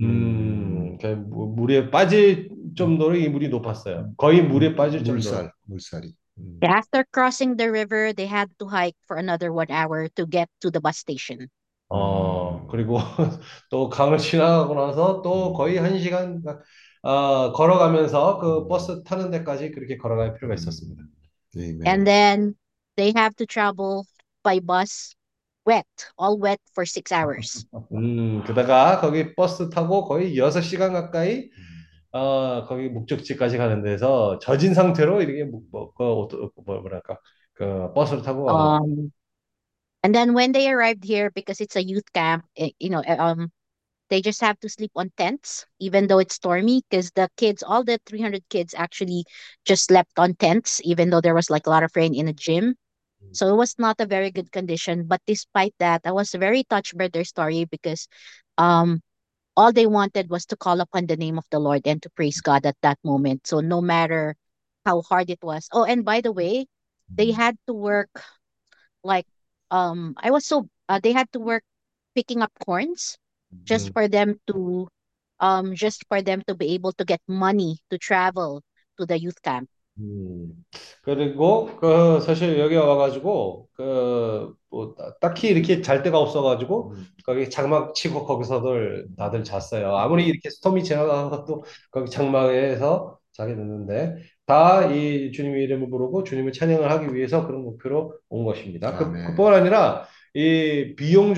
물에 빠질 정도로 이 물이 높았어요. 거의 물에 빠질 정도로. 물살이. After crossing the river, they had to hike for another 1 hour to get to the bus station. 그리고 또 강을 지나가고 나서 또 거의 1시간 걸어가면서 그 버스 타는 데까지 그렇게 걸어갈 필요가 있었습니다. And then they have to travel by bus wet, all wet for 6 hours. 게다가 거기 버스 타고 거의 6시간 가까이 거기 목적지까지 가는 데서 젖은 상태로 이렇게 뭐랄까 그 버스를 타고 가는 And then when they arrived here, because it's a youth camp, they just have to sleep on tents, even though it's stormy, because the kids, all the 300 kids actually just slept on tents, even though there was like a lot of rain in the gym. So it was not a very good condition. But despite that, I was very touched by their story because all they wanted was to call upon the name of the Lord and to praise God at that moment. So no matter how hard it was. Oh, and by the way, they had to work like they had to work picking up corns just for them to be able to get money to travel to the youth camp. 그리고 사실 여기 와가지고 뭐 딱히 이렇게 잘 데가 없어가지고 거기 장막 치고 거기서들 다들 잤어요. 아무리 이렇게 스톰이 지나가도 거기 장막에서 자게 됐는데 다 이 주님의 이름을 부르고 주님을 찬양을 하기 위해서 그런 목표로 온 것입니다. 그뿐 아니라 이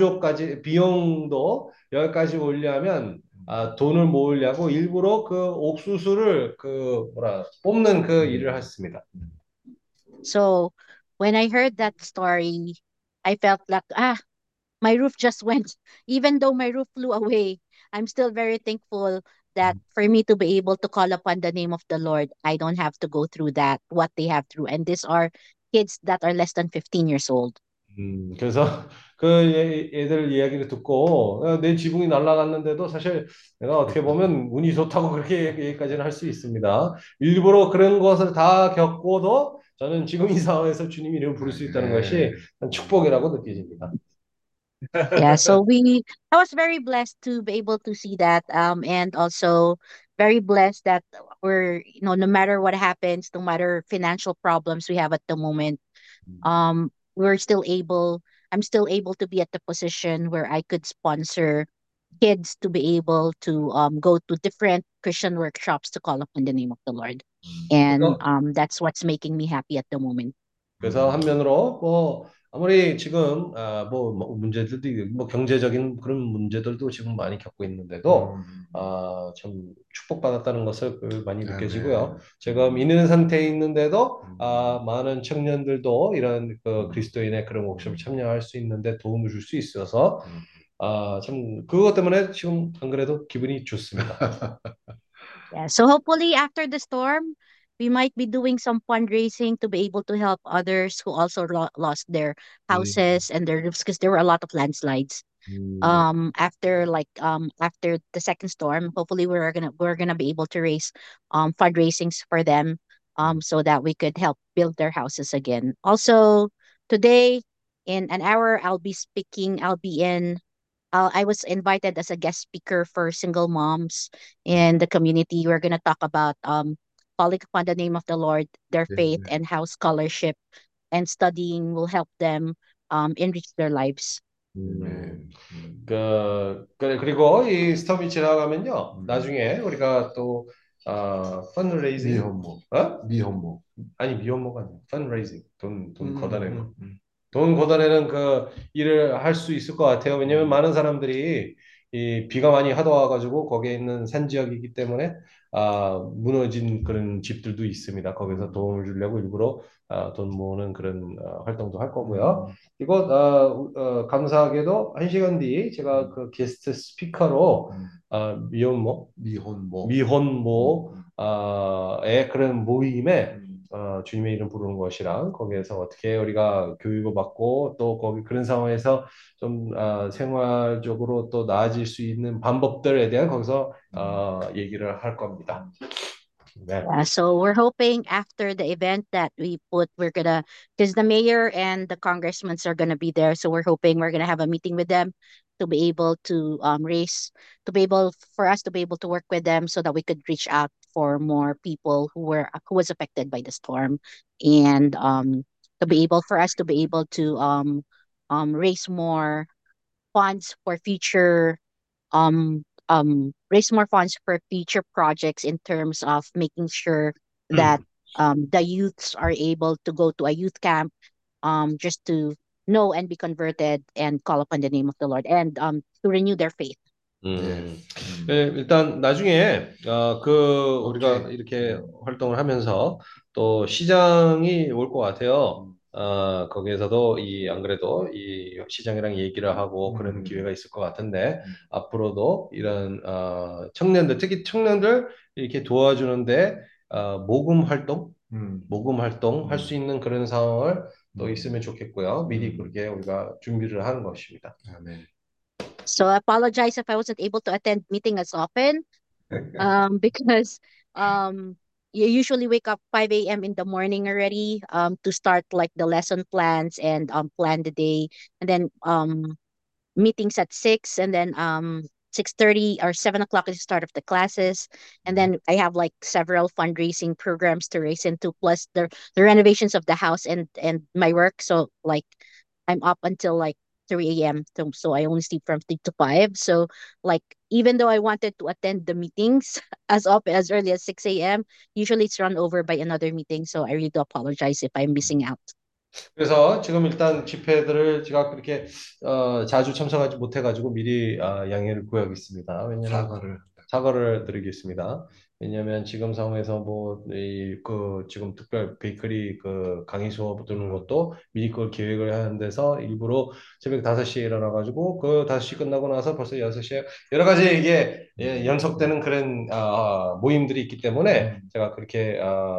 비용도 여기까지 오려면 돈을 모으려고 일부러 그 옥수수를 뽑는 그 일을 했습니다. So when I heard that story, I felt like my roof just went. Even though my roof flew away, I'm still very thankful that for me to be able to call upon the name of the Lord, I don't have to go through what they have through. And these are kids that are less than 15 years old. 그래서 그 애들 이야기를 듣고 내 지붕이 날아갔는데도 사실 내가 어떻게 보면 운이 좋다고 그렇게 얘기까지는 할 수 있습니다. 일부러 그런 것을 다 겪고도 저는 지금 이 상황에서 주님 이름을 부를 수 있다는 것이 축복이라고 느껴집니다. Yeah, so I was very blessed to be able to see that, and also very blessed that no matter what happens, no matter financial problems we have at the moment, I'm still able to be at the position where I could sponsor kids to be able to go to different Christian workshops to call upon the name of the Lord. And that's what's making me happy at the moment. 그래서 한면으로 뭐 아무리 지금 뭐 문제들도 뭐 경제적인 그런 문제들도 지금 많이 겪고 있는데도 참 축복받았다는 것을 많이 느껴지고요. 지금 있는 상태에 있는데도 많은 청년들도 이런 그리스도인의 그런 워크숍에 참여할 수 있는데 도움을 줄 수 있어서 참 그것 때문에 지금 안 그래도 기분이 좋습니다. Yeah, so hopefully after the storm, we might be doing some fundraising to be able to help others who also lost their houses and their roofs because there were a lot of landslides. After the second storm, hopefully we're gonna be able to raise fundraisings for them so that we could help build their houses again. Also today in an hour I was invited as a guest speaker for single moms in the community. We're going to talk about calling upon the name of the Lord, their faith, and how scholarship and studying will help them enrich their lives. 그리고 이 스톰이 지나가면요, 나중에 우리가 또 펀드레이징 미혼모 아니 미혼모가 아니고 펀드레이징 돈 걷어내는 거. 돈 걷어내는 그 일을 할 수 있을 것 같아요. 왜냐면 많은 사람들이 이 비가 많이 하도 와가지고 거기에 있는 산 지역이기 때문에 무너진 그런 집들도 있습니다. 거기서 도움을 주려고 일부러 돈 모으는 그런 활동도 할 거고요. 그리고 감사하게도 1시간 뒤 제가 그 게스트 스피커로 미혼모의 그런 모임에 주님의 이름 부르는 것이랑 거기에서 어떻게 우리가 교육을 받고 또 거기 그런 상황에서 좀 생활적으로 또 나아질 수 있는 방법들에 대한 거기서 얘기를 할 겁니다. 네. Yeah, so we're hoping after the event that we're gonna, because the mayor and the congressmen are gonna be there, so we're hoping we're gonna have a meeting with them to be able to for us to be able to work with them so that we could reach out for more people who was affected by the storm, and to be able for us to be able to raise more funds for future raise more funds for future projects in terms of making sure that the youths are able to go to a youth camp just to know and be converted and call upon the name of the Lord and to renew their faith. 네, 일단 나중에 우리가 이렇게 활동을 하면서 또 시장이 올 것 같아요. 거기에서도 안 그래도 이 시장이랑 얘기를 하고 그런 기회가 있을 것 같은데 앞으로도 이런 청년들 특히 청년들 이렇게 도와주는데 모금 활동 할 수 있는 그런 상황을 또 있으면 좋겠고요. 미리 그렇게 우리가 준비를 하는 것입니다. 아멘. So I apologize if I wasn't able to attend meeting as often, because you usually wake up 5 a.m. in the morning already to start like the lesson plans and plan the day, and then meetings at 6, and then 6:30 or 7 o'clock is the start of the classes, and then I have like several fundraising programs to raise into, plus the renovations of the house and my work. So like I'm up until like 3 a.m. So I only sleep from 3 to 5. So like even though I wanted to attend the meetings as early as 6 a.m., usually it's run over by another meeting. So I really do apologize if I'm missing out. 그래서 지금 일단 집회들을 제가 그렇게 자주 참석하지 못해가지고 미리 양해를 구하겠습니다. 왜냐하면 사과를 드리겠습니다. 왜냐하면 지금 상황에서 지금 특별 베이커리 강의 수업 듣는 것도 미리 그걸 계획을 하는 데서 일부러 새벽 5시에 일어나가지고 5시 끝나고 나서 벌써 6시에 여러 가지 이게 연속되는 그런 모임들이 있기 때문에 제가 그렇게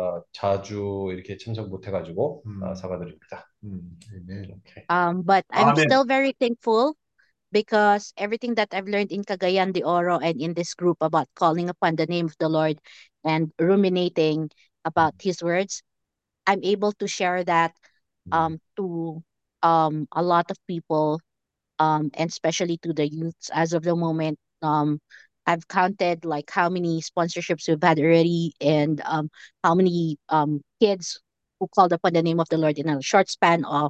자주 이렇게 참석 못해가지고 사과드립니다. Okay. But I'm Amen. still very thankful because everything that I've learned in Cagayan de Oro and in this group about calling upon the name of the Lord and ruminating about His words, I'm able to share that to a lot of people, and especially to the youths. As of the moment, I've counted like how many sponsorships we've had already, and how many kids who called upon the name of the Lord in a short span of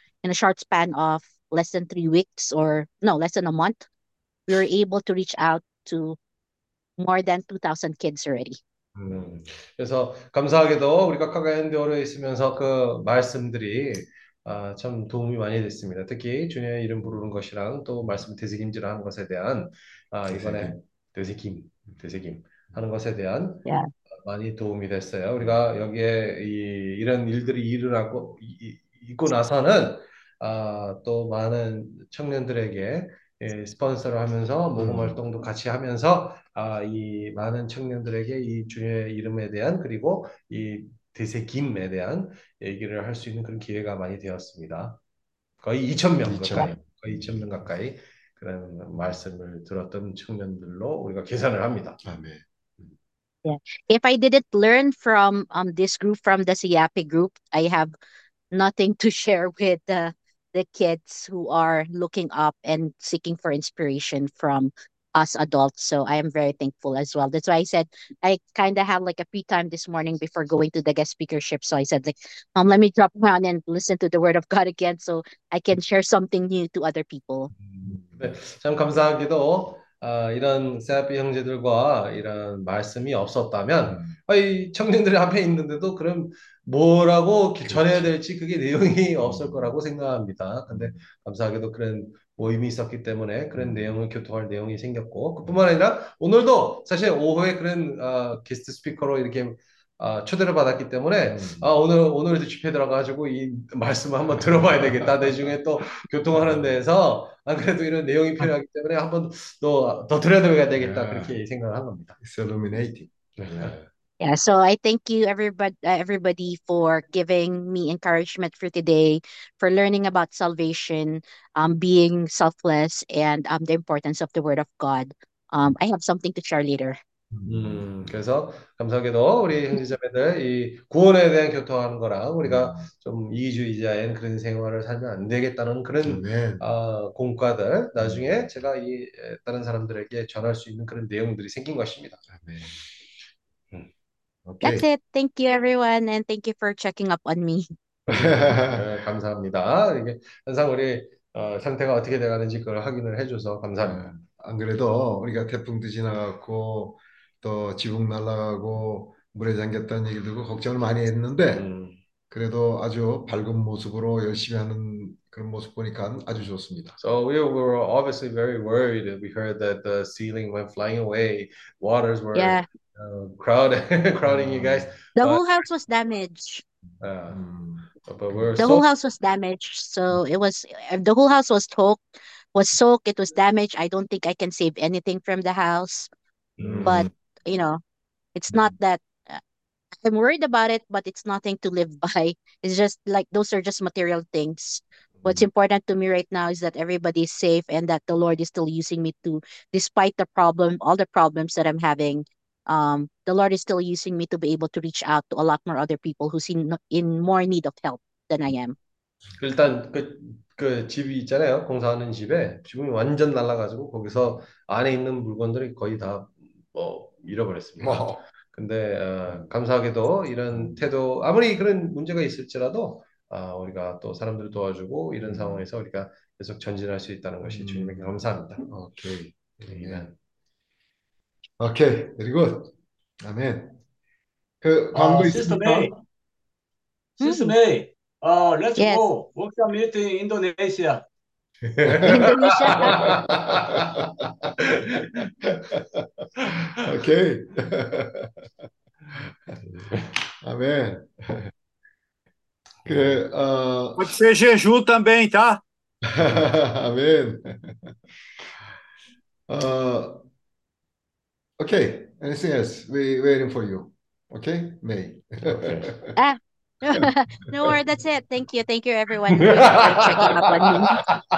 less than 3 weeks, or no, less than a month. We were able to reach out to more than 2,000 kids already. 그래서 감사하게도 우리가 카가얀데오르에 있으면서 그 말씀들이 참 도움이 많이 됐습니다. 특히 주님의 이름 부르는 것이랑 또 말씀 되새김질하는 것에 대한 이번에 되새김 하는 것에 대한 Yeah. 많이 도움이 됐어요. 우리가 여기에 이런 일들이 일어나고 있고 나서는 또 많은 청년들에게 스폰서를 하면서 모금 활동도 같이 하면서 이 많은 청년들에게 이 주님의 이름에 대한 그리고 이 되새김에 대한 얘기를 할 수 있는 그런 기회가 많이 되었습니다. 거의 2,000명 가까이, 거의 2,000명 가까이 그런 말씀을 들었던 청년들로 우리가 계산을 합니다. 아멘. Yeah. If I didn't learn from this group, from the Siapi group, I have nothing to share with the kids who are looking up and seeking for inspiration from us adults. So I am very thankful as well. That's why I said I kind of had like a free time this morning before going to the guest speakership. So I said like, let me drop around and listen to the word of God again so I can share something new to other people. 네, 참 감사하게도 이런 세아피 형제들과 이런 말씀이 없었다면 이 청년들이 앞에 있는데도 그럼 뭐라고 전해야 될지 그게 내용이 없을 거라고 생각합니다. 근데 감사하게도 그런 모임이 있었기 때문에 그런 내용을 교통할 내용이 생겼고 그뿐만 아니라 오늘도 사실 오후에 그런 게스트 스피커로 이렇게 초대를 받았기 때문에 오늘도 집회 들어가지고 이 말씀을 한번 들어봐야 되겠다. 나중에 또 교통하는 데에서 안 그래도 이런 내용이 필요하기 때문에 한번 더 들여다봐야 되겠다. 그렇게 생각을 한 겁니다. It's illuminating. 네. Yeah, so I thank you everybody for giving me encouragement for today, for learning about salvation, being selfless, and the importance of the Word of God. I have something to share later. 그래서 감사하게도 우리 형제자매들 이 구원에 대한 교통하는 거랑 우리가 좀 이기주의자인 그런 생활을 살면 안 되겠다는 그런 공과들 나중에 제가 이 다른 사람들에게 전할 수 있는 그런 내용들이 생긴 것입니다. That's it. Thank you, everyone, and thank you for checking up on me. 감사합니다. 이게 항상 우리 상태가 어떻게 돼가는지 그걸 확인을 해줘서 감사합니다. 안 그래도 우리가 태풍도 지나갔고 또 지붕 날아가고 물에 잠겼다는 얘기 듣고 걱정을 많이 했는데 그래도 아주 밝은 모습으로 열심히 하는 그런 모습 보니까 아주 좋습니다. So we were obviously very worried. We heard that the ceiling went flying away. Waters were crowding you guys. The whole house was damaged. But we're The whole house was damaged. So it was the whole house was soaked. It was damaged. I don't think I can save anything from the house. But you know, it's not that I'm worried about it, but it's nothing to live by. It's just like those are just material things. What's important to me right now is that everybody is safe and that the Lord is still using me to, despite the problem, all the problems that I'm having, the Lord is still using me to be able to reach out to a lot more other people who's in more need of help than I am. 일단 그 집이 있잖아요. 공사하는 집에 지붕이 완전 날아가지고 거기서 안에 있는 물건들이 거의 다 잃어버렸습니다. 근데 감사하게도 이런 태도 아무리 그런 문제가 있을지라도 우리가 또 사람들을 도와주고 이런 상황에서 우리가 계속 전진할 수 있다는 것이 주님에게 감사합니다. 오케이. 아멘. 오케이. Very good. 아멘. 그 광고 있습니까? Sister May, let's go workshop meeting Indonesia. Indonesia. 오케이. 아멘. Pode ser jejum também, tá? 아멘. Okay. Anything else? We waiting for you. Okay, May. Okay. No worries, that's it. Thank you everyone for checking up on me.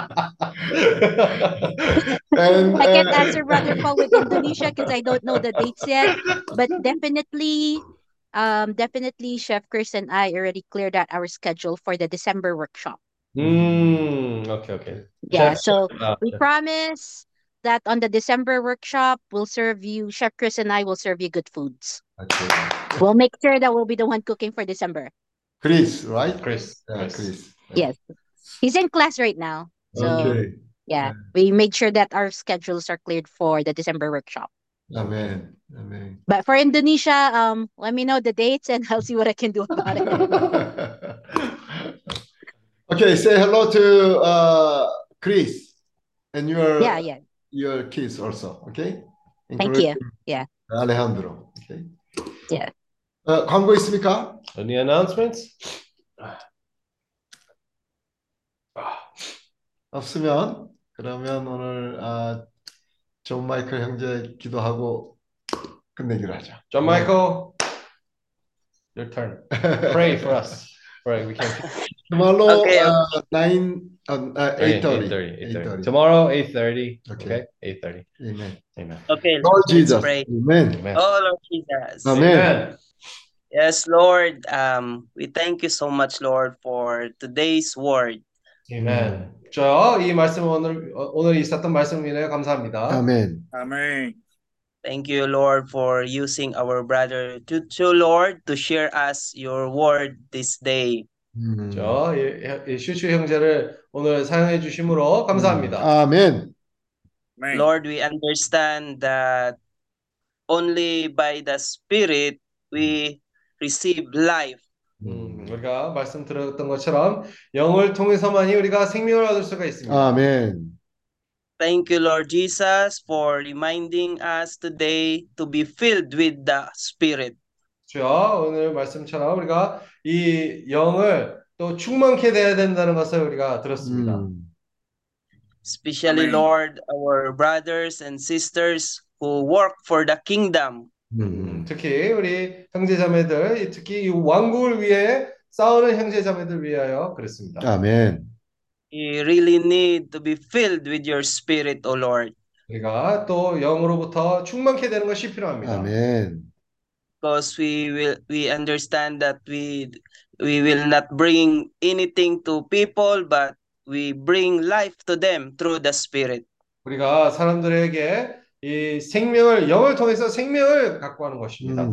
And, I can't answer Brother Paul with Indonesia because I don't know the dates yet, but definitely Chef Chris and I already cleared out our schedule for the December workshop. Okay. Yeah, so we promise that on the December workshop Chef Chris and I will serve you good foods. Okay. We'll make sure that we'll be the one cooking for December. Chris, right? Chris. Yes. He's in class right now. So yeah, we made sure that our schedules are cleared for the December workshop. Amen. But for Indonesia, let me know the dates and I'll see what I can do about it. Okay, say hello to Chris and your kids also. Okay. Thank you. Yeah. Alejandro. Okay. Yeah. 광고 있습니까? Any announcements? 없으면 그러면 오늘 존 마이클 형제 기도하고 끝내기로 하죠. John Michael, your turn. Pray for us. Right, we can. Tomorrow, Okay. 8:30. Tomorrow, 8:30. Okay. 8:30. Amen. Okay, Lord let's Jesus. pray. Amen. Oh, Lord Jesus. Amen. Yes, Lord, we thank you so much, Lord, for today's word. Amen. 이 말씀 오늘 있었던 말씀 인해 감사합니다. Amen. Amen. Thank you, Lord, for using our brother to Lord, to share us your word this day. 이 슈슈 형제를 오늘 사용해 주심으로 감사합니다. Amen. Lord, we understand that only by the Spirit we receive life. 우리가 말씀 들었던 것처럼 영을 통해서만이 우리가 생명을 얻을 수가 있습니다. 아멘. Thank you, Lord Jesus, for reminding us today to be filled with the Spirit. 주여, 오늘 말씀처럼 우리가 이 영을 또 충만케 돼야 된다는 것을 우리가 들었습니다. Especially, Lord, our brothers and sisters who work for the kingdom. 특히 우리 형제자매들, 특히 이 왕국을 위해 싸우는 형제자매들 위하여 그렇습니다. 아멘. We really need to be filled with your spirit, O Lord. 우리가 또 영으로부터 충만케 되는 것이 필요합니다. 아멘. Because we understand that we will not bring anything to people, but we bring life to them through the Spirit. 우리가 사람들에게 이 생명을 영을 통해서 생명을 갖고 하는 것입니다.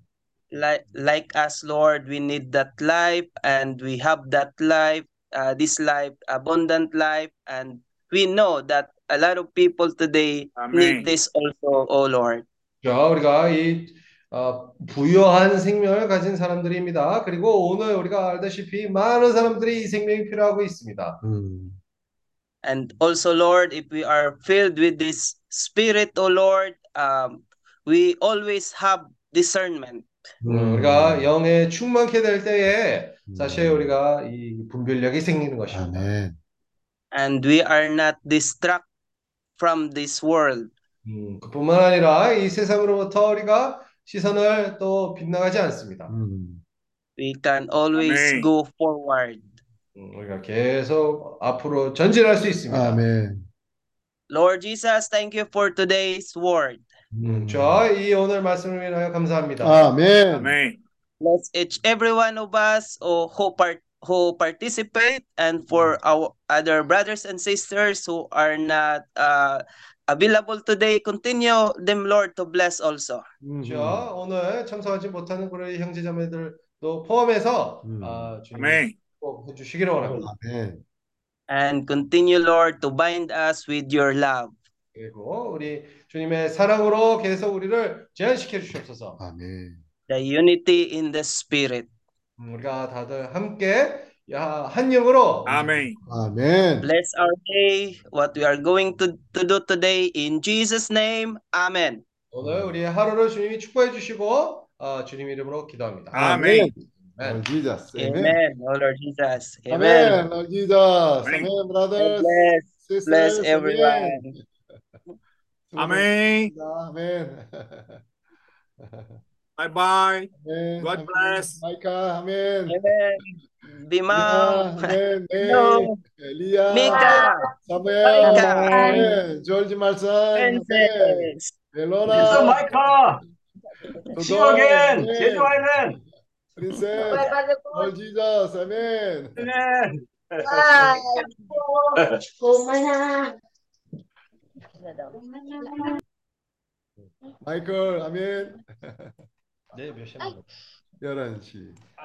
Like us, Lord, we need that life, and we have that life, this life, abundant life, and we know that a lot of people today need this also, O Lord. 우리가 이 부유한 생명을 가진 사람들입니다. 그리고 오늘 우리가 알다시피 많은 사람들이 이 생명이 필요하고 있습니다. And also, Lord, if we are filled with this Spirit, O Lord, we always have discernment. 우리가 영에 충만케 될 때에 사실 우리가 이 분별력이 생기는 것입니다. 아멘. And we are not distracted from this world. 그뿐만 아니라 이 세상으로부터 우리가 시선을 또 빗나가지 않습니다. We can always go forward. 우리가 계속 앞으로 전진할 수 있습니다. 아멘. Lord Jesus, thank you for today's word. 이 오늘 말씀을 위하여 감사합니다. 아멘. 아멘. Bless each every one of us who participate, and for our other brothers and sisters who are not available today, continue them, Lord, to bless also. 오늘 참석하지 못하는 우리 형제자매들도 포함해서 주님 꼭 해주시기를 원합니다. 아멘. And continue, Lord, to bind us with your love. 그리고 우리 주님의 사랑으로 계속 우리를 제한시켜 주시옵소서. 아멘. The unity in the Spirit. 우리가 다들 함께 한 영으로. 아멘. 아멘. Bless our day, what we are going to do today, in Jesus' name. Amen. 오늘 우리의 하루를 주님이 축복해 주시고 주님 이름으로 기도합니다. 아멘. Lord Jesus. Amen. Amen. Oh Lord Jesus. Amen. Amen. Lord Jesus. Amen, brothers. Bless Sisters. everyone. 아멘. 아멘. Bye bye. 아멘. God bless. 마이카. 아멘. Amen. Bimao. 아멘. Hello. 엘리야. Mika. 사무엘. Mika. 아멘. 조지 말씀. 아멘. Princess. 멜로나. Yes, Micah. See you again. 아멘. Jeju Island. Princess. Lord Jesus. 아멘. Amen. 마이클. 아멘. 네, 몇 시에 11시.